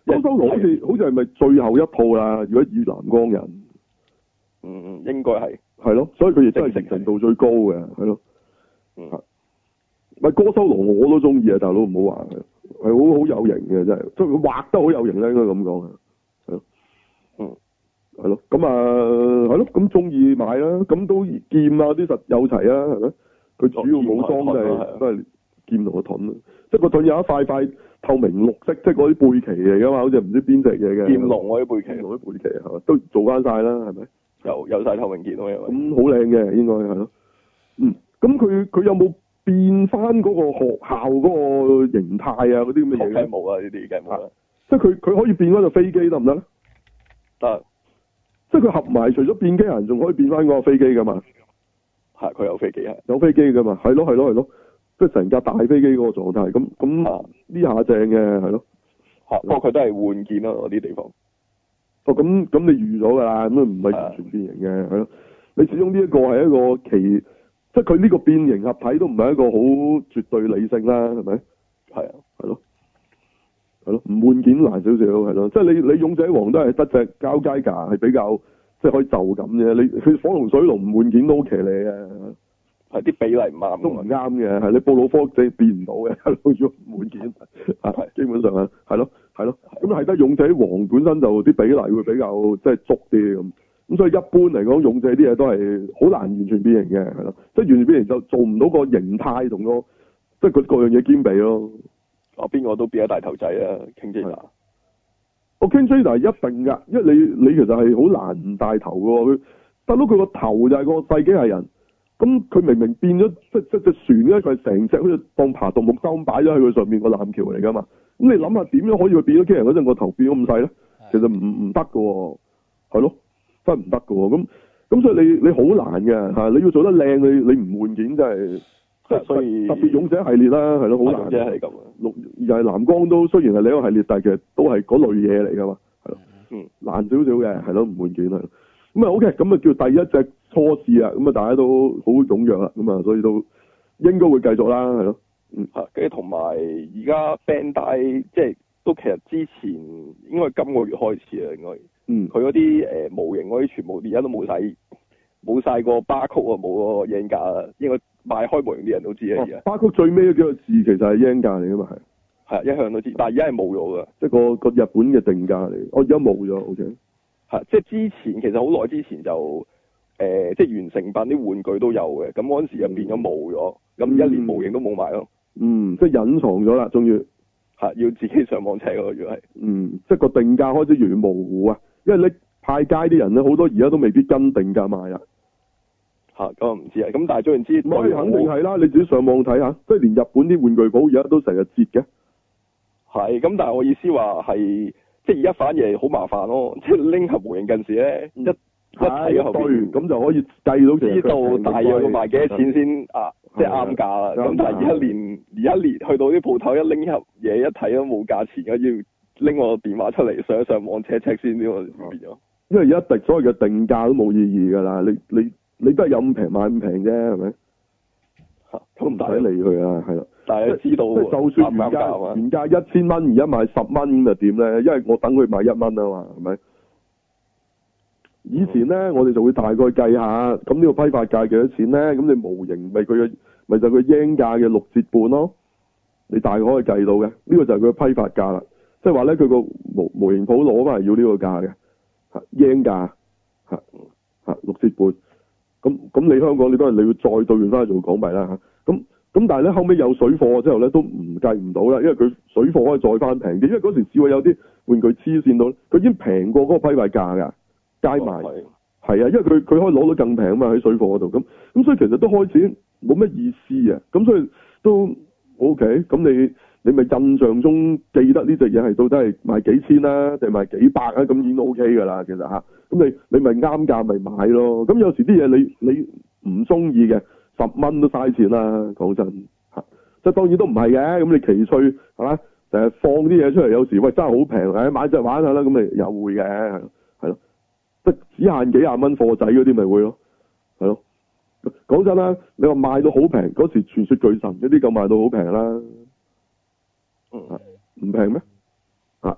高修羅好似好似係咪最後一套啦？如果以藍光人， 嗯，應該係係咯，所以佢亦都係成程度最高嘅，係咯， 嗯， 咪高修羅我都中意啊，大佬唔好話佢，係好好有型嘅真係，即係佢畫得好有型咧，應該咁講啊，係咯， 嗯， 係咯，咁啊係咯，咁中意買啦，咁都劍啊啲實有齊啊，係咪？佢主要武裝就係都係劍同個盾啊，即係個盾有一塊塊透明綠色，即係嗰啲背旗嚟噶嘛，好似唔知邊隻嘢嘅。劍龍嗰啲背旗，龍啲背旗係嘛，都做翻晒啦，係咪？ 有有晒透明件咯，因為咁好靚嘅，應該係咯。嗯，咁佢佢有冇變翻嗰個學校嗰個形態啊？嗰啲咁嘅嘢咧？ 冇啊，呢啲梗係冇啦。 即係佢佢可以變翻個飛機得唔得咧？ 得。 即係佢合埋，除咗變機人，仲可以變翻嗰個飛機噶嘛？ 係，佢有飛機係。 有飛機噶嘛？係咯係咯係咯。即係成架大飛機嗰個狀態，咁咁呢下正嘅係咯。 嚇，不過佢都係換件咯，嗰啲地方。 哦，咁咁你預咗㗎啦，咁啊唔係完全變形嘅，係咯。你始終呢一個係一個奇，即係佢呢個變形合體都唔係一個好絕對理性啦，係咪？係啊，係咯，係咯，唔換件難少少，係咯。即係你你勇者王都係得隻交街架係比較，即係可以就咁嘅。你佢火龍水龍唔換件都好騎呢嘅。 係啲比例唔啱， 都唔啱嘅，係你布魯科技變唔到嘅，要換件，係基本上啊，係咯，係咯，咁係得勇者王本身就啲比例會比較即係足啲咁，咁所以一般嚟講，勇者啲嘢都係好難完全變形嘅，係咯，即係完全變形就做唔到個形態同個，即係佢各樣嘢兼備咯。 啊，邊個都變咗大頭仔啊，King Jada。 我 King Jada 一定㗎，因為你你其實係好難唔帶頭㗎喎，佢得到佢個頭就係個細機械人。咁佢明明變咗，即即隻船咧，佢係成隻好似當爬獨木舟咁擺咗喺佢上面個艦橋嚟噶嘛。咁你諗下點樣可以佢變咗機人嗰陣個頭變咗咁細咧？其實唔唔得噶喎，係咯，真係唔得噶喎。咁咁所以你你好難嘅嚇，你要做得靚，你你唔換件真係，即係所以特別勇者系列啦，係咯，好難嘅係咁。綠又係藍光都雖然係另一個系列，但係其實都係嗰類嘢嚟噶嘛，係咯，嗯，難少少嘅係咯，唔換件係。咁啊 OK，咁啊叫第一隻初試啊，咁啊大家都好踴躍啦，咁啊所以都應該會繼續啦，係咯，嗯嚇，跟住同埋而家 Bandai 即係都其實之前應該今個月開始啊，應該，嗯，佢嗰啲誒模型嗰啲全部而家都冇晒冇曬個巴曲啊，冇個 yen 價啊，應該賣開模型啲人都知啊，而家巴曲最尾嗰幾個字其實係 yen 價嚟噶嘛，係， 係一向都知，但係而家係冇咗噶， 即係個個日本嘅定價嚟，我而家冇咗 OK。 係，即係之前其實好耐之前就誒、呃，即係完成品啲玩具都有嘅，咁嗰陣時就變咗冇咗，咁、嗯、一連模型都冇埋咯。嗯，即係隱藏咗啦，終於係要自己上網睇咯，如果係。嗯，即係個定價開始越嚟越模糊啊，因為你派街啲人咧，好多而家都未必跟定價賣啦。嚇，咁我唔知啊，咁但係總言之，我肯定係啦，你自己上網睇下，即係連日本啲玩具鋪而家都成日折嘅。係，咁但係我意思話係。即係而家反而好麻煩咯，即係拎盒模型近時咧，一一睇後邊咁就可以計到知道大約要賣幾多錢先啊，即係啱價啦。咁但係而家連而家連去到啲鋪頭一拎一盒嘢一睇都冇價錢嘅，要拎我電話出嚟上一上網 check check 先，呢個變咗。因為而家所謂嘅定價都冇意義㗎啦，你你你都係有咁平買咁平啫，係咪？嚇，都唔使理佢啊，係啦。但係知道，即係就算原價原價一千蚊，而家賣十蚊咁就點咧？因為我等佢賣一蚊啊嘛，係咪？以前咧，我哋就會大概計下，咁呢個批發價幾多錢咧？咁你模型咪佢嘅，咪就佢 yen 價嘅六折半咯。你大概可以計到嘅，呢、這個就係佢嘅批發價啦。即係話咧，佢個模模型鋪攞翻嚟要呢個價嘅，嚇 yen 價，嚇嚇六折半。咁咁你香港你都係你要再兌換翻去做港幣啦嚇。咁咁但係咧後尾有水貨之後咧都唔計唔到啦，因為佢水貨可以再翻平啲，因為嗰時試過有啲玩具黐線到，佢已經平過嗰個批發價㗎，街賣係、哦、啊，因為佢佢可以攞到更平啊嘛喺水貨嗰度，咁咁所以其實都開始冇乜意思啊，咁所以都 OK，咁你你咪印象中記得呢隻嘢係到底係賣幾千啦、啊，定係賣幾百啊？咁已經 OK 㗎啦，其實嚇，咁你你咪啱價咪買咯，咁有時啲嘢你你唔中意嘅。十蚊都嘥錢啦，講真嚇，即係當然都唔係嘅。咁你奇趣係嘛？成日放啲嘢出嚟，有時喂真係好平，誒買隻玩下啦，咁咪又會嘅，係咯，即係只限幾廿蚊貨仔嗰啲咪會咯，係咯。講真啦，你話賣到好平，嗰時傳說巨神嗰啲咁賣到好平啦，嗯，唔平咩？啊，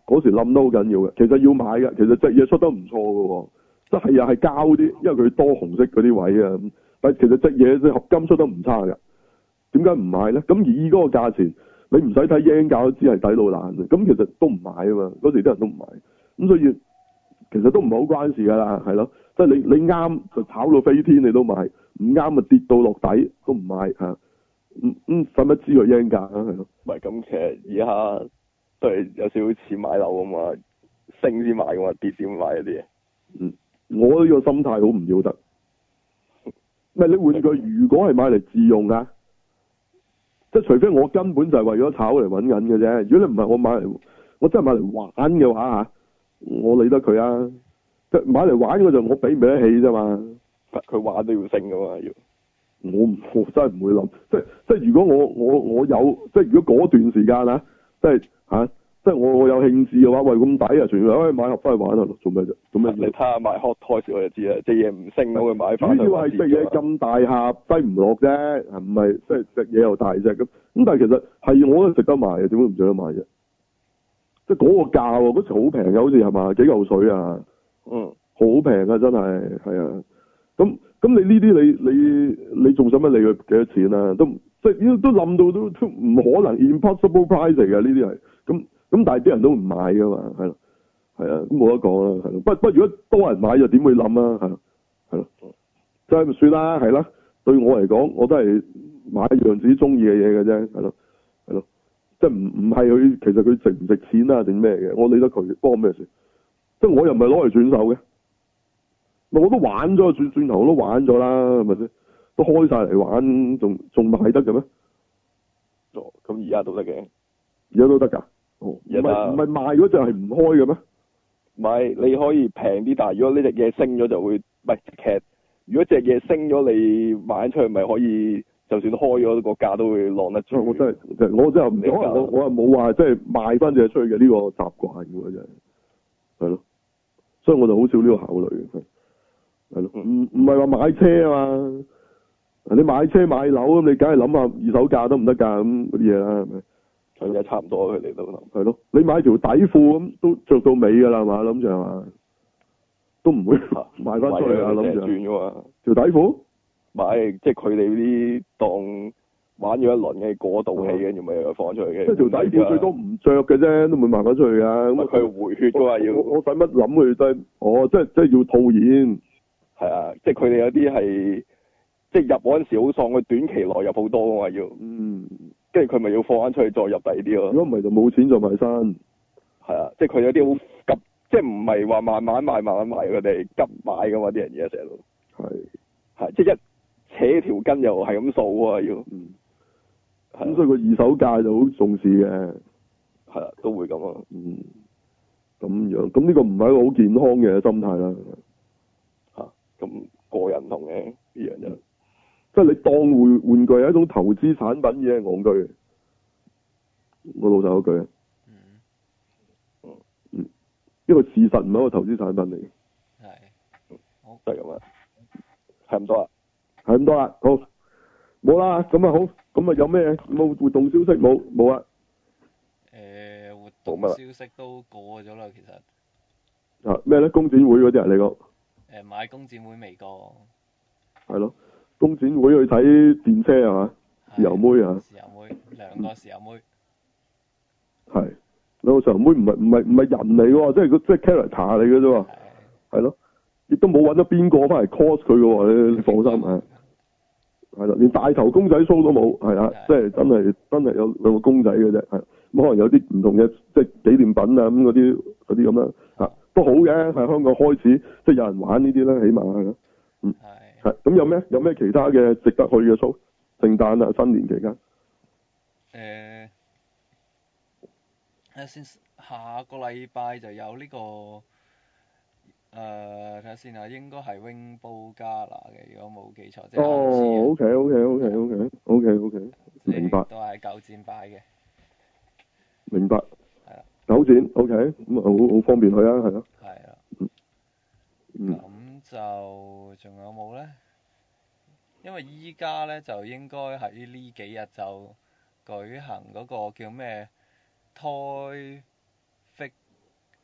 嗰時冧得好緊要嘅。其實要買嘅，其實隻嘢出得唔錯嘅喎，即係又係膠啲，因為佢多紅色嗰啲位啊。但係其實隻嘢隻合金出得唔差㗎。點解唔買咧？咁以嗰個價錢，你唔使睇 yen 價都知係抵到爛嘅。咁其實都唔買啊嘛，嗰時啲人都唔買。咁所以其實都唔係好關事㗎啦，係咯。即係你你啱就炒到飛天，你都買；唔啱咪跌到落底都唔買嚇。嗯嗯，使乜知個 yen 價啊？係咯。 唔係咁，其實而家都係有少少似買樓咁嘛，升先買㗎嘛，跌先買嗰啲嘢。 嗯，我呢個心態好唔要得。唔係你換句，如果係買嚟自用㗎。即係除非我根本就係為咗炒嚟揾緊嘅啫。如果你唔係我買嚟，我真係買嚟玩嘅話嚇，我理得佢啊！即係買嚟玩嗰就我俾唔俾得起啫嘛。 佢玩都要升噶嘛要。 我唔，我真係唔會諗。即係即係如果我我我有，即係如果嗰段時間啊，即係嚇，即係我我有興致嘅話，喂咁抵啊！全部可以買盒翻去玩啊！做咩啫？做咩？ 你睇下買 Hot Toys 我就知啦，隻嘢唔升我會買翻。 主要係隻嘢咁大盒，低唔落啫，唔係即係隻嘢又大隻咁。咁但係其實係我都值得買嘅，點解唔值得買啫？即係嗰個價喎，嗰時好平嘅，好似係嘛幾嚿水啊？ 嗯， 好平啊，真係係啊。咁咁你呢啲你你你仲使乜理佢幾多錢啊？都即係都冧到都都唔可能 impossible price 嚟嘅呢啲係。咁咁但係啲人都唔買㗎嘛，係咯。係啊，咁冇得講啦，係咯。不不，如果多人買就點會冧啊？係咯，係咯，即係咪算啦？係啦，對我嚟講，我都係買一樣自己中意嘅嘢嘅啫，係咯，係咯，即係唔唔係佢其實佢值唔值錢啊定咩嘅？我理得佢，幫我咩事？即係我又唔係攞嚟轉手嘅，我都玩咗轉轉頭我都玩咗啦，係咪先？都開晒嚟玩，仲仲賣得嘅咩？ 哦，咁而家都得嘅， 而家都得㗎。哦，唔係唔係賣嗰隻係唔開嘅咩？ 唔係，你可以平啲，但係如果呢隻嘢升咗就會，唔係其實如果隻嘢升咗，你賣出去咪可以，就算開咗個價都會晾得住。 我真係，我真係唔可能我我又冇話即係賣翻隻出去嘅呢個習慣嘅真係，係咯，所以我就好少呢個考慮嘅，係咯，唔唔係話買車啊嘛，你買車買樓咁，你梗係諗下二手價得唔得㗎咁嗰啲嘢啦，係咪？ 而家差唔多佢哋都係咯，你買條底褲咁都着到尾㗎啦嘛，諗住係嘛，都唔會賣翻出去啊，諗住轉㗎嘛， 條底褲買即係佢哋啲當玩咗一輪嘅過渡器，跟住咪又放出去嘅。 即係條底褲最多唔着嘅啫，都唔會賣翻出去㗎。咁佢回血㗎嘛要。 我使乜諗佢真？哦，即係即係要套現。 係啊，即係佢哋有啲係即係入嗰陣時好喪，佢短期內入好多㗎嘛要。嗯。跟住佢咪要放翻出去再入第二啲咯。 如果唔係就冇錢就賣身。 係啊，即係佢有啲好急，即係唔係話慢慢賣慢慢賣，佢哋急買㗎嘛啲人嘢成日都。係。係，即係一扯條筋又係咁掃啊要。嗯。 咁所以個二手價就好重視嘅。 係啊，都會咁啊。 嗯。咁樣，咁呢個唔係一個好健康嘅心態啦。 嚇，咁個人唔同嘅呢樣嘢。 即係你當玩玩具係一種投資產品嘅戇居，我老實嗰句啊。嗯。嗯。嗯。呢個事實唔係一個投資產品嚟嘅。 係。好。 就係咁啊。係咁多啦。 係咁多啦，好。冇啦，咁啊好，咁啊有咩冇活動消息冇冇啊？ 誒，活動消息都過咗啦，其實。 啊咩咧？工展會嗰啲啊，你講？ 誒，買工展會未過。 係咯。工展會去睇電車係嘛？豉油妹啊！ 豉油妹，兩個豉油妹。 係兩個豉油妹唔係唔係唔係人嚟喎，即係即係 character 嚟嘅啫喎。係咯，亦都冇揾咗邊個翻嚟 cos 佢嘅喎，你你放心啊。係啦，連大頭公仔 show 都冇，係啊，即係真係真係有兩個公仔嘅啫，係咁可能有啲唔同嘅即係紀念品啊咁嗰啲嗰啲咁啦，嚇都好嘅，喺香港開始即係有人玩呢啲啦，起碼係咯，嗯。係，咁有咩有咩其他嘅值得去嘅 show？聖誕啊，新年期間。誒、 呃，睇下先，下個禮拜就有呢、這個，誒睇下先啊，應該係 Rainbow Gala 嘅，如果冇記錯，即係哦，OK OK OK OK OK OK，明白。 都係喺九展擺嘅。 明白。 係啦。 九展 OK，咁啊好好方便去啊，係咯。 係啊。 嗯。 咁就仲有冇咧？因為依家咧就應該喺呢幾日就舉行嗰個叫咩 Toy Fig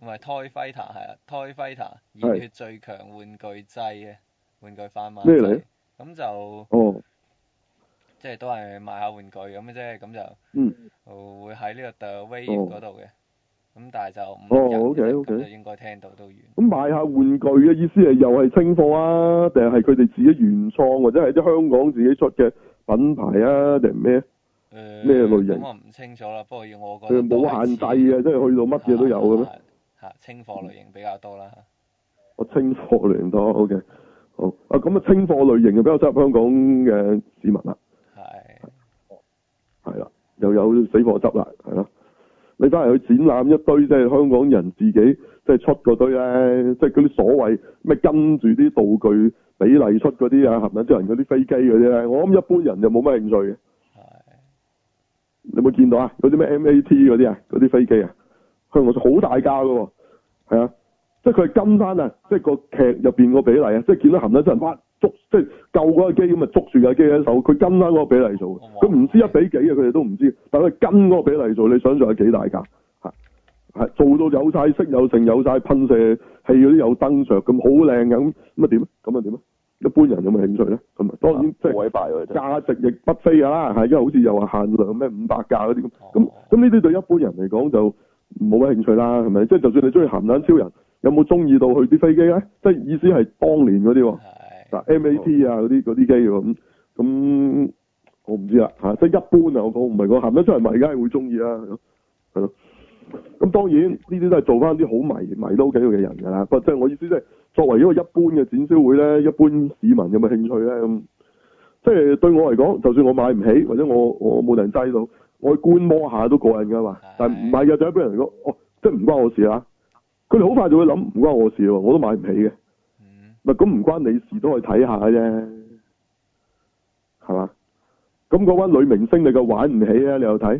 唔係 Toy Fighter 係啊 Toy Fighter 熱血最強玩具劑嘅玩具販賣咩嚟？ 咁就哦， 即係都係賣下玩具咁嘅啫，咁就嗯， 會喺呢個 The Wave 嗰度嘅，咁、哦、但係就五日哦，OK OK， 咁就應該聽到都完。 咁賣下玩具嘅意思係又係清貨啊，定係佢哋自己原創或者係啲香港自己出嘅品牌啊，定係咩？ 誒咩類型？ 咁我唔清楚啦，不過要我覺得佢冇限制嘅，即係去到乜嘢都有嘅咩？ 嚇清貨類型比較多啦。 我清貨類型多 ，OK，好啊，咁啊清貨類型就比較適合香港嘅市民啦。係。係啦，又有死貨執啦，係咯。你翻嚟去展覽一堆，即係香港人自己即係出嗰堆咧，即係嗰啲所謂咩跟住啲道具比例出嗰啲啊，係咪啲人嗰啲飛機嗰啲咧？我諗一般人就冇乜興趣嘅。你有冇見到啊？嗰啲咩 M A T 嗰啲啊，嗰啲飛機啊，香港好大架噶喎，係啊，即係佢係跟翻啊，即係個劇入邊個比例啊，即係見到含得真人哇捉，即係救嗰個機咁啊，捉住架機喺手，佢跟翻嗰個比例做，佢唔知一比幾啊，佢哋都唔知，但係佢跟嗰個比例做，你想象係幾大架，係係做到有晒色有成有晒噴射器嗰啲有燈着咁好靚嘅，咁咁啊點啊？咁啊點啊？一般人有冇興趣咧？咁啊，當然即係價值亦不菲㗎啦，係因為好似又話限量咩五百架嗰啲咁，咁咁呢啲對一般人嚟講就冇乜興趣啦，係咪？即係就算你中意鹹蛋超人，有冇中意到去啲飛機咧？即係意思係當年嗰啲喎，嗱 M A T 啊嗰啲嗰啲機喎，咁咁我唔知啦嚇，即係一般啊，我講唔係講鹹蛋超人迷，梗係會中意啦，係咯。咁當然呢啲都係做翻啲好迷迷都幾好嘅人㗎啦，不過即係我意思即係作為一個一般嘅展銷會咧，一般市民有冇興趣咧？咁即係對我嚟講，就算我買唔起或者我我冇人擠到，我去觀摩下都過癮㗎嘛。但係唔係嘅，就一般人嚟講，哦，即係唔關我事啦。佢哋好快就會諗唔關我事喎，我都買唔起嘅。咪咁唔關你事，都可以睇下啫，係嘛？咁嗰班女明星你就玩唔起啊？你又睇？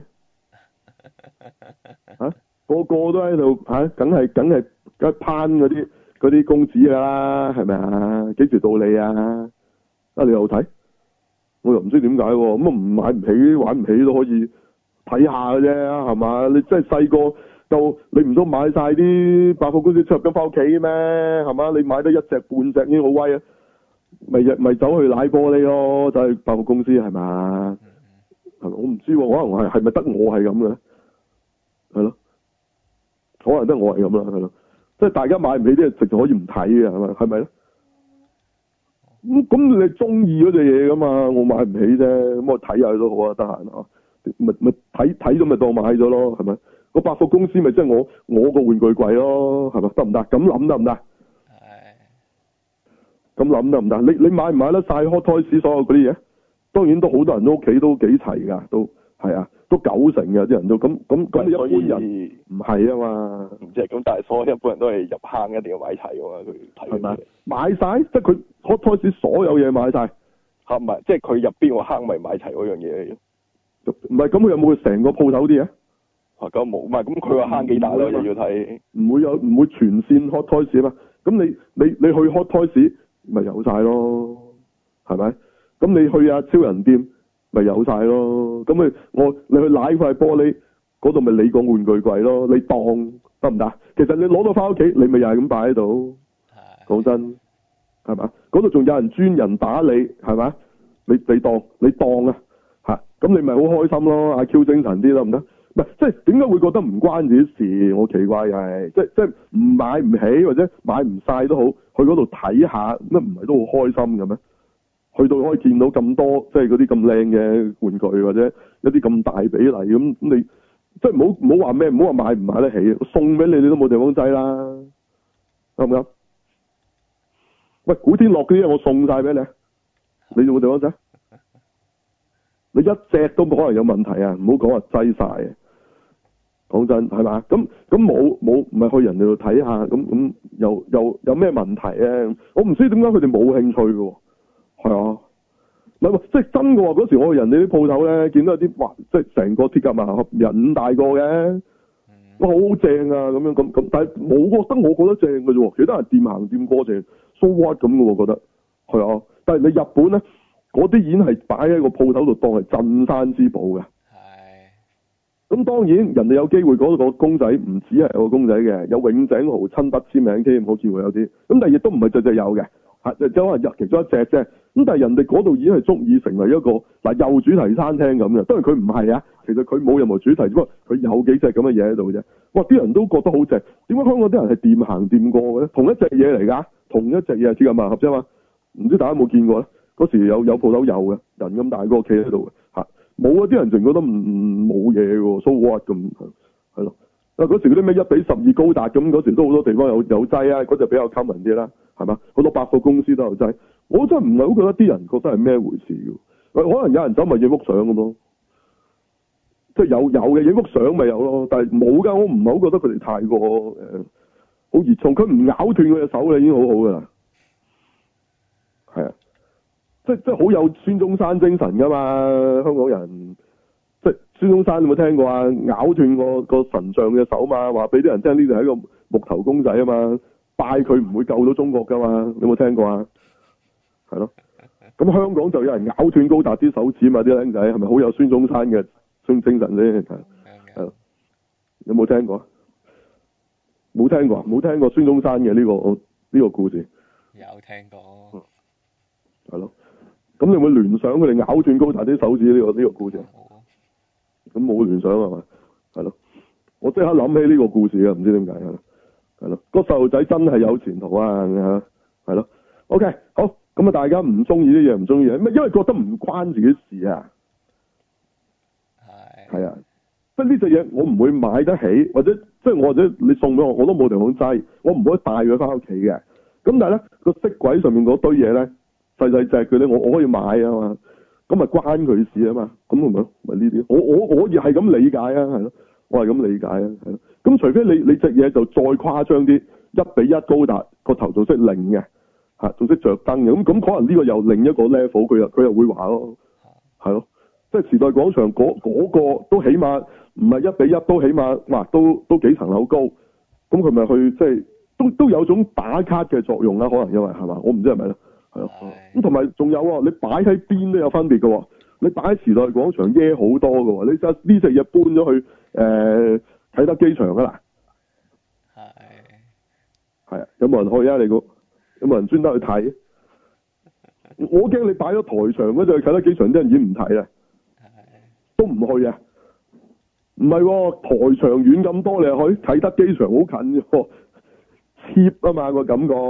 啊，個個都喺度吓，梗係梗係梗係攀嗰啲嗰啲公子㗎啦，係咪啊？幾時到你啊？啊，你又睇？我又唔知點解喎，咁啊唔買唔起，玩唔起都可以睇下嘅啫，係嘛？你真係細個就你唔通買晒啲百貨公司出入金翻屋企咩？係嘛？你買得一隻半隻已經好威啊！咪咪走去奶玻璃咯，走去百貨公司係嘛？係咪？我唔知喎，可能係係咪得我係咁嘅咧？係咯，可能得我係咁啦，係咯，即係大家買唔起啲嘢，直情可以唔睇嘅，係咪？係咪咧？咁咁你中意嗰隻嘢噶嘛？我買唔起啫，咁我睇下都好啊，得閒啊，咪咪睇睇咗咪當買咗咯，係咪？個百貨公司咪即係我我個玩具櫃咯，係咪？得唔得？咁諗得唔得？係。咁諗得唔得？你你買唔買得晒 Hot Toys 所有嗰啲嘢？當然都好多人都屋企都幾齊㗎，都係啊。都九成嘅啲人都咁咁咁，一般人唔係啊嘛， 唔知係咁，但係所有一般人都係入坑一定要買齊㗎嘛，佢睇係買晒，即係佢開開始所有嘢買晒， 嚇唔係，即係佢入邊個坑咪買齊嗰樣嘢， 唔係咁佢有冇成個鋪頭啲嘢？ 啊咁冇，唔係咁佢個坑幾大咯，又要睇， 唔會有唔會全線 Hot Toys 啊嘛，咁你你你去 Hot Toys 咪有晒咯，係咪？咁你去啊超人店。咪有晒咯，咁你我你去舐塊玻璃嗰度咪你個玩具櫃咯，你當得唔得？其實你攞到翻屋企，你咪又係咁擺喺度。講真，係嘛？嗰度仲有人專人打理，係嘛？你你當你當啊嚇，咁你咪好開心咯，阿 Q 精神啲得唔得？唔係即係點解會覺得唔關自己事？我奇怪係即即係唔買唔起或者買唔晒都好，去嗰度睇下，乜唔係都好開心嘅咩？去到可以見到咁多，即係嗰啲咁靚嘅玩具，或者一啲咁大比例咁，你即係唔好唔好話咩，唔好話買唔買得起，送俾你你都冇地方擠啦，啱唔啱？喂，古天樂嗰啲嘢我送晒俾你，你有冇地方擠？你一隻都冇可能有問題啊！唔好講話擠晒，講真係嘛？咁咁冇冇唔係去人哋度睇下，咁咁又又有咩問題咧？我唔知點解佢哋冇興趣嘅。係啊，唔係即係真嘅喎。嗰時我去人哋啲鋪頭咧，見到有啲哇，即係成個鐵甲萬能俠人咁大個嘅，哇好正啊咁樣咁咁，但係冇覺得我覺得正嘅啫喎，其他人掂行掂過正 so what 咁嘅喎，覺得係啊。但係你日本咧，嗰啲已經係擺喺個鋪頭度當係鎮山之寶嘅， 咁當然人哋有機會嗰個公仔唔止係個公仔嘅，有永井豪親筆簽名添，好似會有啲。咁但係亦都唔係隻隻有嘅，嚇，就可能入其中一隻啫。咁但係人哋嗰度已經係足以成為一個嗱又主題餐廳咁嘅。當然佢唔係啊，其實佢冇任何主題，只不過佢有幾隻咁嘅嘢喺度啫。哇！啲人都覺得好正，點解香港啲人係掂行掂過嘅咧？同一隻嘢嚟㗎，同一隻嘢係鐵甲萬合啫嘛。唔知大家有冇見過咧？嗰時有有鋪頭有嘅，人咁大個企喺度嘅嚇。冇啊！啲人淨覺得唔冇嘢喎，so what 咁係咯。啊嗰時嗰啲咩一比十二高達咁，嗰時都好多地方有有劑啊，嗰隻比較 common 啲啦，係嘛？好多百貨公司都有劑。我真係唔係好覺得啲人覺得係咩回事㗎。可能有人走咪影幅相咁咯，即係有有嘅影幅相咪有咯，但係冇㗎。我唔係好覺得佢哋太過誒好熱衷，佢唔咬斷佢隻手咧已經好好㗎啦。係啊。即即係好有孫中山精神㗎嘛，香港人即係孫中山有冇聽過啊？咬斷個個神像嘅手嘛，話俾啲人聽呢度係一個木頭公仔啊嘛，拜佢唔會救到中國㗎嘛，你有冇聽過啊？係咯，咁香港就有人咬斷高達啲手指嘛，啲僆仔係咪好有孫中山嘅精精神咧？係係，有冇聽過？冇聽過，冇聽過孫中山嘅呢個呢個故事。 有聽過。 係咯。咁你會聯想佢哋咬斷高達啲手指呢個呢個故事？咁冇聯想係嘛？係咯，我即刻諗起呢個故事啊！唔知點解係咯，係咯，個細路仔真係有前途啊！係咯 ，OK，好，咁啊，大家唔中意啲嘢唔中意，咩？因為覺得唔關自己事啊。係。係啊，即係呢隻嘢我唔會買得起，或者即係我或者你送俾我，我都冇地方擠，我唔可以帶佢翻屋企嘅。咁但係咧個色櫃上面嗰堆嘢咧。細細隻佢咧，我我可以買啊嘛，咁咪關佢事啊嘛，咁咪咪呢啲，我我我亦係咁理解啊，係咯，我係咁理解啊，係咯，咁除非你你隻嘢就再誇張啲，一比一高達個頭仲識擰嘅，嚇仲識着燈嘅，咁咁可能呢個又另一個 level，佢又佢又會話咯，係咯，即係時代廣場嗰嗰個都起碼唔係一比一，都起碼哇都都幾層樓高，咁佢咪去即係都都有種打卡嘅作用啦，可能因為係嘛，我唔知係咪咧。咁同埋仲有喎，你擺喺邊都有分別嘅喎。你擺喺時代廣場耶好多嘅喎，你就呢隻嘢搬咗去誒啟德機場㗎啦。係。係啊，有冇人去啊？你估有冇人專登去睇？我驚你擺咗台場嗰隻啟德機場啲人已經唔睇啦。都唔去啊？唔係喎，台場遠咁多，你去啟德機場好近喎 cheap 啊嘛個感覺。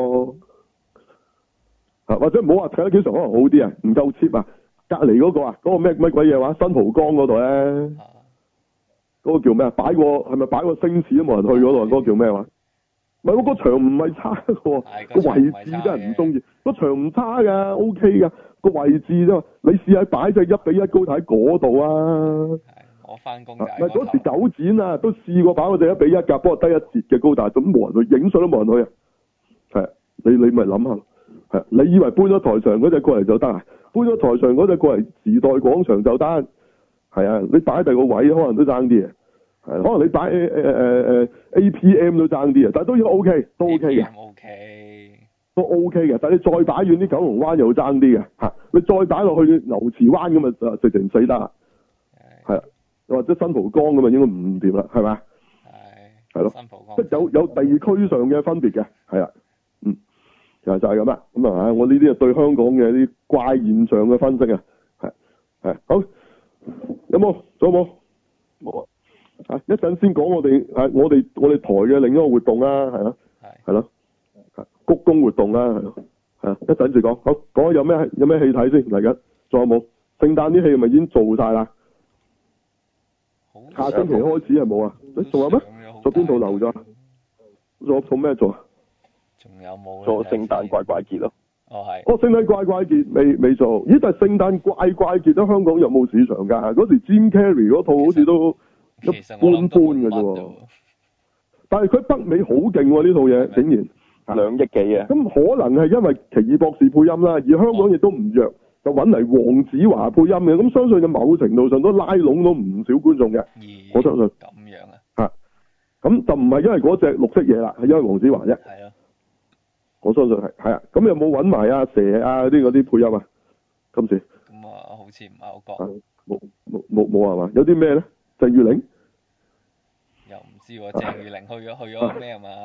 啊，或者唔好話啟德機場可能好啲啊，唔夠 cheap 啊，隔離嗰個啊，嗰、嗰個咩乜鬼嘢話新蒲崗嗰度咧，嗰、嗰個叫咩啊？擺個係咪擺個星矢都冇人去嗰度？嗰、嗰個叫咩話？唔係喎，個場唔係差嘅喎，個位置真係唔中意。個場唔差㗎 ，OK 㗎，個位置啫嘛。你試下擺隻一比一高達喺嗰度啊！ 我翻工就係。 唔係嗰時九展啊，都試過擺嗰隻一比一㗎，不過低一截嘅高達，咁冇人去影相都冇人去啊。係，你你咪諗下。係，你以為搬咗台上嗰隻過嚟就得啊？搬咗台上嗰隻過嚟時代廣場就得？係啊，你擺第二個位可能都爭啲啊。係，可能你擺誒誒誒 A P M 都爭啲啊，但係都要 OK，都 OK 嘅。 OK。都 OK 嘅，但係你再擺遠啲九龍灣又爭啲嘅嚇，你再擺落去牛池灣咁啊，就直情死得。係啊，或者新蒲崗咁啊，應該唔掂啦，係咪？係。係咯。新蒲崗。即係有有地區上嘅分別嘅，係啊。就就係咁啦，咁啊，我呢啲啊對香港嘅啲怪現象嘅分析啊，係係好，有冇？仲有冇？冇啊！啊，一陣先講我哋係我哋我哋台嘅另一個活動啦，係咯，係咯，鞠躬活動啦，係咯，係啊，一陣先講，好講有咩有咩戲睇先嚟緊，仲有冇？聖誕啲戲係咪已經做晒啦？下星期開始係冇啊？誒，仲有咩？做邊度留咗？仲有做咩做啊？ 仲有冇做聖誕怪怪傑咯？ 哦係。 哦，聖誕怪怪傑未未做？咦，但係聖誕怪怪傑喺香港有冇市場㗎？嗰時 Jim Carrey 嗰套好似都一般般嘅啫喎。但係佢北美好勁喎，呢套嘢竟然兩億幾啊！ 咁可能係因為奇異博士配音啦，而香港亦都唔弱，就揾嚟黃子華配音嘅。咁相信嘅某程度上都拉攏到唔少觀眾嘅。我相信。 咁樣啊？ 嚇！咁就唔係因為嗰隻綠色嘢啦，係因為黃子華啫。 係啊。 我相信係係啊，咁有冇揾埋阿蛇啊啲嗰啲配音啊？今次咁啊，好似唔係好覺。 冇冇冇冇係嘛？有啲咩咧？鄭裕玲又唔知喎，鄭裕玲去咗去咗咩啊嘛？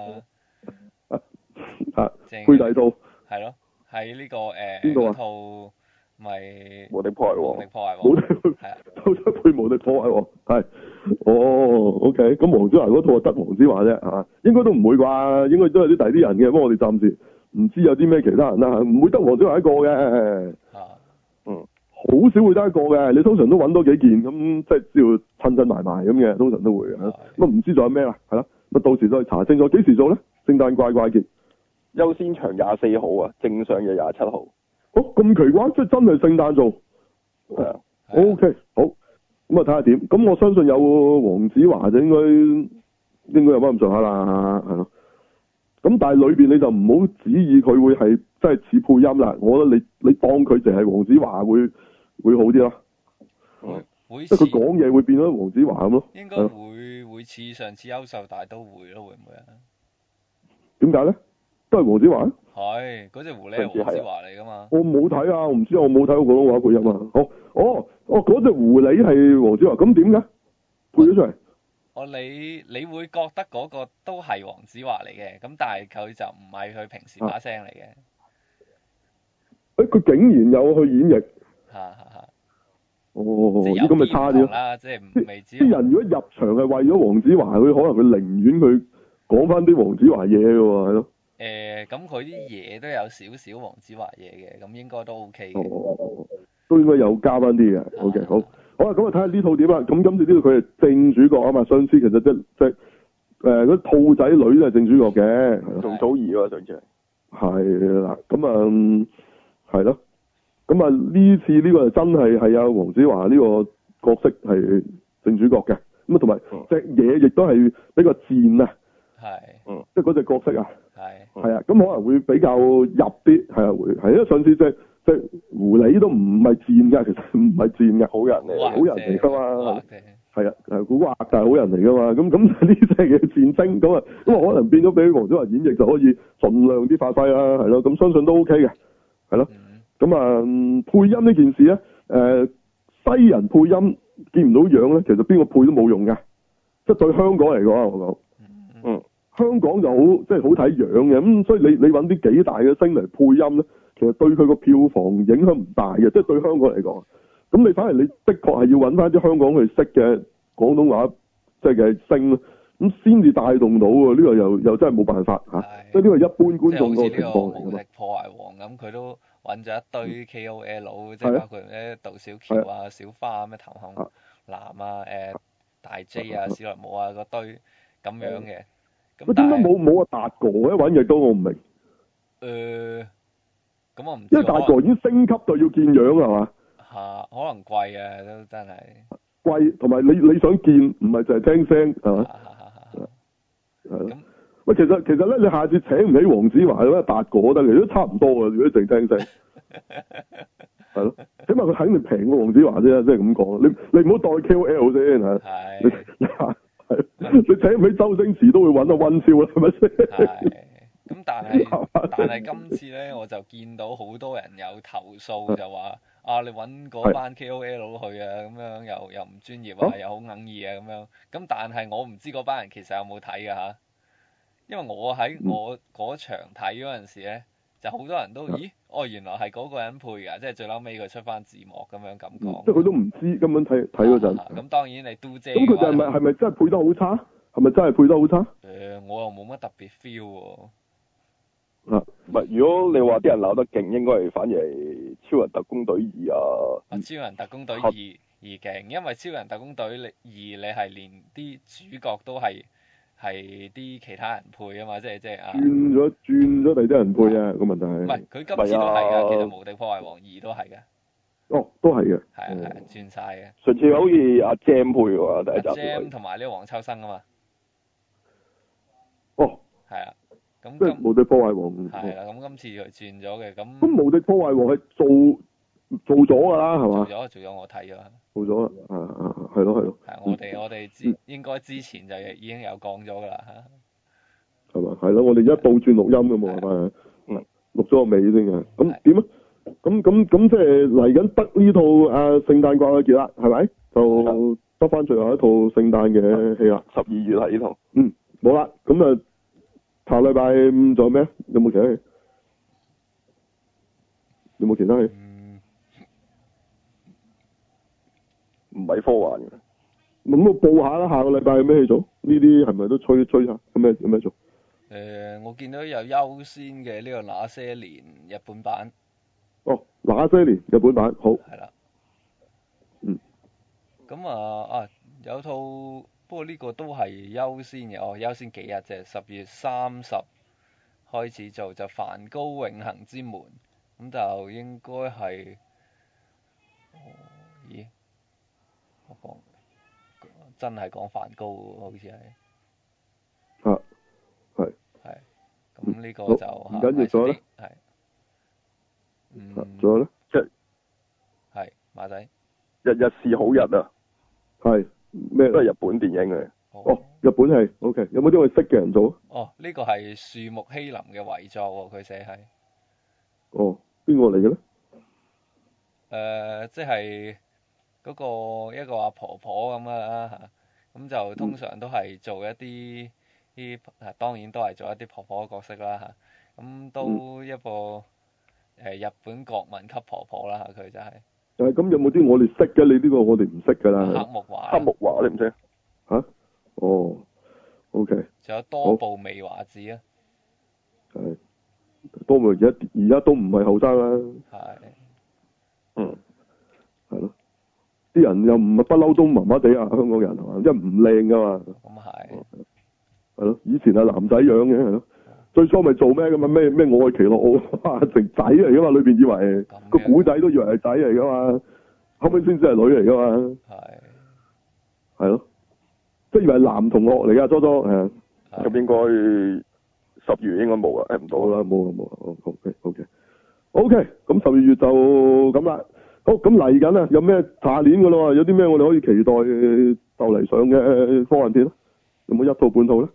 啊， 鄭配第套。 係咯，喺呢個誒邊度啊？ 套咪無敵破壞王。 無敵破壞王。 無敵係啊，都出配無敵破壞王係。哦 ，OK，咁黃子華嗰套就得黃子華啫，係嘛？應該都唔會啩，應該都有啲第啲人嘅，不過我哋暫時唔知有啲咩其他人啦，唔會得黃子華一個嘅。 啊。 嗯。好少會得一個嘅，你通常都揾多幾件咁，即係只要襯襯埋埋咁嘅，通常都會嘅。咁啊唔知仲有咩啦，係啦，咁啊到時再查清楚，幾時做咧？聖誕怪怪傑優先場廿四號啊，正上嘅廿七號。 哦，咁奇怪，即係真係聖誕做。 係啊。 O K，好，咁啊睇下點。咁我相信有黃子華就應該應該有翻咁上下啦，係咯。咁但係裏邊你就唔好指意佢會係真係似配音啦。我覺得你你當佢淨係黃子華會會好啲咯。 會會即係佢講嘢會變咗黃子華咁咯。 應該會會似上次優秀大都會咯，會唔會啊？ 點解咧？都係黃子華。 係，嗰隻狐狸係黃子華嚟噶嘛？ 我冇睇啊，我唔知我冇睇過廣東話配音啊。好，哦，哦，嗰隻狐狸係黃子華，咁點解配咗出嚟？ 哦，你你會覺得嗰個都係黃子華嚟嘅，咁但係佢就唔係佢平時把聲嚟嘅。 誒、啊，佢竟然有去演繹。 嚇嚇嚇！ 哦，咦，咁咪差啲咯。 啦，即係未知。 啲人如果入場係為咗黃子華，佢可能佢寧願佢講翻啲黃子華嘢嘅喎，係咯。 誒，咁佢啲嘢都有少少黃子華嘢嘅，咁應該都 OK 嘅。 哦，都應該有加翻啲嘅。O K，好，好啦，咁啊睇下呢套點啦。咁今次呢度佢係正主角啊嘛，上次其實即即誒嗰兔仔女都係正主角嘅， 仲祖兒喎上次。 係啦，咁啊係咯，咁啊呢次呢個就真係係有黃子華呢個角色係正主角嘅，咁啊同埋隻嘢亦都係比較賤啊。 係。 嗯。即係嗰隻角色啊。 係。 係啊，咁可能會比較入啲，係啊會，係因為上次隻隻狐狸都唔係賤㗎，其實唔係賤嘅，好人嚟，好人嚟㗎嘛。係啊，係古惑但係好人嚟㗎嘛。咁咁呢隻嘅戰星咁啊，咁啊可能變咗俾黃子華演繹就可以盡量啲發揮啦，係咯。咁相信都 OK 嘅，係咯。咁啊、嗯、配音呢件事咧，誒、呃、西人配音見唔到樣咧，其實邊個配都冇用㗎，即係對香港嚟講，我講，嗯。香港就好，即係好睇樣嘅，咁所以你你揾啲幾大嘅星嚟配音咧，其實對佢個票房影響唔大嘅，即係對香港嚟講。咁你反而你的確係要揾翻啲香港去識嘅廣東話，即係嘅星，咁先至帶動到喎。呢個又又真係冇辦法嚇，即係呢個一般觀眾個情況嚟㗎嘛。無敵破壞王咁，佢都揾咗一堆 K O L，即係包括咧杜小喬啊、小花咩譚漢南啊、誒大 J 啊、史萊姆啊嗰堆咁樣嘅。 咁點解冇冇阿達哥咧？揾嘢都我唔明。 誒，咁我唔知。 因為達哥已經升級到要見樣係嘛？ 嚇，可能貴啊，都真係。貴， 同埋你你想見，唔係就係聽聲係嘛？係咯。喂，其實其實咧，你下次請唔起黃子華咧，達哥得嚟都差唔多啊！如果淨聽聲。係咯，起碼佢肯定平過黃子華啫，即係咁講。你你唔好當 K O L 先嚇。係。你請唔起周星馳都會揾到溫少啦，係咪先？ 係。咁但係但係今次咧，我就見到好多人有投訴，就話啊，你揾嗰班 K O L 去啊，咁樣又又唔專業啊，又好哽耳啊，咁樣。咁但係我唔知嗰班人其實有冇睇㗎嚇，因為我喺我嗰場睇嗰陣時咧，就好多人都咦，哦原來係嗰個人配㗎，即係最嬲尾佢出翻字幕咁樣咁講。即係佢都唔知根本睇睇嗰陣。咁當然你都姐。咁佢就係咪係咪真係配得好差？係咪真係配得好差？誒，我又冇乜特別 feel 喎。 啊，唔係，如果你話啲人鬧得勁，應該係反而係超人特工隊二啊。啊，超人特工隊二二勁，因為超人特工隊二你係連啲主角都係係啲其他人配啊嘛，即係即係啊。轉咗轉咗第啲人配啊，個問題係。唔係，佢今次都係㗎，其實無敵破壞王二都係㗎。哦，都係嘅。係啊係啊，轉晒嘅。上次好似阿 Jam 配喎，第一集。Jam 同埋呢個黃秋生啊嘛。哦。係啊。咁即係無敵破壞王。係啦，咁今次佢轉咗嘅，咁。咁無敵破壞王係做做咗㗎啦，係嘛？做咗，做咗，我睇咗。做咗啦，啊啊，係咯係咯。係，我哋我哋之應該之前就已經有講咗㗎啦嚇。係嘛？係咯，我哋一倒轉錄音㗎嘛，係咪？嗯。錄咗個尾先嘅，咁點啊？咁咁咁即係嚟緊得呢套啊聖誕怪傑啦，係咪？就得翻最後一套聖誕嘅戲啦， 十二月係呢套。 嗯，冇啦，咁啊，下禮拜五仲有咩？有冇其他戲？有冇其他戲？ 唔係科幻嘅。 咁我報下啦，下個禮拜有咩戲做？呢啲係咪都吹吹下？有咩有咩做？ 誒、呃，我見到有優先嘅呢個那些年日本版。 哦，那些年日本版好。 係啦。 嗯。 咁啊啊，有套不過呢個都係優先嘅，哦，優先幾日啫？十月三十開始做就《梵高永恆之門》，咁就應該係，哦，咦？我講真係講梵高喎，好似係。 啊，係。 係。咁呢個就唔緊要咗咧。 係。嗯。 仲有咧？ 即係馬仔。 日日是好日啊！ 係咩？ 都係日本電影嚟。 哦，日本戲 ，OK， 有冇啲我識嘅人做？ 哦，呢個係樹木希林嘅遺作喎，佢寫係。 哦，邊個嚟嘅咧？ 誒，即係嗰個一個阿婆婆咁啦嚇，咁就通常都係做一啲啲，啊當然都係做一啲婆婆嘅角色啦嚇，咁都一個誒日本國民級婆婆啦嚇，佢就係。 但係咁有冇啲我哋識嘅？你呢個我哋唔識㗎啦。 黑木華。 黑木華你唔識？ 嚇？哦，OK。 仲有多部未華子啊。 係。多部而家而家都唔係後生啦。 係。 嗯。 係咯。啲人又唔係不嬲都麻麻地啊，香港人係嘛？因為唔靚㗎嘛。 咁係。 係咯，以前係男仔樣嘅係咯。最初咪做咩㗎嘛？咩咩愛奇樂奧成仔嚟㗎嘛？裏邊以為個古仔都以為係仔嚟㗎嘛，後尾先知係女嚟㗎嘛。係。係咯。即係以為係男同學嚟㗎，初初係。 咁應該十月應該冇啦，誒唔到啦，冇啦冇啦。OK OK OK，咁十二月就咁啦。好，咁嚟緊啊，有咩下年㗎咯？有啲咩我哋可以期待就嚟上嘅科幻片咧？有冇一套半套咧？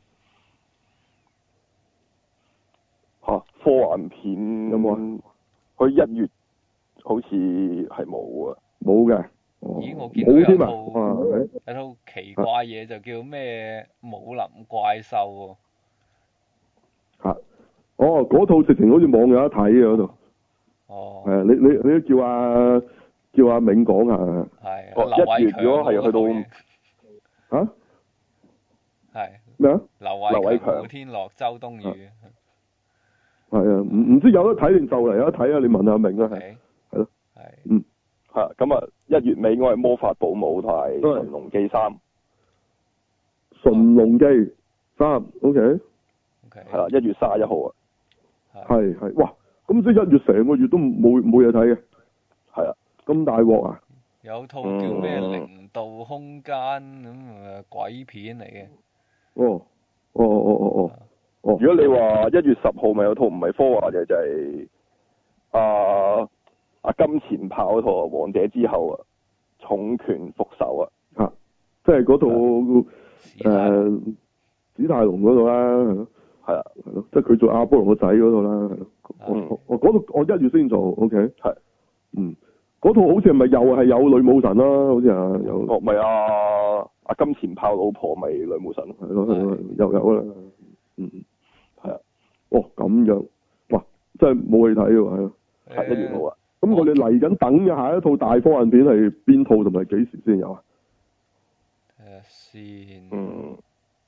嚇，科幻片有冇啊？ 佢一月好似係冇啊， 冇嘅。 咦，我見到有套啊有套奇怪嘢就叫咩武林怪獸喎。 嚇！哦，嗰套直情好似網友一睇嘅嗰度。 哦。 係啊，你你你都叫阿叫阿銘講下。 係。 哦，一月如果係去到嚇？ 係。 咩啊？ 劉偉強、古天樂、周冬雨。 係啊，唔唔知有得睇定就嚟有得睇啊！你問下銘啊，係係咯， 係嗯， 係咁啊，一月尾我係魔法保姆同埋馴龍記三， 馴龍記三，OK， 係啦，一月卅一號啊， 係係，哇，咁即係一月成個月都冇冇嘢睇嘅， 係啊， 咁大鑊啊！ 有套叫咩零度空間咁誒鬼片嚟嘅， 哦，哦哦哦哦。哦、 如果你話一月十號咪有套唔係科幻嘅就係阿阿金錢豹嗰套《王者之後》啊，重拳復仇啊， 嚇，即係嗰套誒史泰龍嗰度啦，係啊，係咯，即係佢做阿波羅個仔嗰度啦，係咯，我我嗰度我一月先做 ，OK，係，嗯，嗰套好似係咪又係有女武神啦？好似啊，有， 哦，咪阿阿金錢豹老婆咪女武神， 係咯係咯，又有啦，嗯。係啊，哦咁樣，哇，真係冇戲睇喎，係咯， 係一月冇啊。 咁我哋嚟緊等嘅下一套大科幻片係邊套同埋幾時先有啊？ 睇下先。 嗯。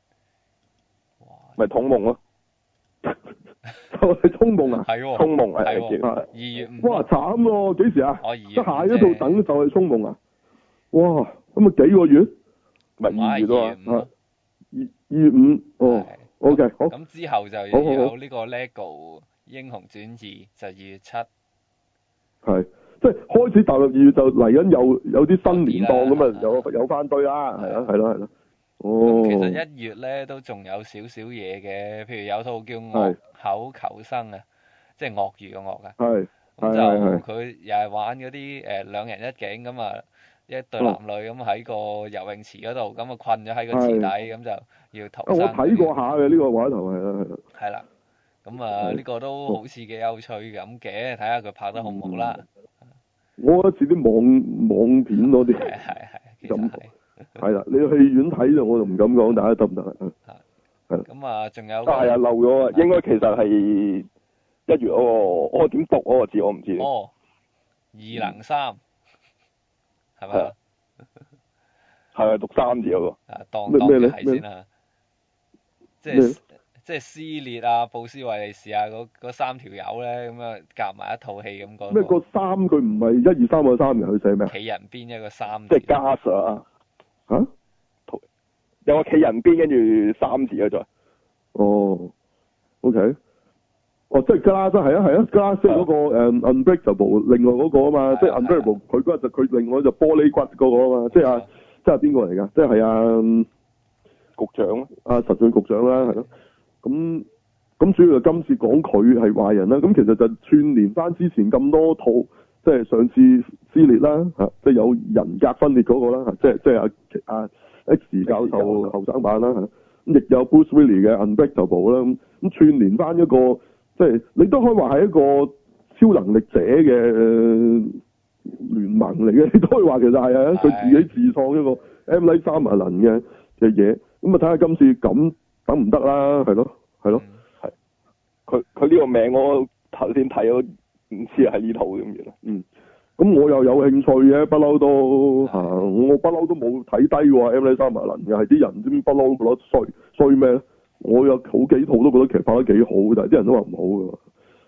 咪銃夢咯。 就係銃夢啊！ 係喎。 銃夢係係二月五。 哇，慘喎！幾時啊？ 我二月。 得下一套等就係銃夢啊！哇，咁啊幾個月？ 咪二月咯。 二二月五哦。O K，好。 咁之後就有呢個 LEGO 英雄傳二，就二月七。 係，即係開始踏入二月就嚟緊有有啲新年檔咁啊，有有翻堆啦，係啦，係咯，係咯。哦。 其實一月咧都仲有少少嘢嘅，譬如有套叫《惡口求生》啊，即係鱷魚嘅鱷啊。 係。 咁就佢又係玩嗰啲誒兩人一景咁啊。一對男女咁喺個游泳池嗰度，咁啊困咗喺個池底，咁就要逃生。 我睇過下嘅呢個話頭係啦，係啦。 係啦，咁啊呢個都好似幾有趣咁嘅，睇下佢拍得好唔好啦。 我覺得似啲網網片多啲。 係係係，其實係。 係啦，你去戲院睇就我就唔敢講，大家得唔得啊？ 係。咁啊，仲有。 係啊，漏咗啊，應該其實係一月嗰個，我點讀嗰個字我唔知。 哦。二能三。係咪啊？ 係啊，讀三字嗰個。 啊，當當係先啦。即係即係撕裂啊，布斯維利士啊，嗰嗰三條友咧，咁啊夾埋一套戲咁講。 咩個三佢唔係一二三個三嘅，佢寫咩？ 企人邊一個三。 即係加上啊？ 嚇？ 有個企人邊跟住三字啊，再。 哦。O K。哦，即係 Glass 係啊係啊 Glass 嗰個誒 Unbreakable 另外嗰個啊嘛，即係 Unbreakable 佢嗰就佢另外就玻璃骨嗰個啊嘛，即係啊即係邊個嚟㗎？即係啊局長啊實俊局長啦，係咯。咁咁主要就今次講佢係壞人啦，咁其實就串連翻之前咁多套，即係上次撕裂啦嚇，即係有人格分裂嗰個啦嚇，即係即係阿阿 X 教授後生版啦嚇，咁亦有 Bruce Willis 嘅 Unbreakable 啦，咁咁串連翻一個。即係你都可以話係一個超能力者嘅聯盟嚟嘅，你都可以話其實係啊，佢自己自創一個 M. Night Shyamalan 嘅嘅嘢，咁啊睇下今次咁得唔得啦，係咯，係咯， 係。佢佢呢個名我頭先睇咗，唔知係呢套咁樣。 嗯，咁我又有興趣嘅，不嬲都嚇，我不嬲都冇睇低喎 M. Night Shyamalan 嘅，係啲人知唔知不嬲都覺得衰衰咩咧？我有好幾套都覺得其實拍得幾好，但係啲人都話唔好㗎，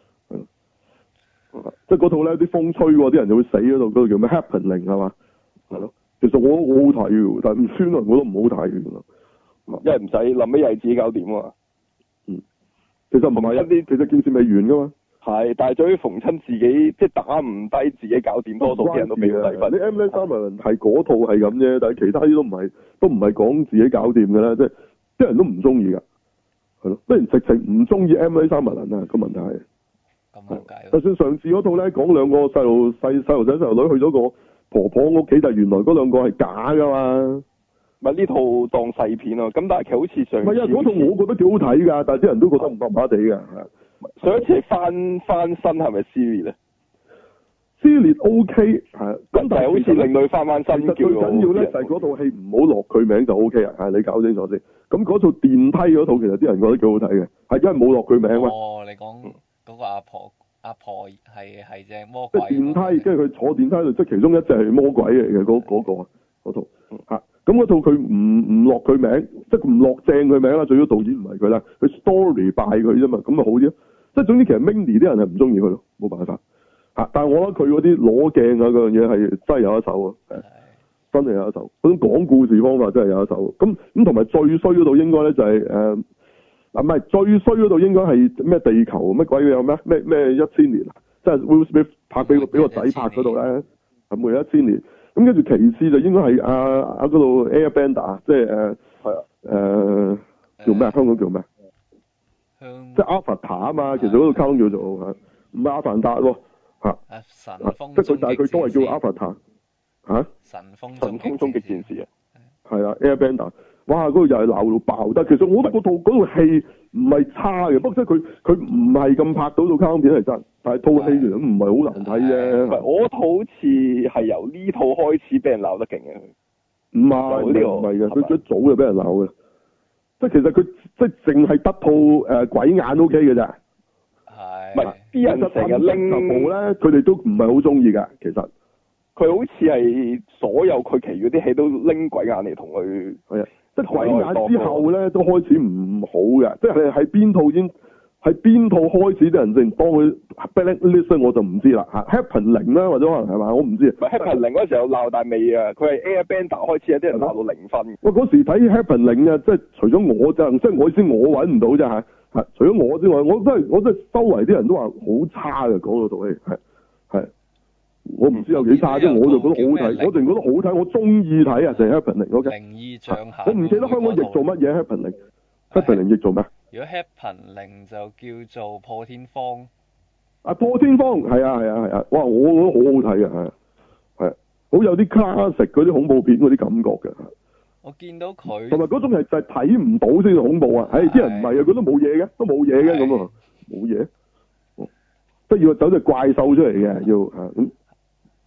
係即係嗰套咧啲風吹喎，啲人就會死嗰度，嗰度叫咩 Happening 係嘛？係咯，其實我好好睇㗎，但係唔算啊，我都唔好睇㗎， 因為唔使諗咩嘢自己搞掂啊嘛。 嗯，其實唔係一啲，其實件事未完㗎嘛。 係，但係對於逢親自己即係打唔低自己搞掂，多數啲人都俾佢低分。 你 M. Night Shyamalan 係嗰套係咁啫，但係其他啲都唔係，都唔係講自己搞掂㗎啦，即係啲人都唔中意㗎。係咯，不然直情唔中意 M. Night Shyamalan啊！個問題係， 咁解。 就算上次嗰套咧，講兩個細路細細路仔細路女去咗個婆婆屋企，但係原來嗰兩個係假噶嘛。 咪呢套當細片咯，咁但係其實好似上次。唔係啊，嗰套我覺得幾好睇㗎，但係啲人都覺得唔麻麻地㗎。 上一次係翻翻身係咪撕裂咧？ 撕裂 O K 係，咁但係好似令到佢翻翻身叫。最緊要咧就係嗰套戲唔好落佢名就 O K 啊！係你搞清楚先。咁嗰套電梯嗰套其實啲人覺得幾好睇嘅，係因為冇落佢名嘛。 哦，你講嗰個阿婆，阿婆係係隻魔鬼。 即係電梯，跟住佢坐電梯度，即係其中一隻係魔鬼嚟嘅嗰嗰個啊，嗰套嚇。咁嗰套佢唔唔落佢名，即係唔落正佢名啦。最多導演唔係佢啦，佢 story 拜佢啫嘛，咁咪好啲咯。即係總之其實 Mindy 啲人係唔中意佢咯，冇辦法嚇。但係我覺得佢嗰啲攞鏡啊嗰樣嘢係真係有一手啊。真係有一手，嗰種講故事方法真係有一手。咁咁同埋最衰嗰度應該咧就係誒嗱，唔係最衰嗰度應該係咩地球乜鬼嘢有咩咩咩一千年啊，即係 Will Smith 拍俾個俾個仔拍嗰度咧，係每一千年。咁跟住其次就應該係阿阿嗰度 Airbender，即係誒係啊誒叫咩？香港叫咩？即係 Avatar 啊嘛，其實嗰度卡通叫做嚇，唔係阿凡達喎嚇。 神風即係佢，但係佢都係叫 Avatar。嚇！ 神風神風終極戰士啊， 係啊 Airbender， 哇嗰度又係鬧到爆得，其實我覺得嗰套嗰套戲唔係差嘅，不過即係佢佢唔係咁拍到套卡通片係真，但係套戲其實唔係好難睇啫。 我套好似係由呢套開始俾人鬧得勁嘅， 唔係呢個唔係嘅，佢一早就俾人鬧嘅，即係其實佢即係淨係得套誒鬼眼 O K 嘅咋， 係， 唔係啲人成日拎部咧，佢哋都唔係好中意㗎，其實。 佢好似係所有佢其餘啲戲都拎鬼眼嚟同佢， 係啊，即係鬼眼之後咧都開始唔好嘅，即係喺邊套先，喺邊套開始啲人淨當佢 blacklist 我就唔知啦嚇 Happening 啦或者可能係嘛，我唔知。 Happening 嗰時候鬧大未啊？佢係 Airbender 開始有啲人鬧到零分。 喂，嗰時睇 Happening 啊，即係除咗我就即係我先我揾唔到啫嚇嚇，除咗我之外，我真係我真係周圍啲人都話好差嘅講到套戲係係。我唔知有幾差啫，我就覺得好睇，我淨覺得好睇，我中意睇啊，就係 Happening。 靈異象下， 我唔記得香港譯做乜嘢 Happening。Happening 譯做咩？ 如果 Happening 就叫做破天荒。 啊，破天荒係啊係啊係啊！哇，我覺得好好睇啊，係係好有啲 classic 嗰啲恐怖片嗰啲感覺嘅。 我見到佢同埋嗰種係就係睇唔到先至恐怖啊！唉，啲人唔係啊，佢都冇嘢嘅，都冇嘢嘅咁啊，冇嘢。即係要走隻怪獸出嚟嘅，要嚇咁。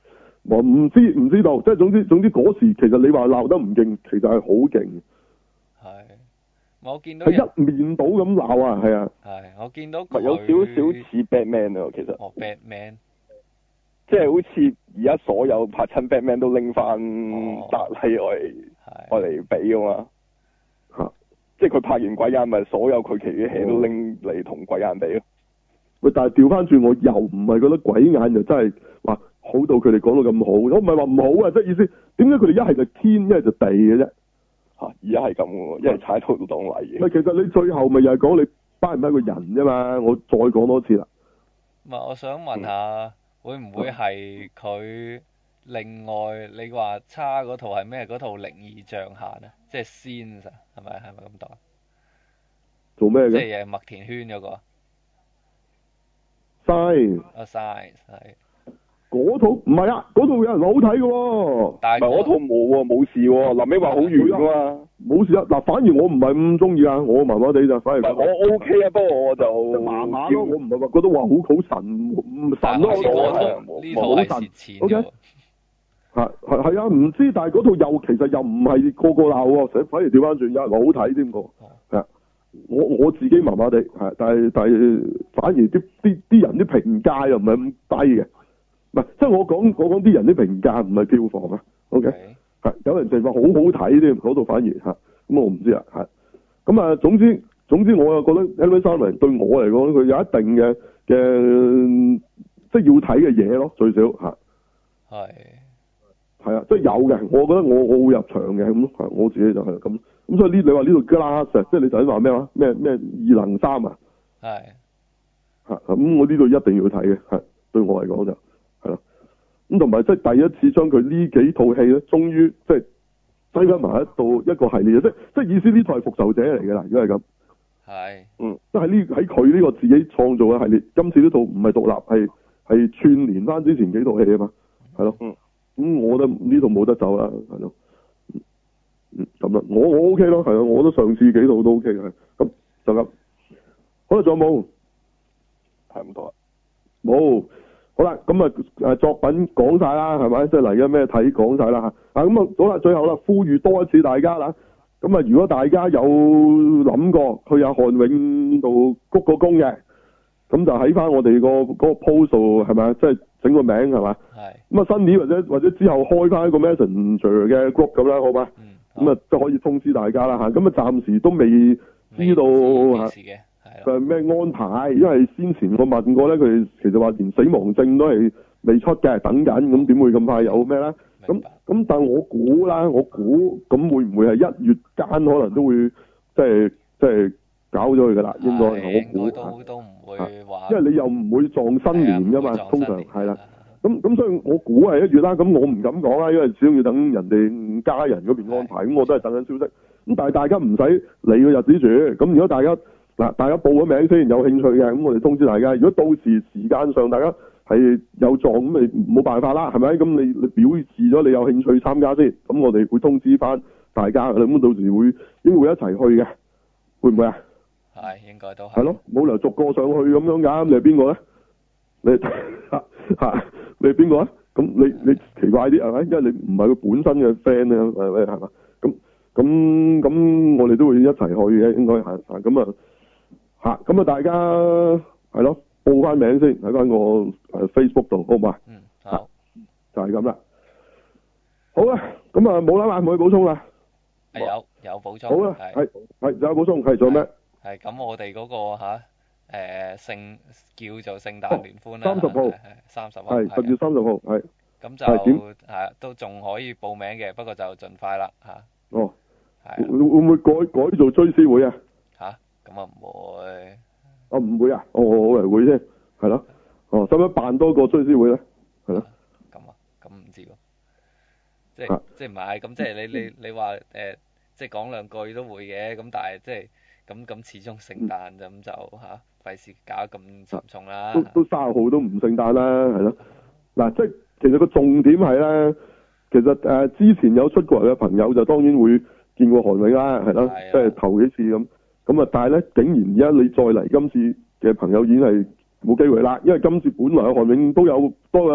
我唔知唔知道，即係總之總之嗰時其實你話鬧得唔勁，其實係好勁。 係，我見到係一面倒咁鬧啊，係啊。 係，我見到佢有少少似 Batman 啊，其實。 哦 Batman。 即係好似而家所有拍親 Batman 都拎翻達利愛嚟愛嚟比噶嘛。嚇、哦！即係佢拍完鬼眼咪所有佢其餘嘅戲都拎嚟同鬼眼比咯。 喂，但係調翻轉，我又唔係覺得鬼眼就真係話好到佢哋講到咁好。我唔係話唔好啊，即係意思點解佢哋一係就天，一係就地嘅啫？ 嚇！而家係咁喎，一係踩到當泥嘅。 其實你最後咪又係講你班唔係一個人啫嘛？我再講多次啦。 唔係，我想問下，嗯、會唔會係佢另外你話差嗰套係咩？嗰套靈異象限啊，即係 Signs 啊，係咪係咪咁讀啊？ 做咩嘅？ 即係誒麥田圈嗰、嗰個。 Signs。 啊 Signs 係。 嗰套唔係啊，嗰套有人話好睇嘅喎。 但係我套冇喎，冇事喎。臨尾話好遠㗎嘛。冇事啊！嗱，反而我唔係咁中意啊，我麻麻地就反而。 我 OK 啊，不過我就麻麻咯，我唔係話覺得話好好神神咯， 我呢套係蝕錢嘅。OK。 係係係啊，唔知，但係嗰套又其實又唔係個個鬧喎，反而調翻轉有人話好睇添喎。係啊，我我自己麻麻地係，但係但係反而啲啲啲人啲評價又唔係咁低嘅。唔係，即係我講我講啲人啲評價唔係票房啊 ，OK，係、okay. 有人就話好好睇添，嗰度反而嚇，咁我唔知啊，係，咁啊總之總之我又覺得 M V 三零對我嚟講，佢有一定嘅嘅即係要睇嘅嘢咯，最少嚇，係，係啊，即係有嘅，我覺得我我會入場嘅，咁我自己就係咁，咁所以呢你話呢度 Glass 即係你頭先話咩話咩咩異能三啊，係，嚇咁我呢度一定要睇嘅，係對我嚟講就。係咯，咁同埋即係第一次將佢呢幾套戲咧，終於即係擠翻埋一到一個系列，即係即係意思呢套係復仇者嚟嘅啦，如果係咁，係，嗯，即係呢喺佢呢個自己創造嘅系列，今次呢套唔係獨立，係係串連翻之前幾套戲啊嘛，係咯，嗯，咁我覺得呢套冇得走啦，係咯，嗯，咁啦，我我 OK 咯，係啊，我覺得上次幾套都 OK 嘅，咁就咁，好啦，仲有冇？係咁多啦，冇。好啦，咁啊誒作品講晒啦，係咪？即係嚟緊咩睇講晒啦嚇。啊咁啊，好啦，最後啦，呼籲多一次大家啦。咁啊，如果大家有諗過去阿漢永度鞠個躬嘅，咁就喺翻我哋個嗰個 post 度係咪？即係整個名係嘛？係。咁啊，新年或者或者之後開翻一個 Messenger 嘅 group 咁啦，好嘛？嗯。咁啊，即係可以通知大家啦嚇。咁啊，暫時都未知道嚇。就係咩安排？因為先前我問過咧，佢哋其實話連死亡證都係未出嘅，等緊，咁點會咁快有咩咧？咁咁，但係我估啦，我估咁會唔會係一月間可能都會即係即係搞咗佢噶啦？應該我估都都唔會話，因為你又唔會撞新年噶嘛，通常係啦。咁咁所以我估係一月啦。咁我唔敢講啦，因為始終要等人哋家人嗰邊安排。咁我都係等緊消息。咁但係大家唔使理個日子住。咁如果大家嗱，大家報咗名先有興趣嘅，咁我哋通知大家。如果到時時間上大家係有撞，咁咪冇辦法啦，係咪？咁你你表示咗你有興趣參加先，咁我哋會通知翻大家。咁到時會應該會一齊去嘅，會唔會啊？係，應該都係。係咯，冇理由逐個上去咁樣㗎。你係邊個咧？你嚇你係邊個啊？咁你你奇怪啲係咪？因為你唔係佢本身嘅 friend 咧，係咪係嘛？咁咁咁，我哋都會一齊去嘅，應該係啊。咁啊〜吓，咁啊！大家係咯，報翻名先喺翻個誒 Facebook 度，好嘛？嗯，好，就係咁啦。好啦，咁啊冇啦嘛，冇去補充啦。係有有補充。好啦，係係仲有補充，係做咩？係咁，我哋嗰個吓誒聖叫做聖誕聯歡啦，三十號，三十號，係十月三十號，係。咁就係都仲可以報名嘅，不過就盡快啦吓。哦。係。會會唔會改改做追思會啊？咁啊唔會，啊唔會啊，哦我嚟會啫，係咯，哦使唔使辦多個追思會咧？係咯，咁啊，咁唔知喎，即係即係唔係咁，即係你你你話誒，即係講兩句都會嘅，咁但係即係咁咁始終聖誕就咁就吓，費事搞得咁沉重啦。都都卅號都唔聖誕啦，係咯，嗱即係其實個重點係咧，其實誒之前有出過嚟嘅朋友就當然會見過韓永啦，係咯，即係頭幾次咁。咁啊！但係咧，竟然而家你再嚟今次嘅朋友已經係冇機會啦，因為今次本來韓永都有多有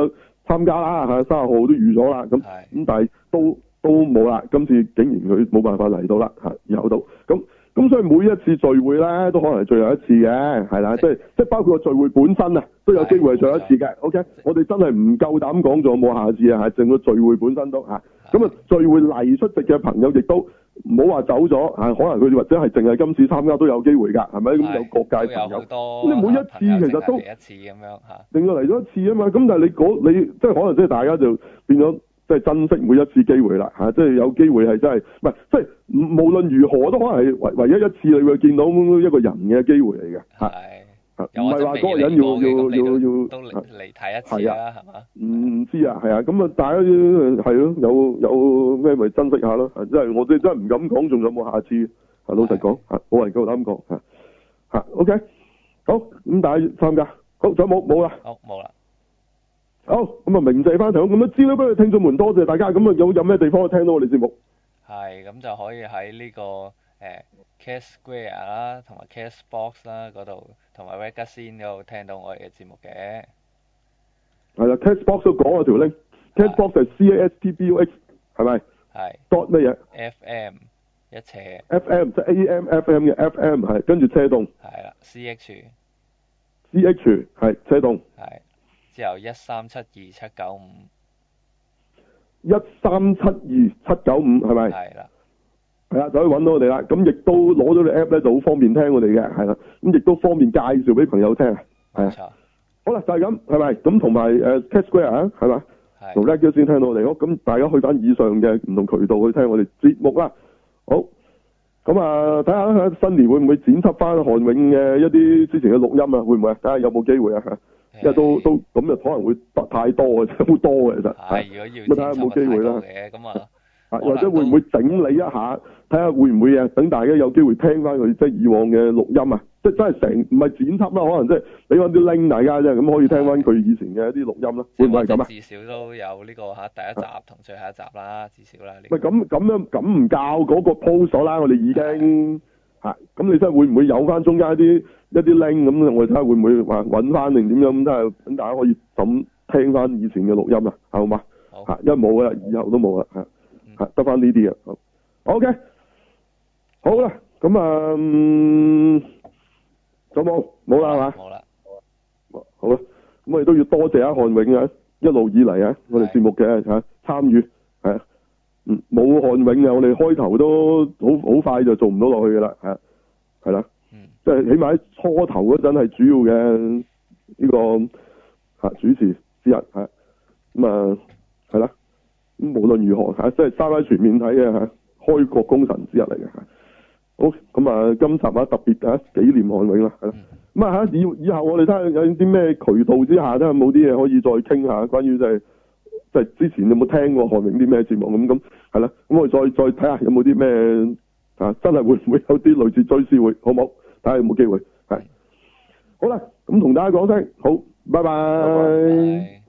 參加啦，係三十號都預咗啦，咁咁但係都都冇啦，今次竟然佢冇辦法嚟到啦，嚇有到咁。咁所以每一次聚會咧，都可能係最後一次嘅，係啦，即係即係包括個聚會本身啊，都有機會係最後一次嘅。OK，我哋真係唔夠膽講仲有冇下次啊，係淨個聚會本身都嚇。咁啊，聚會嚟出席嘅朋友亦都唔好話走咗嚇，可能佢哋或者係淨係今次參加都有機會㗎，係咪？咁有各界朋友，咁你每一次其實都一次咁樣嚇， 令佢嚟咗一次啊嘛。咁但係你嗰你即係可能即係大家就變咗。即係珍惜每一次機會啦，嚇、啊！即係有機會係真係，唔係即係無論如何都可能係唯唯一一次你會見到一個人嘅機會嚟嘅，係係唔係話嗰個人要要要要都嚟睇一次啦，係嘛？ 唔知啊，係啊，咁啊，大家係咯，有有咩咪珍惜下咯，即係我哋真係唔敢講，仲有冇下次？係老實講，嚇冇人夠膽講，嚇嚇 OK，好咁大家參加，好仲有冇冇啦？ 好冇啦。 好，咁啊，鳴謝翻場，咁啊，資料俾佢聽眾們，多謝大家。咁啊，有有咩地方可以聽到我哋節目？ 係，咁就可以喺呢、這個誒、呃、Cast Square 啦，同埋 Castbox 啦嗰度，同埋 Ragazine 嗰度聽到我哋嘅節目嘅。係啦 ，Castbox 都講咗條 link，Castbox 係 C A S T B U X， 係咪？係。dot 乜嘢 ？F M 一斜。 F M 即係 A M F M 嘅 F M 係，跟住車動。係啦 ，C H。 C H 係車動。 係。之後一三七二七九五， 一三七二七九五係咪？係啦，係啦，就可以揾到我哋啦。咁亦都攞咗個 app 咧，就好方便聽我哋嘅，係啦。咁亦都方便介紹俾朋友聽，係啊。好啦，就係咁，係咪？咁同埋誒 Cat Square 啊，係嘛？係。同 Ragazine 先聽到我哋，好，咁大家去翻以上嘅唔同渠道去聽我哋節目啦。好，咁啊，睇下新年會唔會剪輯翻韓永嘅一啲之前嘅錄音啊？會唔會啊？睇下有冇機會啊？因為都都咁就可能會得太多嘅，好多嘅其實。係，如果要咁睇下有冇機會啦。咁啊，或者會唔會整理一下，睇下會唔會啊？等大家有機會聽翻佢即係以往嘅錄音啊！即係真係成唔係剪輯啦，可能即係俾翻啲 link 大家啫，咁可以聽翻佢以前嘅一啲錄音啦。會唔會係咁啊？至少都有呢個嚇第一集同最後一集啦，至少啦。喂，咁咁樣咁唔教嗰個 post 啦，我哋已經。係，咁你真係會唔會有翻中間一啲一啲 link 咁？我哋睇下會唔會話揾翻定點樣咁？都係等大家可以咁聽翻以前嘅錄音啊，好嘛？嚇，因為冇啦，以後都冇啦，嚇嚇得翻呢啲啊。好 OK，好啦，咁啊，仲有冇冇啦係嘛？冇啦，好啦，咁我哋都要多謝阿韓永啊，一路以嚟啊，我哋節目嘅嚇參與係啊。嗯，冇韓永啊！我哋開頭都好好快就做唔到落去噶啦，係係啦，嗯，即係起碼喺初頭嗰陣係主要嘅呢、這個吓主持之一，係咁啊，係啦，咁無論如何吓，即係三位全面睇嘅吓，開國功臣之一嚟嘅吓。好，咁啊，今集啊特別吓紀念韓永啦，係啦，咁啊吓以以後我哋睇下有啲咩渠道之下，睇下有冇啲嘢可以再傾下關於即係。即係之前有冇聽過韓永啲咩節目咁咁係啦，咁我哋再再睇下有冇啲咩啊，真係會唔會有啲類似追思會，好唔好？睇下有冇機會係。好啦，咁同大家講聲好，拜拜。拜拜。